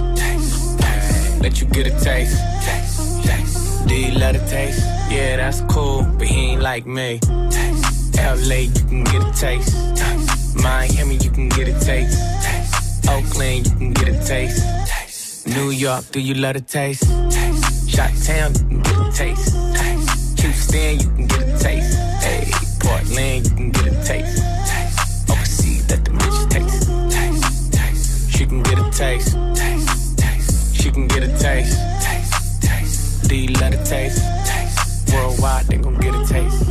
Let you get a taste. Taste, taste. Do you love the taste? Yeah, that's cool, but he ain't like me. Taste. LA, you can get a taste. Taste. Miami, you can get a taste. Taste. Oakland, you can get a taste. Taste. New York, do you love the taste? Taste. Chi-Town, you can get a taste. Taste. Houston, you can get a taste. Hey, Portland, you can get a taste. Taste. Overseas, let the bitch taste. Taste. Taste. She can get a taste. She can get a taste. Taste, taste. Do you love the taste? Taste. Worldwide, they gon' get a taste.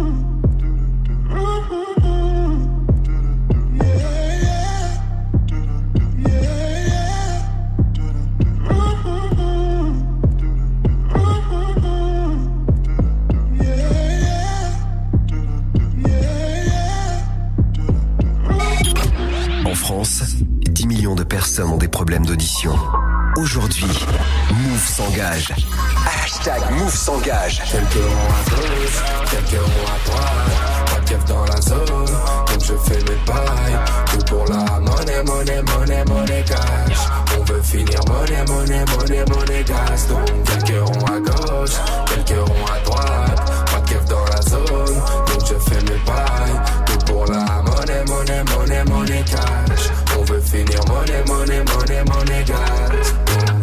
En France, 10 millions de personnes ont des problèmes d'audition. Aujourd'hui, Move s'engage. Hashtag Move s'engage. Quelques ronds à gauche, quelques ronds à droite. Pas de keuf dans la zone, donc je fais mes bails. Tout pour la monnaie cash. On veut finir monnaie gas. Donc quelques ronds à gauche, quelques ronds à droite. Pas de keuf dans la zone, donc je fais mes bails. Tout pour la monnaie cash. On veut finir monnaie gas.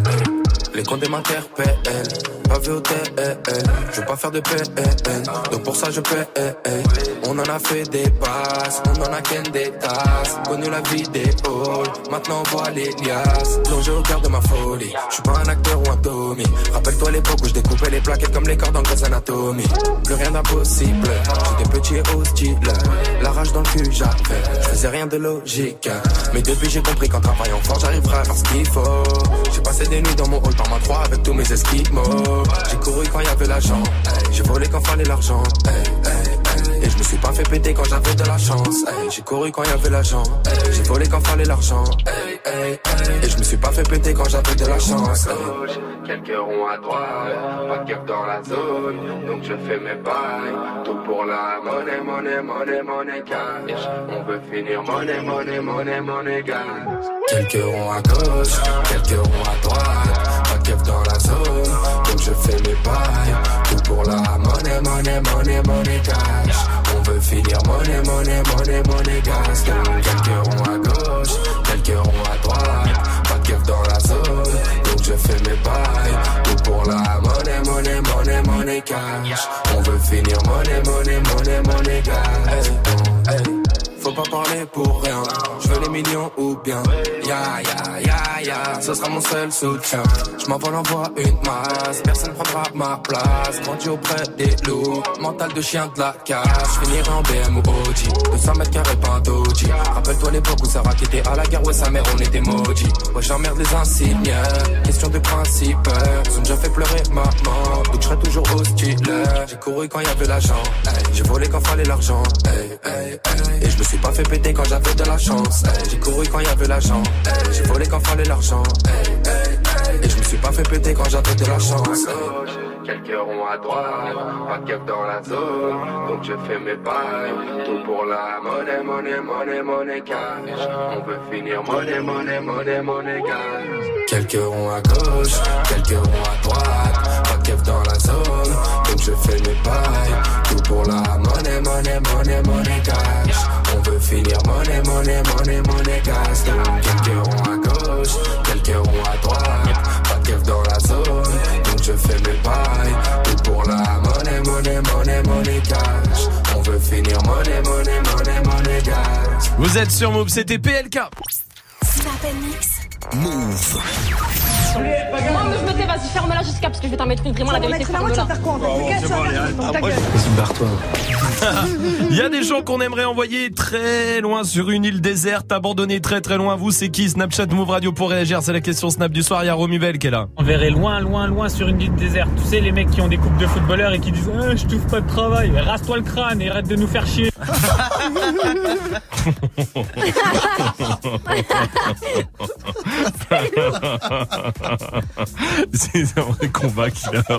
Les comptes m'interpellent, pas vu au TL. Je veux pas faire de PN, donc pour ça je paie. On en a fait des passes, on en a qu'un des tasses. Connu la vie des halls, maintenant on voit les liasses. Plongé au cœur de ma folie, je suis pas un acteur ou un Tommy. Rappelle-toi l'époque où je découpais les plaquettes comme les cordes en Grey's Anatomy. Plus rien d'impossible, j'étais petit et hostile. La rage dans le cul j'avais, je faisais rien de logique. Mais depuis j'ai compris qu'en travaillant fort j'arriverai à faire ce qu'il faut. J'ai passé des nuits dans mon hall par ma 3 avec tous mes esquimaux. J'ai couru quand y'avait l'argent, j'ai volé quand fallait l'argent. Et je me suis pas fait péter quand j'avais de la chance. J'ai couru quand y'avait l'argent, j'ai volé quand fallait l'argent. Et je me suis pas fait péter quand j'avais de la chance. Quelques ronds à droite, pas de keuf dans la zone, donc je fais mes bails. Tout pour la monnaie cash. On veut finir monnaie gas. Quelques ronds à gauche, quelques ronds à droite. Pas de keuf dans la zone, donc je fais mes bails. Tout pour la monnaie cash. On veut finir monnaie gas. Donc quelques ronds à gauche, quelques ronds à droite. Pas de keuf dans la zone, donc je fais mes bails. Tout pour la monnaie cash. On veut finir monnaie gas. Faut pas parler pour rien, je veux les millions ou bien ya, ce sera mon seul soutien. Je m'envole, envoie une masse, personne prendra ma place. Grandi auprès des loups, mental de chien de la casse. Je finirai en BM ou Audi, 200 mètres carrés pas un Doji. Rappelle-toi l'époque où Sarah qui était à la guerre, ouais sa mère on était maudits. Ouais j'emmerde les insignes, question de principe. Ils ont déjà fait pleurer maman, donc je serai toujours hostile. J'ai couru quand y'avait l'argent, j'ai volé quand fallait l'argent, et je me suis pas fait péter quand j'avais de la chance. J'ai couru quand y'avait l'argent, j'ai volé quand fallait l'argent, et je me suis pas fait péter quand j'avais de la chance. Quelques ronds à droite, pas de keuf dans la zone, donc je fais mes bails. Tout pour la monnaie, monnaie, monnaie, monnaie cash. On veut finir monnaie, monnaie, monnaie, monnaie cash. Quelques ronds à gauche, quelques ronds à droite, pas de keuf dans la zone, donc je fais mes bails. Tout pour la monnaie, monnaie, monnaie, monnaie cash. On veut finir monnaie, monnaie, monnaie, monnaie cash. Donc quelques ronds à gauche, quelques ronds à droite, pas de keuf dans la zone, donc je fais mes bails. Tout pour la monnaie, monnaie, monnaie, monnaie cash. On veut finir monnaie, monnaie, monnaie, monnaie cash. Vous êtes sur Move, c'était PLK. Move. Moi, je me tais, vas-y, ferme-la jusqu'à parce que je vais t'en mettre une. Vraiment, la vérité, ferme-la. Vas-y, barre-toi. Il y a des gens qu'on aimerait envoyer très loin sur une île déserte, abandonnée très très loin. Vous, c'est qui? Snapchat Move Radio pour réagir. C'est la question Snap du soir. Il y a Romuvel qui est là. On verrait loin, loin, loin sur une île déserte. Tu sais, les mecs qui ont des coupes de footballeurs et qui disent je trouve pas de travail. Rase-toi le crâne et arrête de nous faire chier. C'est un vrai combat qu'il a.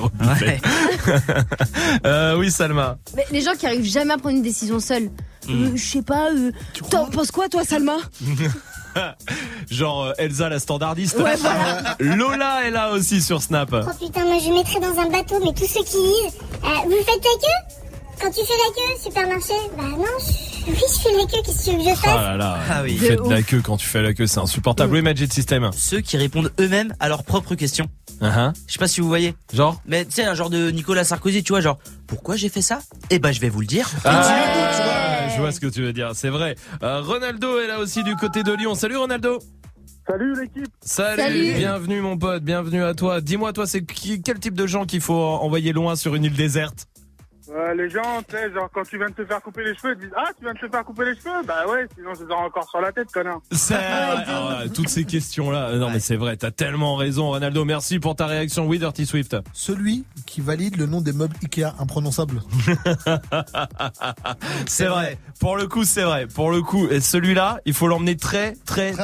Oui, Salma. Mais les gens qui arrivent jamais à prendre une décision seuls. Je sais pas. T'en penses quoi, toi, Salma? Genre Elsa la standardiste. Ouais, voilà. Lola est là aussi sur Snap. Oh putain, moi je mettrais dans un bateau, mais tous ceux qui disent vous faites la queue? Quand tu fais la queue, supermarché? Bah non, oui, je fais la queue, qu'est-ce que tu veux que je fasse? Oh là là, oui. Faites de la queue quand tu fais la queue, c'est insupportable. Oui, Magic System. Ceux qui répondent eux-mêmes à leurs propres questions. Je sais pas si vous voyez. Genre? Mais tu sais, un genre de Nicolas Sarkozy, tu vois, genre, pourquoi j'ai fait ça? Eh ben, je vais vous le dire. Je vois ce que tu veux dire, c'est vrai. Ronaldo est là aussi du côté de Lyon. Salut Ronaldo. Salut l'équipe. Salut. Bienvenue mon pote, bienvenue à toi. Dis-moi, toi, c'est quel type de gens qu'il faut envoyer loin sur une île déserte? Les gens, tu sais, genre quand tu viens de te faire couper les cheveux, ils disent tu viens de te faire couper les cheveux? Bah ouais, sinon je les aurai encore sur la tête, connard. Toutes ces questions-là. Non mais c'est vrai, t'as tellement raison Ronaldo. Merci pour ta réaction. Oui, Dirty Swift. Celui qui valide le nom des meubles Ikea imprononçables. C'est vrai. Pour le coup, c'est vrai. Pour le coup, et celui-là, il faut l'emmener très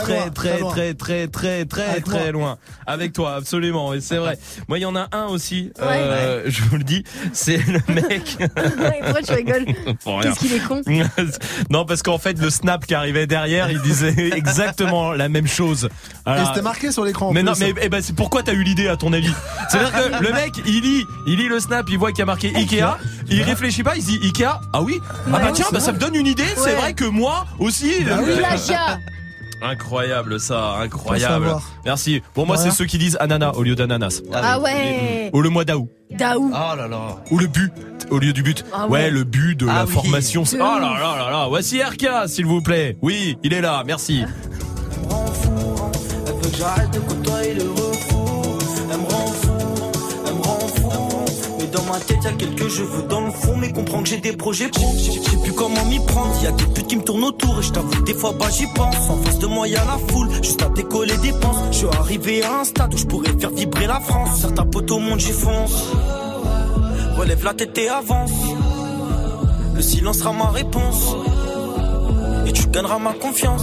loin. Avec toi, absolument. Et c'est vrai. Moi, il y en a un aussi. Je vous le dis, c'est le mec. Pourquoi tu rigoles? Qu'est-ce qu'il est con? Non, parce qu'en fait, le snap qui arrivait derrière, il disait exactement la même chose. Alors, et c'était marqué sur l'écran. Mais non, mais c'est pourquoi t'as eu l'idée à ton avis? C'est-à-dire que le mec, il lit le snap, il voit qu'il y a marqué Ikea, il réfléchit pas, il se dit Ikea. Ah oui. Ah bah tiens, ça me donne une idée. C'est vrai que moi aussi. Incroyable ça, incroyable. Merci. Bon, moi c'est ceux qui disent ananas au lieu d'ananas. Ah ouais. Ou le mois d'août. Daou. Oh là là. Ou le but au lieu du but. Ah ouais, le but de la formation. C'est oh là là là là. Voici RK, s'il vous plaît. Oui, il est là. Merci. Elle me rend fou, elle veut que j'arrête de côtoyer le refou. Elle me rend fou, elle me rend fou. Mais dans ma tête y'a quelques cheveux dans le fond. Mais comprends que j'ai des projets pro. Je sais plus comment m'y prendre. Y'a des putes qui me tournent autour. Et je t'avoue des fois j'y pense. En face de moi y'a la foule, juste à décoller des penses. Je suis arrivé à un stade où je pourrais faire vibrer la France. Certains potes au monde j'y fonce. Relève la tête et avance. Le silence sera ma réponse. Et tu gagneras ma confiance.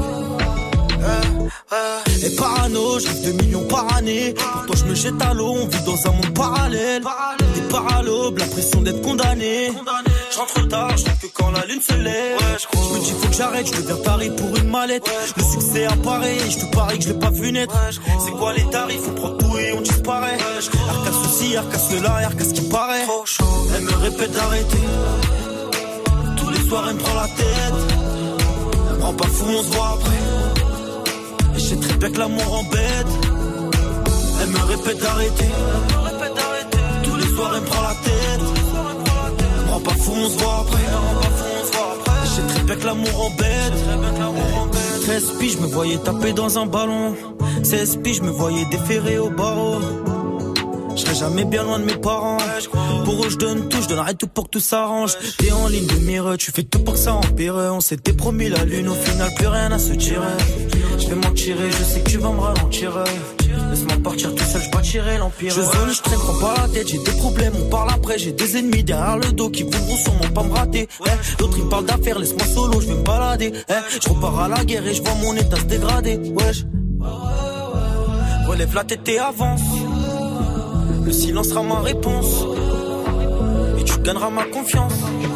Et parano, je rêve 2 millions par année. Pour toi je me jette à l'eau, on vit dans un monde parallèle. Des paralobes, l'impression d'être condamné. Je rentre tard, je rentre que quand la lune se lève. Je me dis faut que j'arrête, je deviens taré pour une mallette. Le succès apparaît, je te parie que je l'ai pas vu naître. C'est quoi les tarifs, on prend tout et on disparaît. Arca ceci, arca cela, arca ce qui paraît. Elle me répète d'arrêter. Tous les soirs elle me prend la tête. Elle me rend pas fou, on se voit après. Et je sais très bien que l'amour embête. Elle me répète d'arrêter. Tous les soirs elle me prend la tête. Elle me rend pas fou, on se voit après. Et je sais très bien que l'amour embête. 13 piges, je me voyais taper dans un ballon. 16 piges, je me voyais déférer au barreau. Je serai jamais bien loin de mes parents. Pour eux je donne tout, je donnerai tout pour que tout s'arrange. T'es en ligne de mire, tu fais tout pour que ça empire. On s'était promis la lune, au final plus rien à se tirer. Je vais m'en tirer, je sais que tu vas me ralentir. Laisse-moi partir tout seul, je bâtirai l'empire. Je zone, je traîne, prends pas la tête. J'ai des problèmes, on parle après. J'ai des ennemis derrière le dos qui voudront sûrement pas me rater. D'autres ils parlent d'affaires, laisse-moi solo, je vais me balader. Je repars à la guerre et je vois mon état se dégrader. Wesh. Relève la tête et avance. Le silence sera ma réponse. Et tu gagneras ma confiance.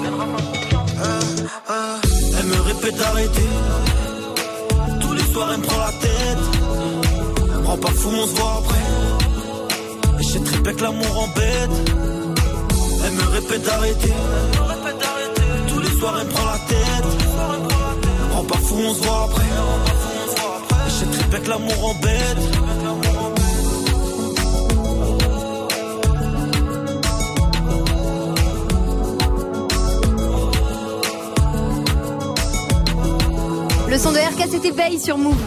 Elle me répète d'arrêter. Tous les soirs elle me prend la tête. Elle me rend pas fou, on se voit après. Et j'ai trippé que l'amour embête. Elle me répète d'arrêter. Tous les soirs elle me prend la tête. Elle me rend pas fou, on se voit après. Et j'ai trippé que l'amour embête. Le son de RK, c'était Bay sur Move.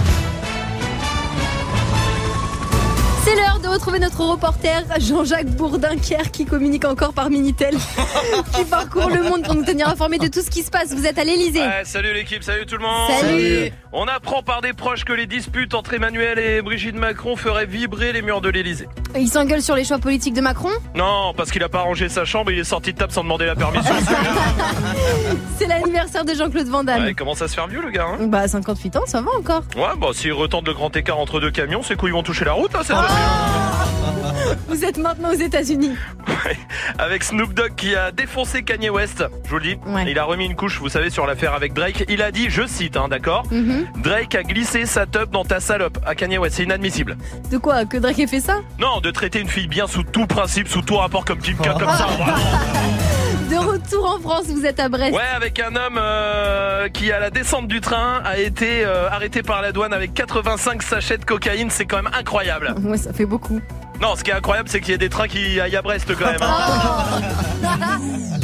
C'est l'heure de retrouver notre reporter Jean-Jacques Bourdinquière qui communique encore par Minitel, qui parcourt le monde pour nous tenir informés de tout ce qui se passe. Vous êtes à l'Elysée. Ouais, salut l'équipe, salut tout le monde. Salut. On apprend par des proches que les disputes entre Emmanuel et Brigitte Macron feraient vibrer les murs de l'Elysée. Il s'engueule sur les choix politiques de Macron ? Non, parce qu'il a pas rangé sa chambre, il est sorti de table sans demander la permission. C'est l'anniversaire de Jean-Claude Van Damme. Ouais, il commence à se faire vieux le gars. Hein. Bah 58 ans, ça va encore. Ouais, bah s'il retente le grand écart entre deux camions, ses couilles vont toucher la route, hein, c'est Vous êtes maintenant aux États-Unis. Ouais. Avec Snoop Dogg qui a défoncé Kanye West, je vous le dis. Ouais. Il a remis une couche, vous savez, sur l'affaire avec Drake. Il a dit, je cite, hein, d'accord, Drake a glissé sa teub dans ta salope à Kanye West. C'est inadmissible. De quoi ? Que Drake ait fait ça ? Non, de traiter une fille bien sous tout principe, sous tout rapport comme Kim K, comme ça. De retour en France, vous êtes à Brest. Ouais, avec un homme qui, à la descente du train, a été arrêté par la douane avec 85 sachets de cocaïne. C'est quand même incroyable. Ouais, ça fait beaucoup. Non, ce qui est incroyable, c'est qu'il y a des trains qui aillent à Brest quand même. Hein.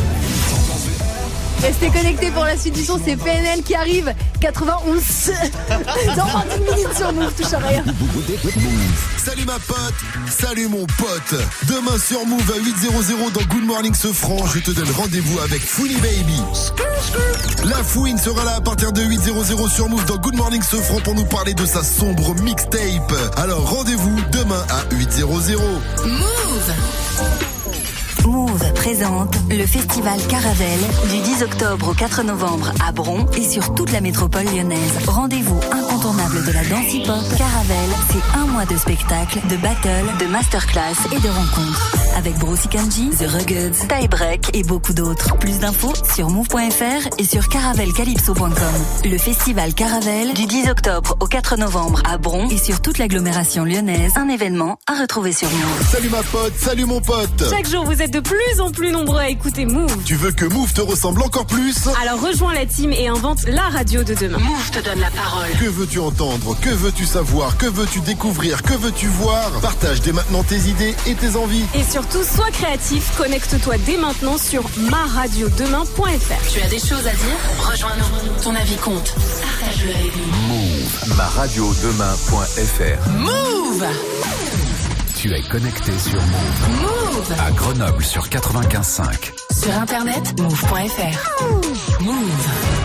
Restez connectés pour la suite du son, c'est PNL qui arrive. 91 dans 20 minutes sur Move, touche à rien. Salut ma pote, salut mon pote. Demain sur Move à 8h00 dans Good Morning Sofran, je te donne rendez-vous avec Fouini Baby. La Fouine sera là à partir de 8h00 sur Move dans Good Morning Sofran pour nous parler de sa sombre mixtape. Alors rendez-vous demain à 8h00. Move. Move présente le festival Caravelle du 10 octobre au 4 novembre à Bron et sur toute la métropole lyonnaise. Rendez-vous incontournable de la danse hip-hop. Caravelle, c'est un mois de spectacles, de battles, de masterclass et de rencontres. Avec Brossy Kanji, The Ruggeds, Tie Break et beaucoup d'autres. Plus d'infos sur move.fr et sur caravelcalypso.com. Le festival Caravelle du 10 octobre au 4 novembre à Bron et sur toute l'agglomération lyonnaise. Un événement à retrouver sur Move. Salut ma pote, salut mon pote. Chaque jour, vous êtes de plus en plus nombreux à écouter Move. Tu veux que Move te ressemble encore plus ? Alors rejoins la team et invente la radio de demain. Move te donne la parole. Que veux-tu entendre ? Que veux-tu savoir ? Que veux-tu découvrir ? Que veux-tu voir ? Partage dès maintenant tes idées et tes envies. Et surtout, sois créatif. Connecte-toi dès maintenant sur maradiodemain.fr. Tu as des choses à dire ? Rejoins-nous. Ton avis compte. Partage-le avec nous. Move. Maradiodemain.fr. Move. Tu es connecté sur Move. Move. À Grenoble sur 95.5. Sur internet, move.fr. Move.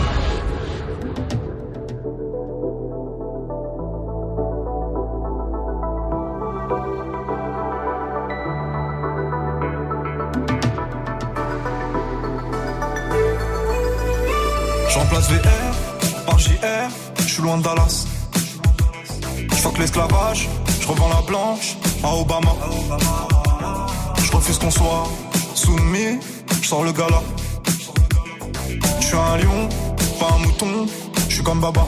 Je remplace VR par JR, je suis loin de Dallas. Je fuck l'esclavage, je revends la blanche à Obama. Je refuse qu'on soit soumis, je sors le gala. Je suis un lion, pas un mouton, je suis comme Baba.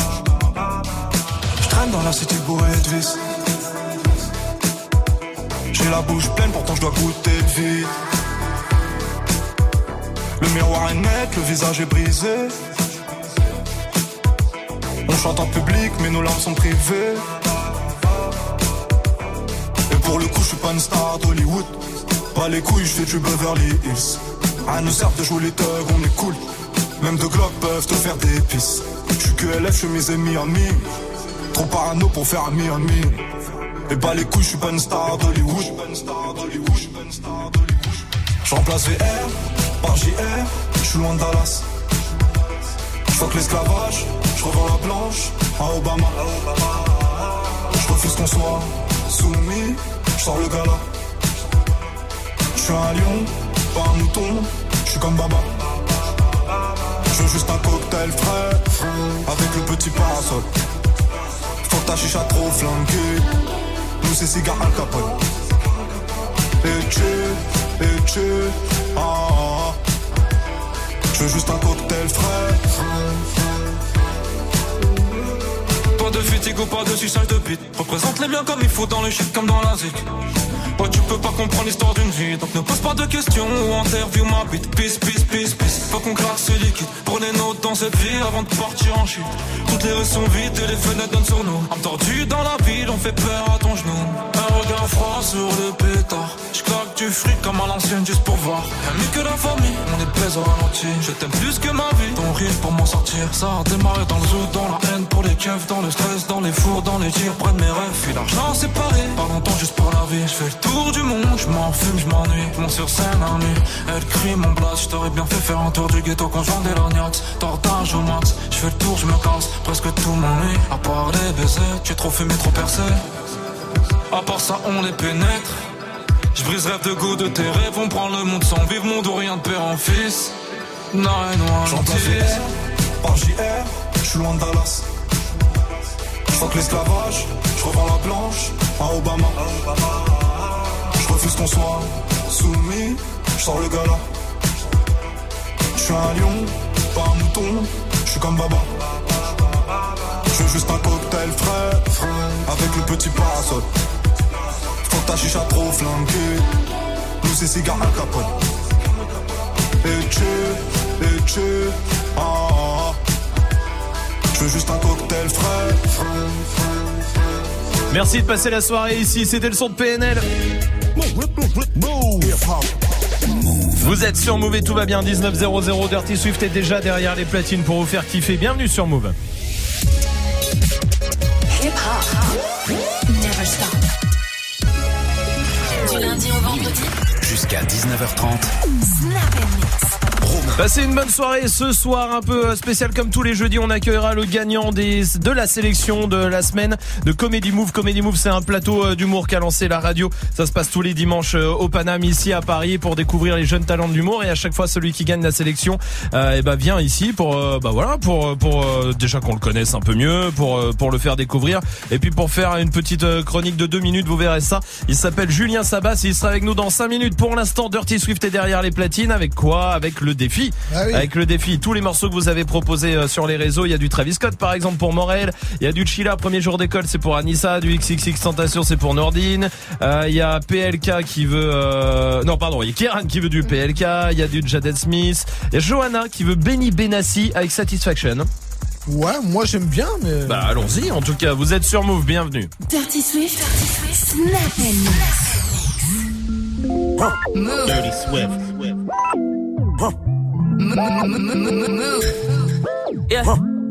Je traîne dans la cité bourrée de vis. J'ai la bouche pleine, pourtant je dois goûter le vide. Le miroir est net, le visage est brisé. On chante en public, mais nos larmes sont privées. Et pour le coup, je suis pas une star d'Hollywood. Pas les couilles, je fais du Beverly Hills. À nous sert de jouer les thugs, on est cool. Même deux Glock peuvent te faire des pisses. Je suis QLF, je suis mes ennemis en mine. Trop parano pour faire un mi. Et bah les couilles, je suis pas une star d'Hollywood. Je remplace VR par JR, je suis loin de Dallas. Je fuck l'esclavage, je revends la planche à Obama. Je refuse qu'on soit soumis, je sors le gala. Je suis un lion, pas un mouton, je suis comme Baba. Je veux juste un cocktail frais, avec le petit parasol. Faut que ta chicha trop flanquée, nous c'est cigare Al Capone. Et ah. Je veux juste un cocktail frais. Pas de fatigue ou pas de suçage de bite. Représente les biens comme il faut dans le shit comme dans la zik. Ouais, tu peux pas comprendre l'histoire d'une vie, donc ne pose pas de questions ou interview ma bite. Peace. Faut qu'on claque ce liquide. Prenez note dans cette vie avant de partir en chute. Toutes les rues sont vides et les fenêtres donnent sur nous. Âme tordue dans la ville, on fait peur à ton genou. Un regard froid sur le pétard. J'claque du fric comme à l'ancienne juste pour voir. Rien mieux que la famille, on est baise au ralenti. Je t'aime plus que ma vie, ton rire pour m'en sortir. Ça a démarré dans le zoo, dans la haine pour les keufs, dans le stress, dans les fours, dans les tirs, près de mes rêves. Puis l'argent séparé, pas longtemps juste pour la vie. Je fais le tour du monde, je m'en fume, je m'ennuie. Je monte sur scène à nuit, elle crie mon blast. Je t'aurais bien fait faire un tour du ghetto quand je vendais l'agnax. Tortage au max, je fais le tour, je me casse. Presque tout m'ennuie, à part les baisers. Tu es trop fumé, trop percé. À part ça, on les pénètre. Je brise rêve de goût de tes rêves. On prend le monde sans vivre, monde ou rien de père en fils. Non, j'en place par JR, je suis loin de Dallas. Je fuck l'esclavage, je revends la planche à Obama. Je refuse qu'on soit soumis, je sors le gala. Je suis un lion, pas un mouton, je suis comme Baba. Je veux juste un cocktail frais, avec le petit parasol. Faut que ta chicha trop flanquée, nous c'est cigare Al Capone. Et ah. Je veux juste un cocktail frais. Merci de passer la soirée ici, c'était le son de PNL. Vous êtes sur Move et tout va bien, 19:00, Dirty Swift est déjà derrière les platines pour vous faire kiffer. Bienvenue sur Move. Hip hop, never stop. Du lundi au vendredi, jusqu'à 19h30. Snap and Mix. Passez une bonne soirée ce soir, un peu spécial comme tous les jeudis. On accueillera le gagnant de la sélection de la semaine de Comedy Move. Comedy Move, c'est un plateau d'humour qu'a lancé la radio. Ça se passe tous les dimanches au Paname ici à Paris pour découvrir les jeunes talents de l'humour. Et à chaque fois, celui qui gagne la sélection, vient ici pour déjà qu'on le connaisse un peu mieux, pour le faire découvrir et puis pour faire une petite chronique de 2 minutes. Vous verrez ça. Il s'appelle Julien Sabas et il sera avec nous dans 5 minutes. Pour l'instant, Dirty Swift est derrière les platines. Avec quoi? Avec le défi. Ah oui. Avec le défi, tous les morceaux que vous avez proposés sur les réseaux, il y a du Travis Scott par exemple pour Morel, il y a du Chilla, premier jour d'école, c'est pour Anissa, du XXX Tentation, c'est pour Nordine, il y a PLK qui veut il y a Kieran qui veut du PLK, il y a du Jaden Smith, il y a Johanna qui veut Benny Benassi avec Satisfaction. Ouais, moi j'aime bien, mais... Bah allons-y, en tout cas, vous êtes sur Move, bienvenue. Dirty Swift, Snap and Move. Dirty Swift. Move. Yeah.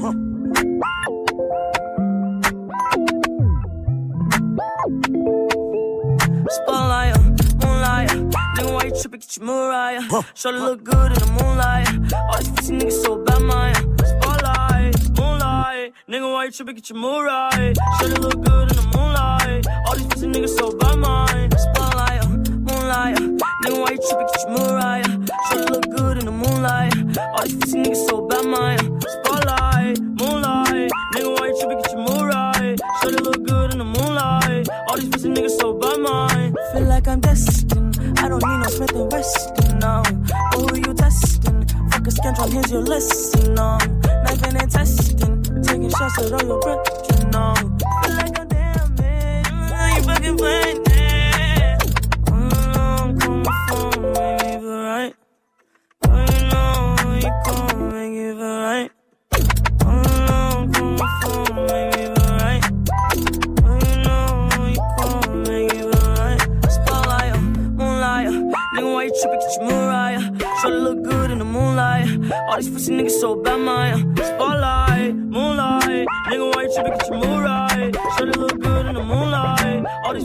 Spotlight, moonlight. Nigga, why you tripping? Get your Mariah. Shorty look good in the moonlight. All these pussy niggas so bad, man. Spotlight, moonlight. Nigga, why you tripping? Get your Mariah. Shorty look good in the moonlight. All these pussy niggas so bad, man. Spotlight, moonlight. Nigga, why you tripping? Get your Mariah. Shorty look good in the moonlight. All these pussy niggas so bad, man. Spotlight, moonlight. Nigga, why you tripping? Get your Mariah. Shorty look good in the moonlight. All these pussy niggas so bad, man. Feel like I'm destined. I don't need no Smith and Weston now. But who you testing? Fuck a scantron, here's your lesson now. Knifing and testing. Taking shots at all your breath, you know. Feel like I'm damn man. You fucking playing it. Call my phone, make it feel right. Oh, you know, you call, make it feel right. Call my phone, make it feel right. Oh, you know, you call, make it feel right. Spotlight, moonlight. Nigga, why you tripping? Get your Mariah. Shorty look good in the moonlight. All these pussy niggas so bad, man. Spotlight, moonlight. Nigga, why you tripping? Get your Mariah. Shorty look good in the moonlight. All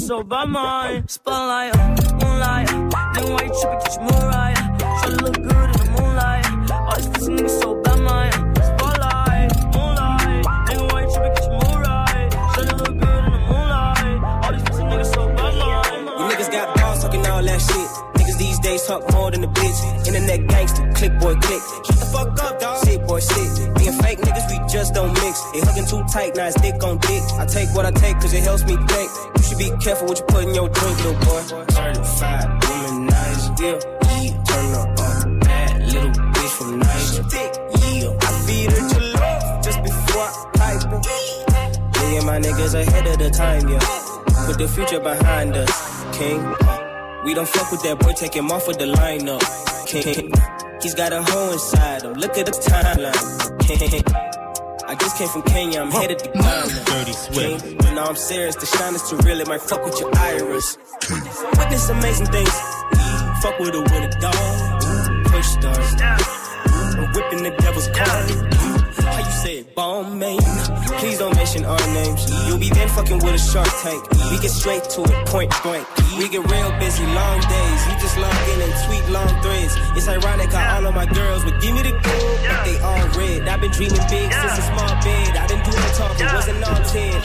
so by mine. Spotlight, moonlight. Then why you trippin', get your mood right. Try to look good in the moonlight. All these pussy niggas so by mine. Spotlight, moonlight. Then why you trippin', get your mood right. Try to look good in the moonlight. All these pussy niggas so by mine. You niggas got balls talking all that shit. Niggas these days talk more than a bitch. Internet gangster, click boy click. Shut the fuck up, dog. Shit boy shit. Being fake niggas, we just don't mix. They hugging too tight, now it's dick on dick. I take what I take cause it helps me think. You should be careful what you put in your drink, little boy. Certified womanizer, yeah. Turn her up, bad little bitch from nice. Yeah, I feed her to love just before I pipe her. Me and my niggas ahead of the time, yeah. Put the future behind us, king. We don't fuck with that boy, take him off with the lineup, king. He's got a hoe inside him, look at the timeline, king. I just came from Kenya, I'm headed to Ghana. Dirty Swift. You know I'm serious, the shine is too real, it might fuck with your iris. Witness amazing things, fuck with her with a dog. Push stars, I'm whipping the devil's car. How you say it, bomb man? Please don't mention our names. You'll be then fucking with a Shark Tank. We get straight to it, point blank. We get real busy, long days. You just log in and tweet long threads. It's ironic how all of my girls would give me the gold, but they all red. I've been dreaming big since a small bed. I didn't do the talking, wasn't all 10.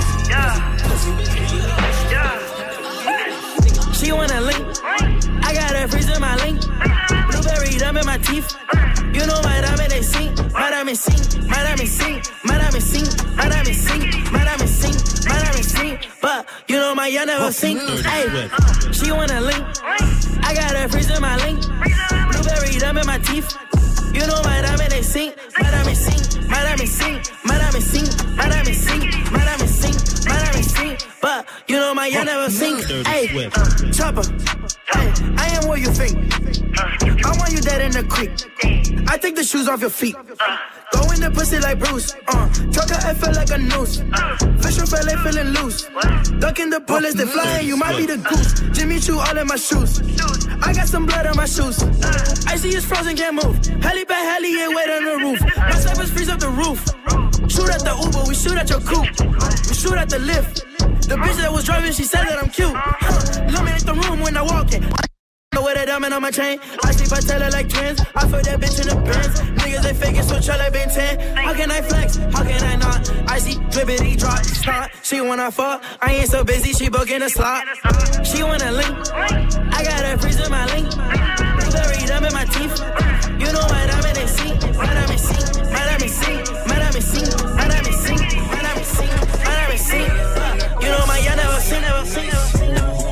She wanna link, I got her freeze in my link. Blueberry dumb in my teeth. You know my diamond they sing, my diamond sing, my diamond sing, my diamond sing, my diamond sing, my diamond sing, my diamond sing. But you know my y'all never sing. Hey, she wanna link, I got her freeze in my link. Blueberry dumb in my teeth. You know my diamond they sing, my diamond sing, my diamond sing, my diamond sing, my diamond sing, my diamond sing, my diamond sing. But you know my y'all never sing. Hey, chopper, hey, I am what you think. I want you dead in the creek. I take the shoes off your feet. Go in the pussy like Bruce. Truck a FL like a noose. Fish and fillet feeling loose. Ducking the bullets, they flying, you might be the goose. Jimmy Choo all in my shoes. I got some blood on my shoes. Icy is frozen, can't move. Heli back, heli, yeah, wait on the roof. My snipers freeze up the roof. Shoot at the Uber, we shoot at your coupe. We shoot at the lift. The bitch that was driving, she said that I'm cute. Illuminate the room when I walk in. With a diamond on my chain, I sleep, I tell her like twins. I feel that bitch in the Benz. Niggas they faking, so try like Ben 10. How can I flex? How can I not? I see drippity drop, snot. She wanna fuck, I ain't so busy. She booking a slot. She wanna link, I got her freeze in my link. Blueberry dumb in my teeth. You know my diamond they sing, my diamond sing, my diamond sing, my diamond sing, my diamond sing, my diamond sing, my diamond sing. You know my y'all never sing, never sing, never sing.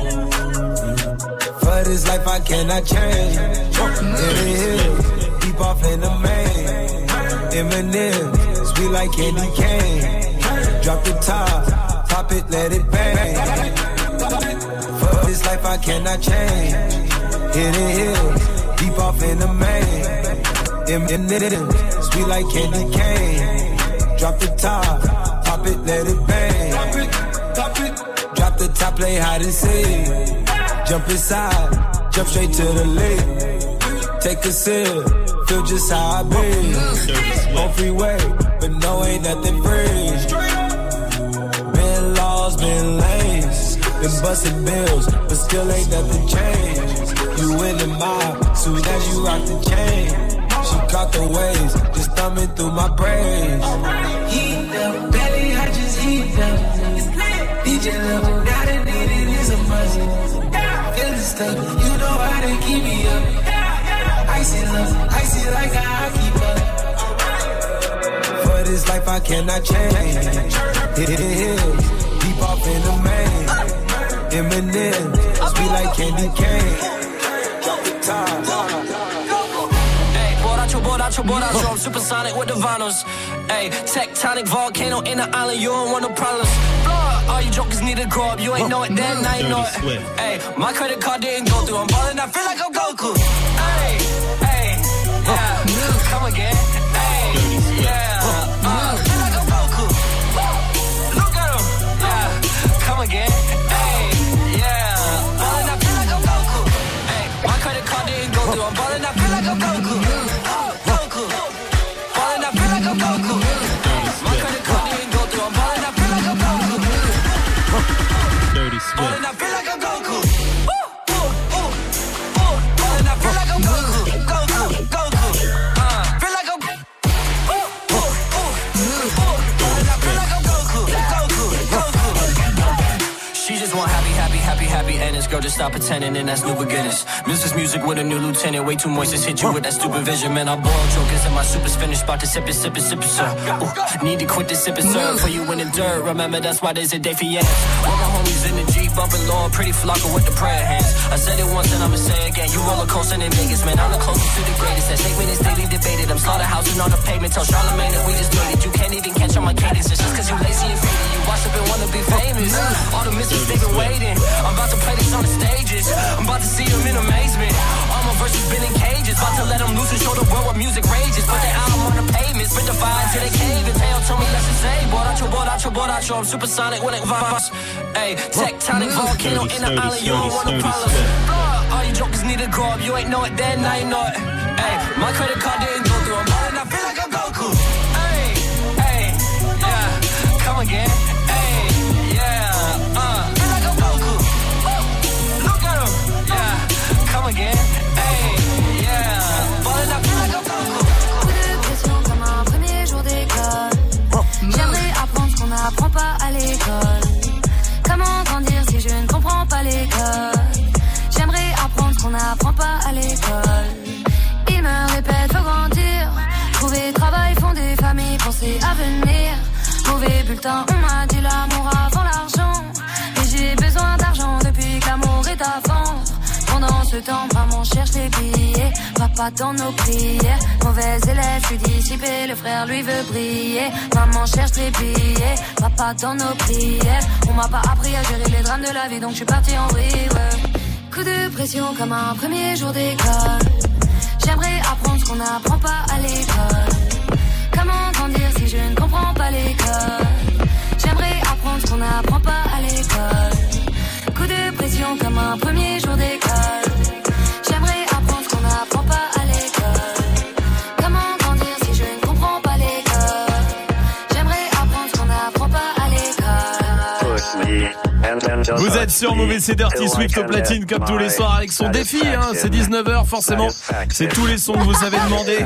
For this life I cannot change. In the hill, deep off in the main. Eminem, sweet like candy cane. Drop the top, pop it, let it bang. For this life I cannot change. In the hill, deep off in the main. Eminem, sweet like candy cane. Drop the top, pop it, let it bang. Drop the top, play hide and seek. Jump inside, jump straight to the lake. Take a sip, feel just how I be. On freeway, but no, ain't nothing free. Been lost, been lanes. Been busting bills, but still ain't nothing changed. You in the mob, soon as you rock the chain. She caught the waves, just thumbing through my braids. Heat up, belly, I just heat up. DJ level, got it, need it, is a must. Feeling stuck, you know how to keep me up. Icy love, icy like a hockey puck. For this life I cannot change. Hit it hill, deep off in the main. Eminem, sweet like candy cane. Drop the top. Borracho, I'm supersonic with the vinyls. Ayy, tectonic volcano in the island, you don't want no problems. All you jokers need to grow up, you ain't know it then, now you know it. Ayy, my credit card didn't go through, I'm ballin', I feel like I'm Goku. Ayy, yeah, come again. Ayy, yeah, feel like I'm Goku. Look at him, yeah, come again. Ayy, yeah, ballin', I feel like I'm Goku. Ayy, my credit card didn't go through, I'm ballin', I feel like I'm Goku. Ballin', I feel like I'm Goku. My credit card didn't go through, I'm ballin', I feel like I'm Goku. Dirty Swift. happy, and this girl just stop pretending, and that's new beginners. This is music with a new lieutenant, way too moist, just hit you with that stupid vision. Man, I boil jokers and my super's finished, about to sip it, sir. Ooh, need to quit this sipping, sir, for you in the dirt. Remember, that's why there's a day for yes. All my homies in the Jeep, bumping low, pretty flocker with the prayer hands. I said it once and I'ma say it again. You roller coaster in Vegas, man, I'm the closest to the greatest. That statement is daily debated. I'm slaughterhousing on the pavement, tell Charlamagne that we just made it. You can't even catch on my cadence, it's just cause you lazy and faded. You watch up and wanna be famous. All the misses, they've been waiting. I'm about to play this on the stages. I'm about to see them in amazement. All my verses been in cages. About to let them loose and show the world what music rages. Put their album on the pavement, spit the fire till they cave. And Tail told me let's just say, board out your, I'm supersonic when it vibes. Ayy, tectonic volcano in the island, you don't want no problems. All you jokers need to grow up, you ain't know it then, now you know it. Ayy, my credit card didn't go through, I'm balling, I feel like I'm Goku. Ayy, yeah, come again. Ayy, yeah, feel like I'm Goku. Look at him, yeah, come again. Ayy, yeah, balling, I feel like I'm Goku. Coup de pression comme un premier jour d'école. J'aimerais apprendre ce qu'on n'apprend pas à l'école. Comment grandir si je ne comprends pas l'école? J'aimerais apprendre ce qu'on n'apprend pas à l'école. Ils me répètent faut grandir, trouver travail, fonder famille, penser à venir. Mauvais bulletin, on m'a dit l'amour avant l'argent. Et j'ai besoin d'argent depuis que l'amour est à vendre. Pendant ce temps, maman cherche les billets, papa dans nos prières. Mauvais élève, je suis dissipé, le frère lui veut briller. Maman cherche les billets, papa dans nos prières. On m'a pas appris à gérer les drames de la vie, donc je suis parti en vrille. Coup de pression comme un premier jour d'école. J'aimerais apprendre ce qu'on n'apprend pas à l'école. Comment grandir si je ne comprends pas l'école? J'aimerais apprendre ce qu'on n'apprend pas à l'école. Coup de pression comme un premier jour d'école. J'aimerais apprendre ce qu'on n'apprend pas à l'école. Comment grandir si je ne comprends pas l'école? J'aimerais apprendre ce qu'on n'apprend pas à l'école. Vous êtes sur Move, c'est Dirty Swift au platine comme tous les soirs avec son défi, hein, c'est 19h forcément, c'est tous les sons que vous avez demandé.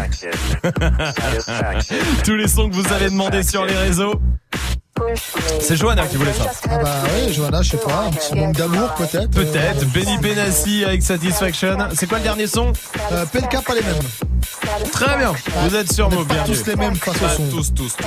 Tous les sons que vous avez demandé sur les réseaux. C'est Johanna qui voulait ça. Ah bah oui, Johanna, je sais pas, un petit manque d'amour peut-être. Peut-être, Benny Benassi avec Satisfaction. C'est quoi le dernier son? PLK, pas les mêmes. Très bien, vous êtes sur Move, bien tous les mêmes face au son. Tous.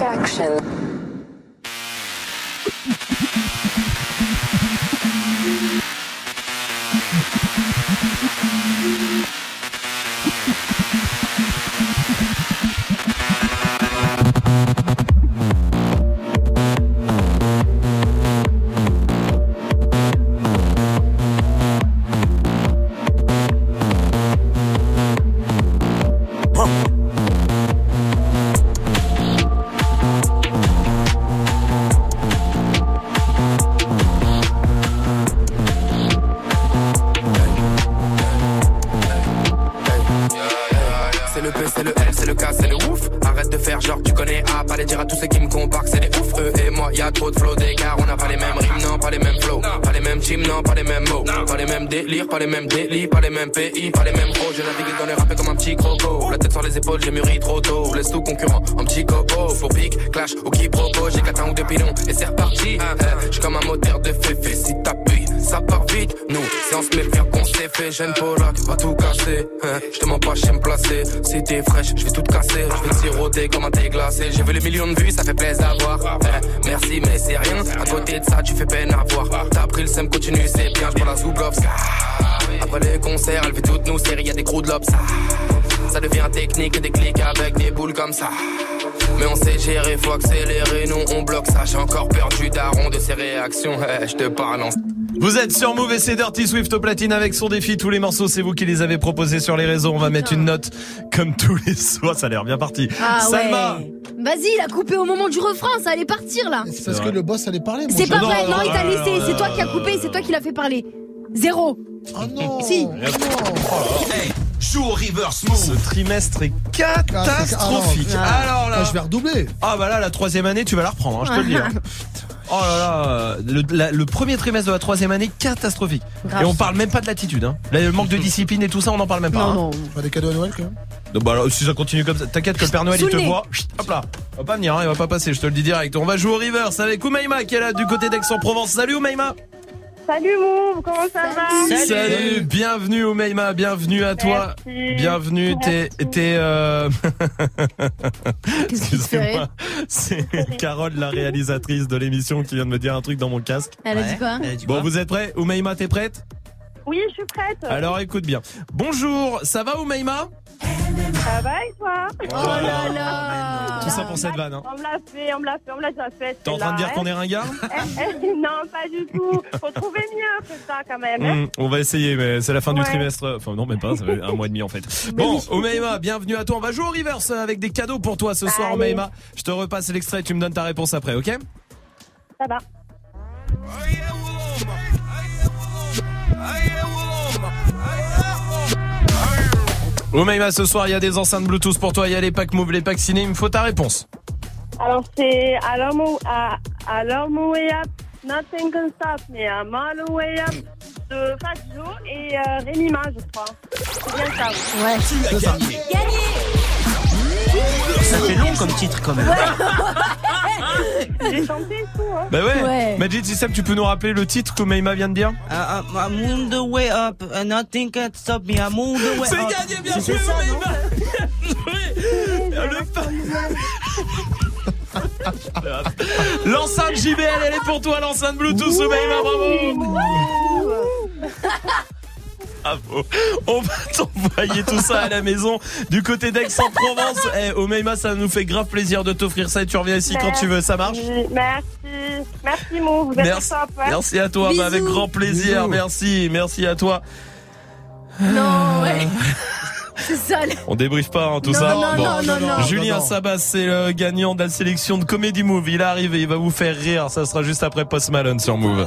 Pas les mêmes délits, pas les mêmes pays, pas les mêmes pros. Je navigue dans les rappels comme un petit croco. La tête sur les épaules, j'ai mûri trop tôt. Laisse tout concurrent, un petit copo. Pour pique, clash ou quiproquo. J'ai 4 ans ou 2 pilons et c'est reparti. J'suis comme un moteur de féfé. Si t'appuies, ça part vite. Nous, si on se met bien qu'on s'est fait. Jeune Polak, va tout casser. J'te mens pas, j'aime me placer. Si t'es fraîche, j'vais tout casser. J'vais siroter comme un thé glacé. J'ai vu les millions de vues, ça fait plaisir à voir. Merci, mais c'est rien. À côté de ça, tu fais peine à voir. T'as pris le seum, continue, c'est bien. J'prends la Zoublovska. Après les concerts, elle fait toutes nos séries, y'a des crews de lobes. Ça devient technique et des clics avec des boules comme ça. Mais on sait gérer, faut accélérer, nous on bloque ça. J'ai encore peur du daron de ses réactions, je te parle en... Vous êtes sur Move et c'est Dirty Swift au platine avec son défi. Tous les morceaux, c'est vous qui les avez proposés sur les réseaux. On va mettre une note comme tous les soirs. Ça a l'air bien parti. Ah Salma. Ouais. Vas-y, il a coupé au moment du refrain, ça allait partir là. C'est parce que le boss allait parler. C'est pas vrai, non, il t'a laissé. C'est toi qui as coupé, c'est toi qui l'as fait parler. 0. Oh non. Si. Joue au reverse move. Ce trimestre est catastrophique. Alors là, je vais redoubler. Ah bah là, la 3e année, tu vas la reprendre, hein, je te le dis. Hein. Oh là là, le premier trimestre de la 3e année, catastrophique. Grave. Et on parle même pas de l'attitude. Hein. Là, le manque de discipline et tout ça, on en parle même pas. Non. Pas des cadeaux à Noël quand même. Donc bah alors, si ça continue comme ça, t'inquiète que le Père Noël il te voit. Hop là, il va pas venir, hein, il va pas passer, je te le dis direct. On va jouer au reverse avec Oumaima qui est là du côté d'Aix-en-Provence. Salut Oumaima. Salut Mouv, comment ça va? Salut, bienvenue Oumaima, bienvenue à toi. Merci. Bienvenue, t'es Qu'est-ce qui se fait? Excusez-moi, c'est Carole, la réalisatrice de l'émission, qui vient de me dire un truc dans mon casque. Elle a dit quoi? Bon, vous êtes prêts? Oumaima, t'es prête? Oui, je suis prête. Alors écoute bien. Bonjour, ça va Oumaima? Ça va et toi? Oh là là. Tout ça pour cette vanne, hein. On me l'a déjà fait. T'es en train de dire qu'on est ringard? Non, pas du tout. Faut trouver mieux que ça quand même. On va essayer, mais c'est la fin du Ouais. trimestre. Enfin non, même pas, ça fait un mois et demi en fait. Bon, Oumaima, bienvenue à toi. On va jouer au reverse avec des cadeaux pour toi ce soir, Allez. Oumaima. Je te repasse l'extrait, tu me donnes ta réponse après, ok? Ça va. Oumaima, ce soir, il y a des enceintes Bluetooth pour toi. Il y a les packs Move, les packs ciné. Il me faut ta réponse. Alors c'est Alarm Way Up, Nothing Can Stop Me, I'm All the Way Up de Fat Joe et Rémi Ma, je crois. C'est bien ça. Ouais. Tu as gagné. Ça fait long comme titre quand même. J'ai chanté et tout, hein. Bah ouais. Majid System, tu peux nous rappeler le titre que Oumaima vient de dire? I'm on the way up, and nothing can stop me. I'm on the way C'est up. gagné, bien joué, Oumaima. L'enceinte JBL, elle est pour toi, l'enceinte Bluetooth, Oumaima, bravo. Bravo. On va t'envoyer tout ça à la maison du côté d'Aix-en-Provence. Oumaima, ça nous fait grave plaisir de t'offrir ça et tu reviens ici quand tu veux, ça marche? Merci Mou, vous êtes Merci. top. Ouais. Merci à toi, bah, avec grand plaisir. Merci à toi. Non, ouais. C'est sale. On débriefe pas tout Non, ça. non. Julien Sabas, c'est le gagnant de la sélection de Comedy Move. Il arrive et il va vous faire rire. Ça sera juste après Post Malone sur Move.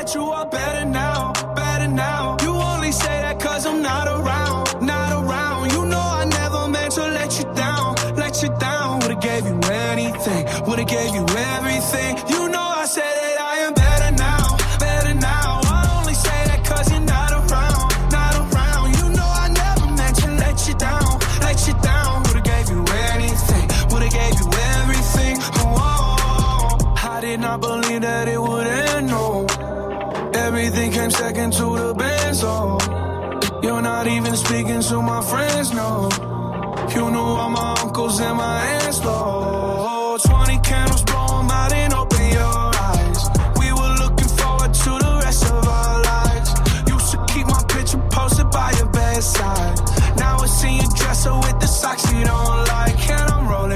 I believe that it would end, no. Everything came second to the best, oh. You're not even speaking to my friends, no. You knew all my uncles and my aunts, though. 20 candles, blow 'em out and open your eyes. We were looking forward to the rest of our lives. Used to keep my picture posted by your bedside. Now I see you dresser with the socks you don't like. And I'm rolling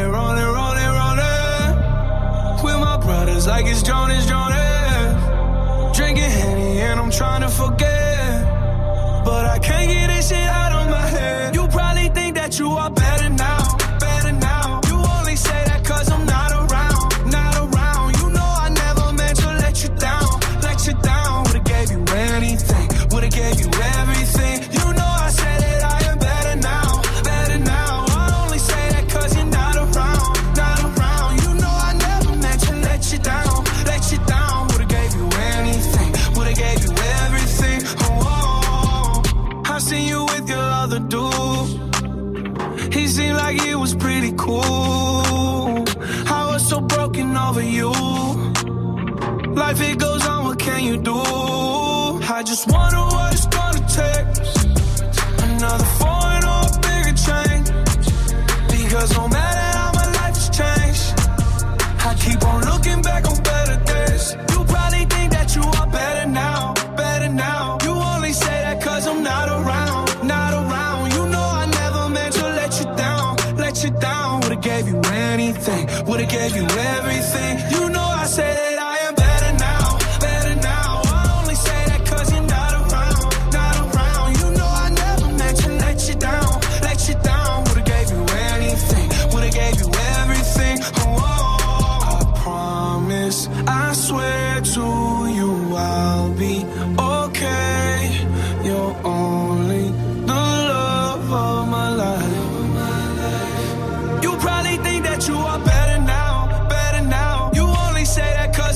with my brothers like it's Jonas. Drinking Henny and I'm trying to forget, but I can't get this shit out of my head. You probably think that you are better now. You only say that cause I'm not around. You know I never meant to let you down. Would've gave you anything, would've gave you everything. You know I said that I am better now. I only say that cause you're not around. You know I never meant to let you down. Would've gave you anything, would've gave you everything. I seen you with your other dude. He seemed like he was pretty cool. I was so broken over you. Life it goes on, what can you do? I just wonder what it's gonna take. Another foreign or a bigger change. Because no matter how my life has changed, I keep on looking back on better days. You probably think that you are better now. You only say that cause I'm not around. You know I never meant to let you down. Would've gave you anything, would've gave you everything. You know I say that I am better now. I only say that cause you're not around. You know I never meant to let you down. Would've gave you anything, would've gave you everything. I promise, I swear to you I'll be okay. You're only the love of my life. You probably think that you are better now. You only say that cause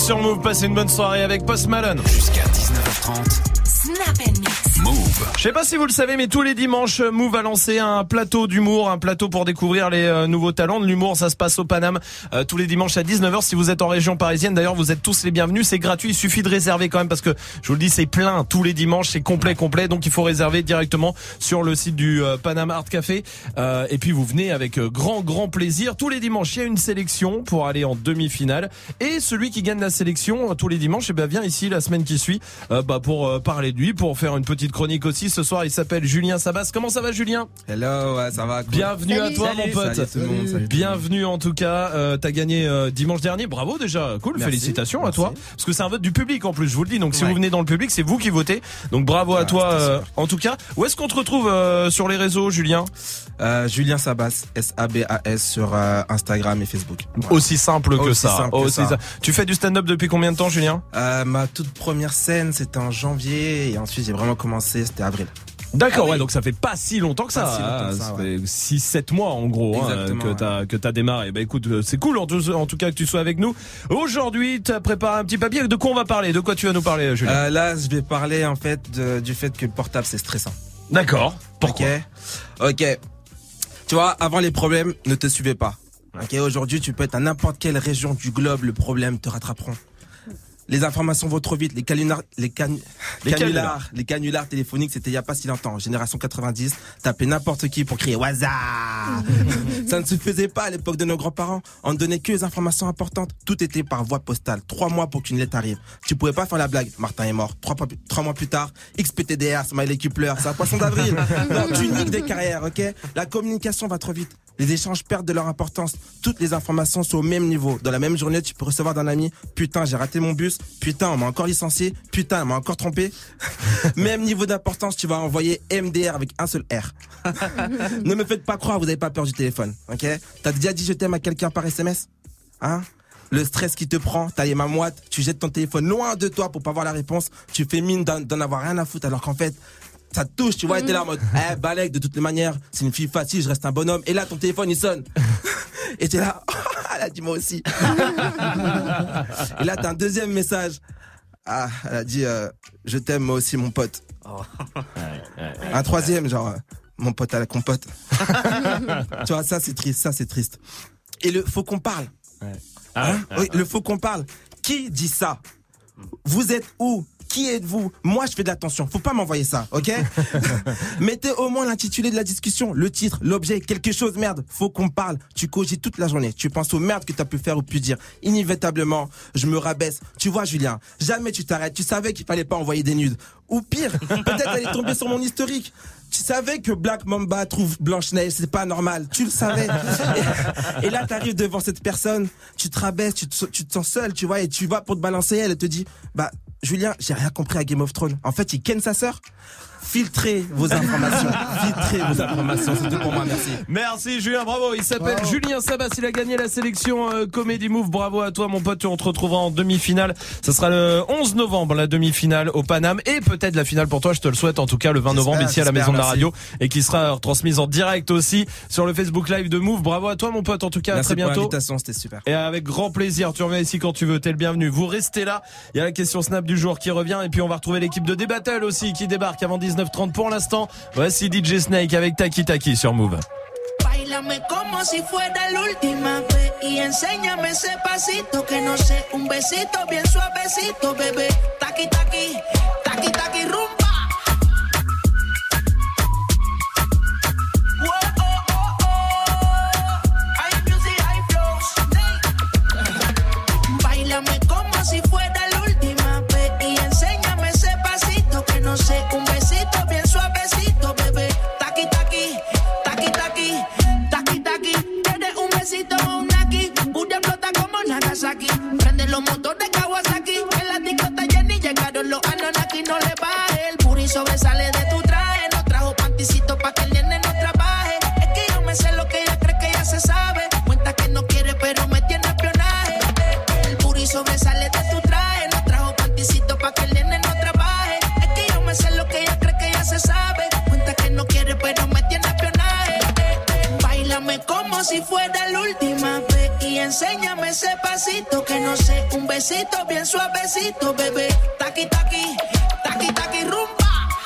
sur Move, passez une bonne soirée avec Post Malone. Jusqu'à 19h30. Snap and Mix. Move. Je sais pas si vous le savez, mais tous les dimanches, Move a lancé un plateau d'humour, un plateau pour découvrir les nouveaux talents de l'humour. Ça se passe au Paname tous les dimanches à 19h. Si vous êtes en région parisienne, d'ailleurs, vous êtes tous les bienvenus. C'est gratuit, il suffit de réserver quand même parce que je vous le dis, c'est plein tous les dimanches, c'est complet. Donc il faut réserver directement sur le site du Paname Art Café. Et puis vous venez avec grand plaisir. Tous les dimanches, il y a une sélection pour aller en demi-finale. Et celui qui gagne la sélection tous les dimanches, vient ici la semaine qui suit pour parler de lui, pour faire une petite chronique aussi. Ce soir, il s'appelle Julien Sabas. Comment ça va, Julien? Hello, ouais, ça va. Cool. Bienvenue à toi, mon pote. Salut tout le monde. Salut. Bienvenue en tout cas. T'as gagné dimanche dernier. Bravo déjà. Cool. Merci. Félicitations Merci. à toi. Parce que c'est un vote du public en plus. Je vous le dis. Donc si Ouais. vous venez dans le public, c'est vous qui votez. Donc bravo à toi. En tout cas, où est-ce qu'on te retrouve sur les réseaux, Julien? Julien Sabas, S-A-B-A-S sur Instagram et Facebook. Voilà. Aussi simple que Aussi ça. simple que ça. Tu fais du stand-up depuis combien de temps, Julien? Ma toute première scène, c'était en janvier et ensuite j'ai vraiment commencé, c'était avril. D'accord, ouais, donc ça fait pas si longtemps que ça. Pas si longtemps que ça, ça fait 6-7 mois en gros que t'as démarré. Bah écoute, c'est cool en tout cas que tu sois avec nous. Aujourd'hui, t'as préparé un petit papier. De quoi on va parler? De quoi tu vas nous parler, Julien? Là, je vais parler en fait du fait que le portable c'est stressant. D'accord. Pourquoi? Ok. Tu vois, avant les problèmes, ne te suivez pas. Ok, aujourd'hui, tu peux être à n'importe quelle région du globe, le problème te rattraperont. Les informations vont trop vite, les canulars téléphoniques, c'était il y a pas si longtemps. Génération 90, t'appelais n'importe qui pour crier Waza. Ça ne se faisait pas à l'époque de nos grands-parents. On ne donnait que les informations importantes. Tout était par voie postale. 3 mois pour qu'une lettre arrive. Tu pouvais pas faire la blague. Martin est mort. 3 mois plus tard, XPTDR, smiley qui pleure. C'est un poisson d'avril. Non, tu niques des carrières, ok? La communication va trop vite. Les échanges perdent de leur importance. Toutes les informations sont au même niveau. Dans la même journée, tu peux recevoir d'un ami, putain, j'ai raté mon bus, putain, on m'a encore licencié, putain, on m'a encore trompé. Même niveau d'importance, tu vas envoyer MDR avec un seul R. Ne me faites pas croire, vous n'avez pas peur du téléphone, ok? T'as déjà dit je t'aime à quelqu'un par SMS? Hein? Le stress qui te prend, t'as les mains moites, tu jettes ton téléphone loin de toi pour pas voir la réponse, tu fais mine d'en avoir rien à foutre alors qu'en fait, ça te touche, tu vois, et t'es là en mode, balèque, de toutes les manières, c'est une fille facile, je reste un bonhomme, et là, ton téléphone, il sonne. Et t'es là, elle a dit moi aussi. Et là, t'as un deuxième message. Ah, elle a dit, je t'aime moi aussi, mon pote. Un troisième, genre, mon pote à la compote. Tu vois, ça, c'est triste. Et le faut qu'on parle. Oui, le faut qu'on parle. Qui dit ça? Vous êtes où? Qui êtes-vous? Moi, je fais de l'attention. Faut pas m'envoyer ça, ok? Mettez au moins l'intitulé de la discussion, le titre, l'objet, quelque chose, merde. Faut qu'on parle. Tu cogites toute la journée. Tu penses aux merdes que t'as pu faire ou pu dire. Inévitablement, je me rabaisse. Tu vois, Julien, jamais tu t'arrêtes. Tu savais qu'il fallait pas envoyer des nudes. Ou pire, peut-être elle est tombée sur mon historique. Tu savais que Black Mamba trouve Blanche-Neige, c'est pas normal. Tu le savais. Et là, t'arrives devant cette personne, tu te rabaisses, tu te sens seul, tu vois, et tu vas pour te balancer, elle te dit, bah, Julien, j'ai rien compris à Game of Thrones. En fait, il ken sa sœur. Filtrez vos informations. C'est tout pour moi, merci. Merci Julien, bravo. Il s'appelle Julien Sabas, il a gagné la sélection Comedy Move. Bravo à toi mon pote, on te retrouvera en demi-finale. Ça sera le 11 novembre, la demi-finale au Paname. Et peut-être la finale pour toi, je te le souhaite en tout cas, le 20 novembre ici à la Maison de la Radio. Et qui sera retransmise en direct aussi sur le Facebook Live de Move. Bravo à toi mon pote, en tout cas, merci à très bientôt. Pour l'invitation, c'était super. Et avec grand plaisir, tu reviens ici quand tu veux, t'es le bienvenu. Vous restez là, il y a la question Snap du jour qui revient. Et puis on va retrouver l'équipe de D-Battle aussi qui débarque avant 19h30 pour l'instant. Voici DJ Snake avec Taki Taki sur Move. Báilame como si fuera la última vez y enséñame ese pasito que no sé, un besito bien suavecito, bebé. Taki taki, taki taki rumba. Báilame como si fuera la última vez y enséñame ese pasito que no sé, un besito bien suavecito, bebé. Taki taki, taki taki, taki taki. Tienes un besito o un aquí, pura explota como Nagasaki. Prende los motores Kawasaki, en la disco está llena y llegaron los Anunnaki. No le baje, el puri sobresale de tu traje. No trajo panticito pa' que el nene no trabaje. Es que yo me sé lo que ella cree que ya se sabe. Cuenta que no quiere pero me tiene espionaje. El puri sobresale de tu traje. No trajo panticito pa' que el nene no trabaje. Es que yo me sé lo que ella cree que ya se sabe. Cuenta que no quiere pero me tiene espionaje. Báilame como si fuera la última vez y y enséñame ese pasito que no sé, un besito bien suavecito, bebé. Taqui, taqui, taqui, taqui, rumba.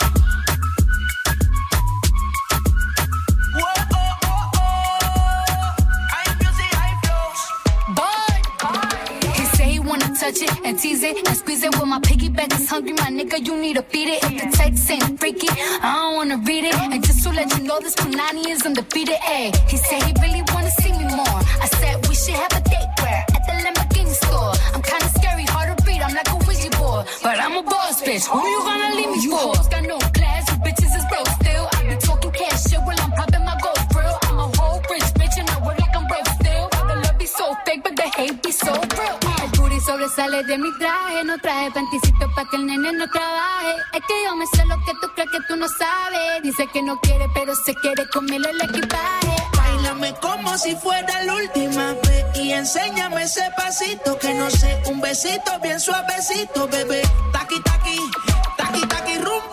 Touch it and tease it and squeeze it. When my piggyback is hungry, my nigga, you need to feed it. If the text ain't freaky, I don't wanna read it. And just to let you know, this Punani is undefeated. Ayy, he said he really wanna see me more. I said we should have a date where at the Lamborghini store. I'm kinda scary, hard to read. I'm like a Ouija board, but I'm a boss bitch. Who you gonna leave me for? You got no class, you bitches is broke still. I be talking cash shit while I'm popping my gold grill. I'm a whole rich bitch and I work like I'm broke still. The love be so fake, but the hate be so real. Sobresale de mi traje, no traje panticito pa' que el nene no trabaje. Es que yo me sé lo que tú crees que tú no sabes. Dice que no quiere, pero se quiere comerle el equipaje. Báilame como si fuera la última vez y enséñame ese pasito que no sé, un besito bien suavecito, bebé. Taqui, taqui, taqui, taqui, rumba.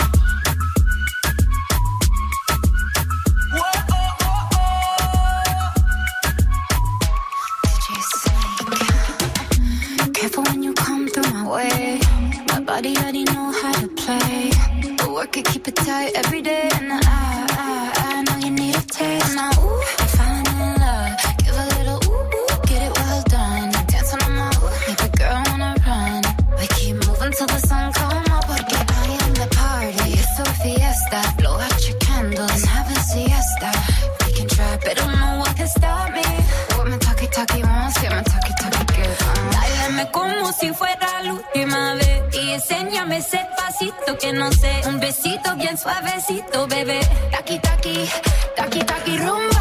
When you come through my way, my body already know how to play. But work it, keep it tight every day. And I know you need a taste. Now, ooh, I'm falling in love. Give a little ooh, get it well done. Dancing on my ooh, make a girl wanna run. We keep moving till the sun come up. Porque I am the party. It's a fiesta. Blow out your candles and have a siesta. We can try, but don't know what can stop me. What my talkie wants, get my talkie good. Dáleme como si fuera la última vez y enséñame ese pasito que no sé, un besito bien suavecito, bebé. Taqui, taqui, taqui, taqui, rumba.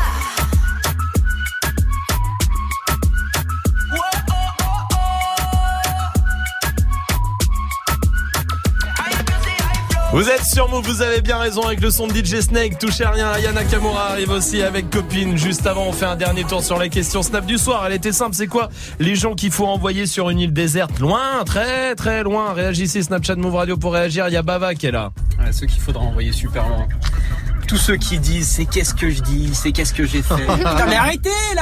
Vous êtes sur Move, vous avez bien raison avec le son de DJ Snake. Touchez à rien, Aya Nakamura arrive aussi avec Copine. Juste avant, on fait un dernier tour sur la question Snap du soir. Elle était simple, c'est quoi les gens qu'il faut envoyer sur une île déserte? Loin, très très loin. Réagissez, Snapchat Move Radio pour réagir. Il y a Bava qui est là. Ouais, ceux qu'il faudra envoyer super loin. Tous ceux qui disent c'est qu'est-ce que je dis, c'est qu'est-ce que j'ai fait. Putain, mais arrêtez là.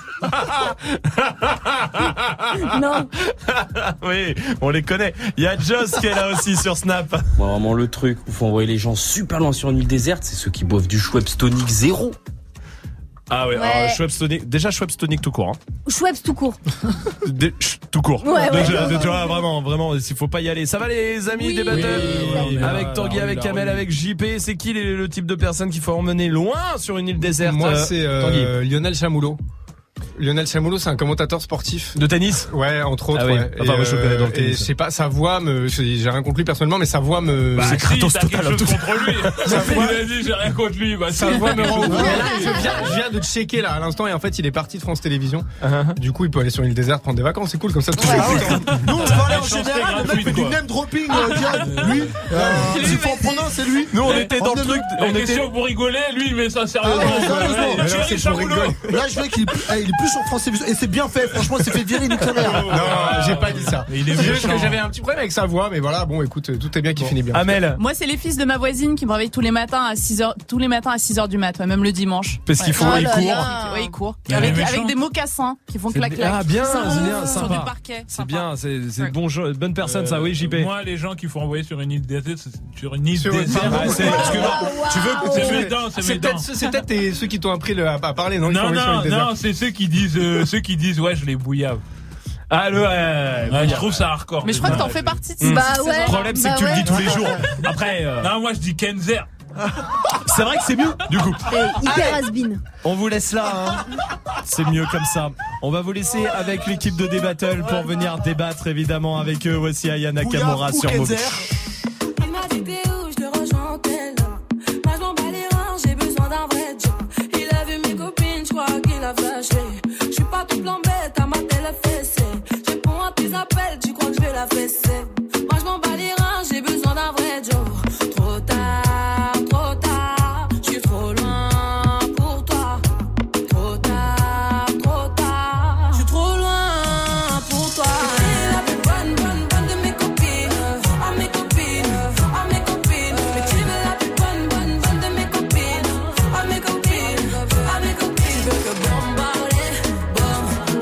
Non. Oui, on les connaît. Il y a Joss qui est là aussi sur Snap. Bon, vraiment le truc où il faut envoyer les gens super loin sur une île déserte, c'est ceux qui boivent du Schweppes Tonic 0. Ah ouais, ouais. Schweppes Tonic, déjà Schweppes Tonic tout court. Schweppes tout court. Tout court. Ouais, déjà, tu vois, vraiment, s'il faut pas y aller. Ça va les amis des battles avec Tanguy, avec Kamel, avec JP. C'est qui le type de personne qu'il faut emmener loin sur une île déserte? Moi, c'est Lionel Chamoulot. Lionel Chamoulot, c'est un commentateur sportif. De tennis? Ouais, entre autres. Ah oui. Ouais. Enfin, moi, je connais dans le tennis. Et je sais pas, sa voix j'ai rien contre lui personnellement, mais sa voix me. C'est Kratos total. Quelque chose contre lui. Vas-y, j'ai rien contre lui. Sa voix me rend. Je viens de checker là à l'instant et en fait, il est parti de France Télévisions. Du coup, il peut aller sur une île déserte prendre des vacances. C'est cool comme ça. Nous, on parlait en général. Le mec fait du name dropping. Lui, s'il faut en prendre un, c'est lui. Nous, on était dans le truc. On question pour rigoler. Lui, mais ça sérieusement. Là, je vois qu'il est plus sur France Télévisions. Et c'est bien fait, franchement, il s'est fait virer une tonnerre. Non, j'ai pas dit ça. Il est juste que j'avais un petit problème avec sa voix, mais voilà, bon, écoute, tout est bien qui finit bien. Amel. Moi, c'est les fils de ma voisine qui me réveillent tous les matins à 6h du mat, même le dimanche. Parce qu'il faut, ils courent. Avec des mocassins qui font clac-clac. Ah, bien, c'est bien, sur sympa. du parquet. C'est bien, c'est bonne personne, ça, oui, JP. Moi, les gens qu'il faut envoyer sur une île déserte, sur une île déserte. Tu veux, c'est médant, c'est peut-être ceux qui t'ont appris à parler, non? Non, c'est ceux qui disent, ouais, je les bouillave. Ah, je trouve ça hardcore. Mais je crois que t'en fais partie de Bah ouais. Le problème, c'est que tu le dis tous les jours. Après, non, moi, je dis Kenzer. C'est vrai que c'est mieux, du coup. Hyper has-been. On vous laisse là, hein. C'est mieux comme ça. On va vous laisser avec l'équipe de D-Battle pour venir débattre, évidemment, avec eux. Voici Aya Nakamura sur Move. Il m'a dit t'es où, je te rejoins, t'es là. Moi, je m'en bats les reins, j'ai besoin d'un vrai job. Il a vu mes copines, je crois qu'il a flashé. Je suis pas tout plan bête, à ma télé fessée. Je réponds à tes appels, tu crois que je vais la fesser. Moi, je m'en bats les reins, j'ai besoin d'un vrai job. Trop tard, je suis trop loin pour toi. Trop tard, je suis trop loin pour toi. T'es la plus bonne de mes copines. À mes copines. Mais tu veux la plus bonne de mes copines. À mes copines. Tu veux que bombarder,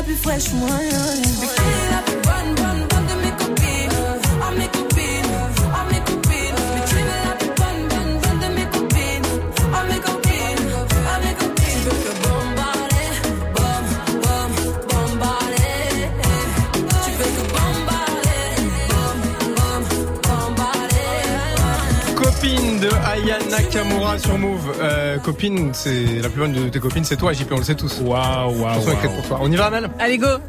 plus fraîche, moi. Tu veux qui est la plus bonne de mes copines. Ah, mes copines, ah, mes copines. Mais tu es la plus bonne de mes copines. Ah, mes copines, ah, mes copines. Tu veux que bombarder, bombarder. Tu veux que bombarder, bombarder. Copine de Aya Nakamura sur Move. Copine, c'est la plus bonne de tes copines, c'est toi, JP, on le sait tous. Waouh. Attention, inquiète pour toi. On y va, Amel? Allez, go.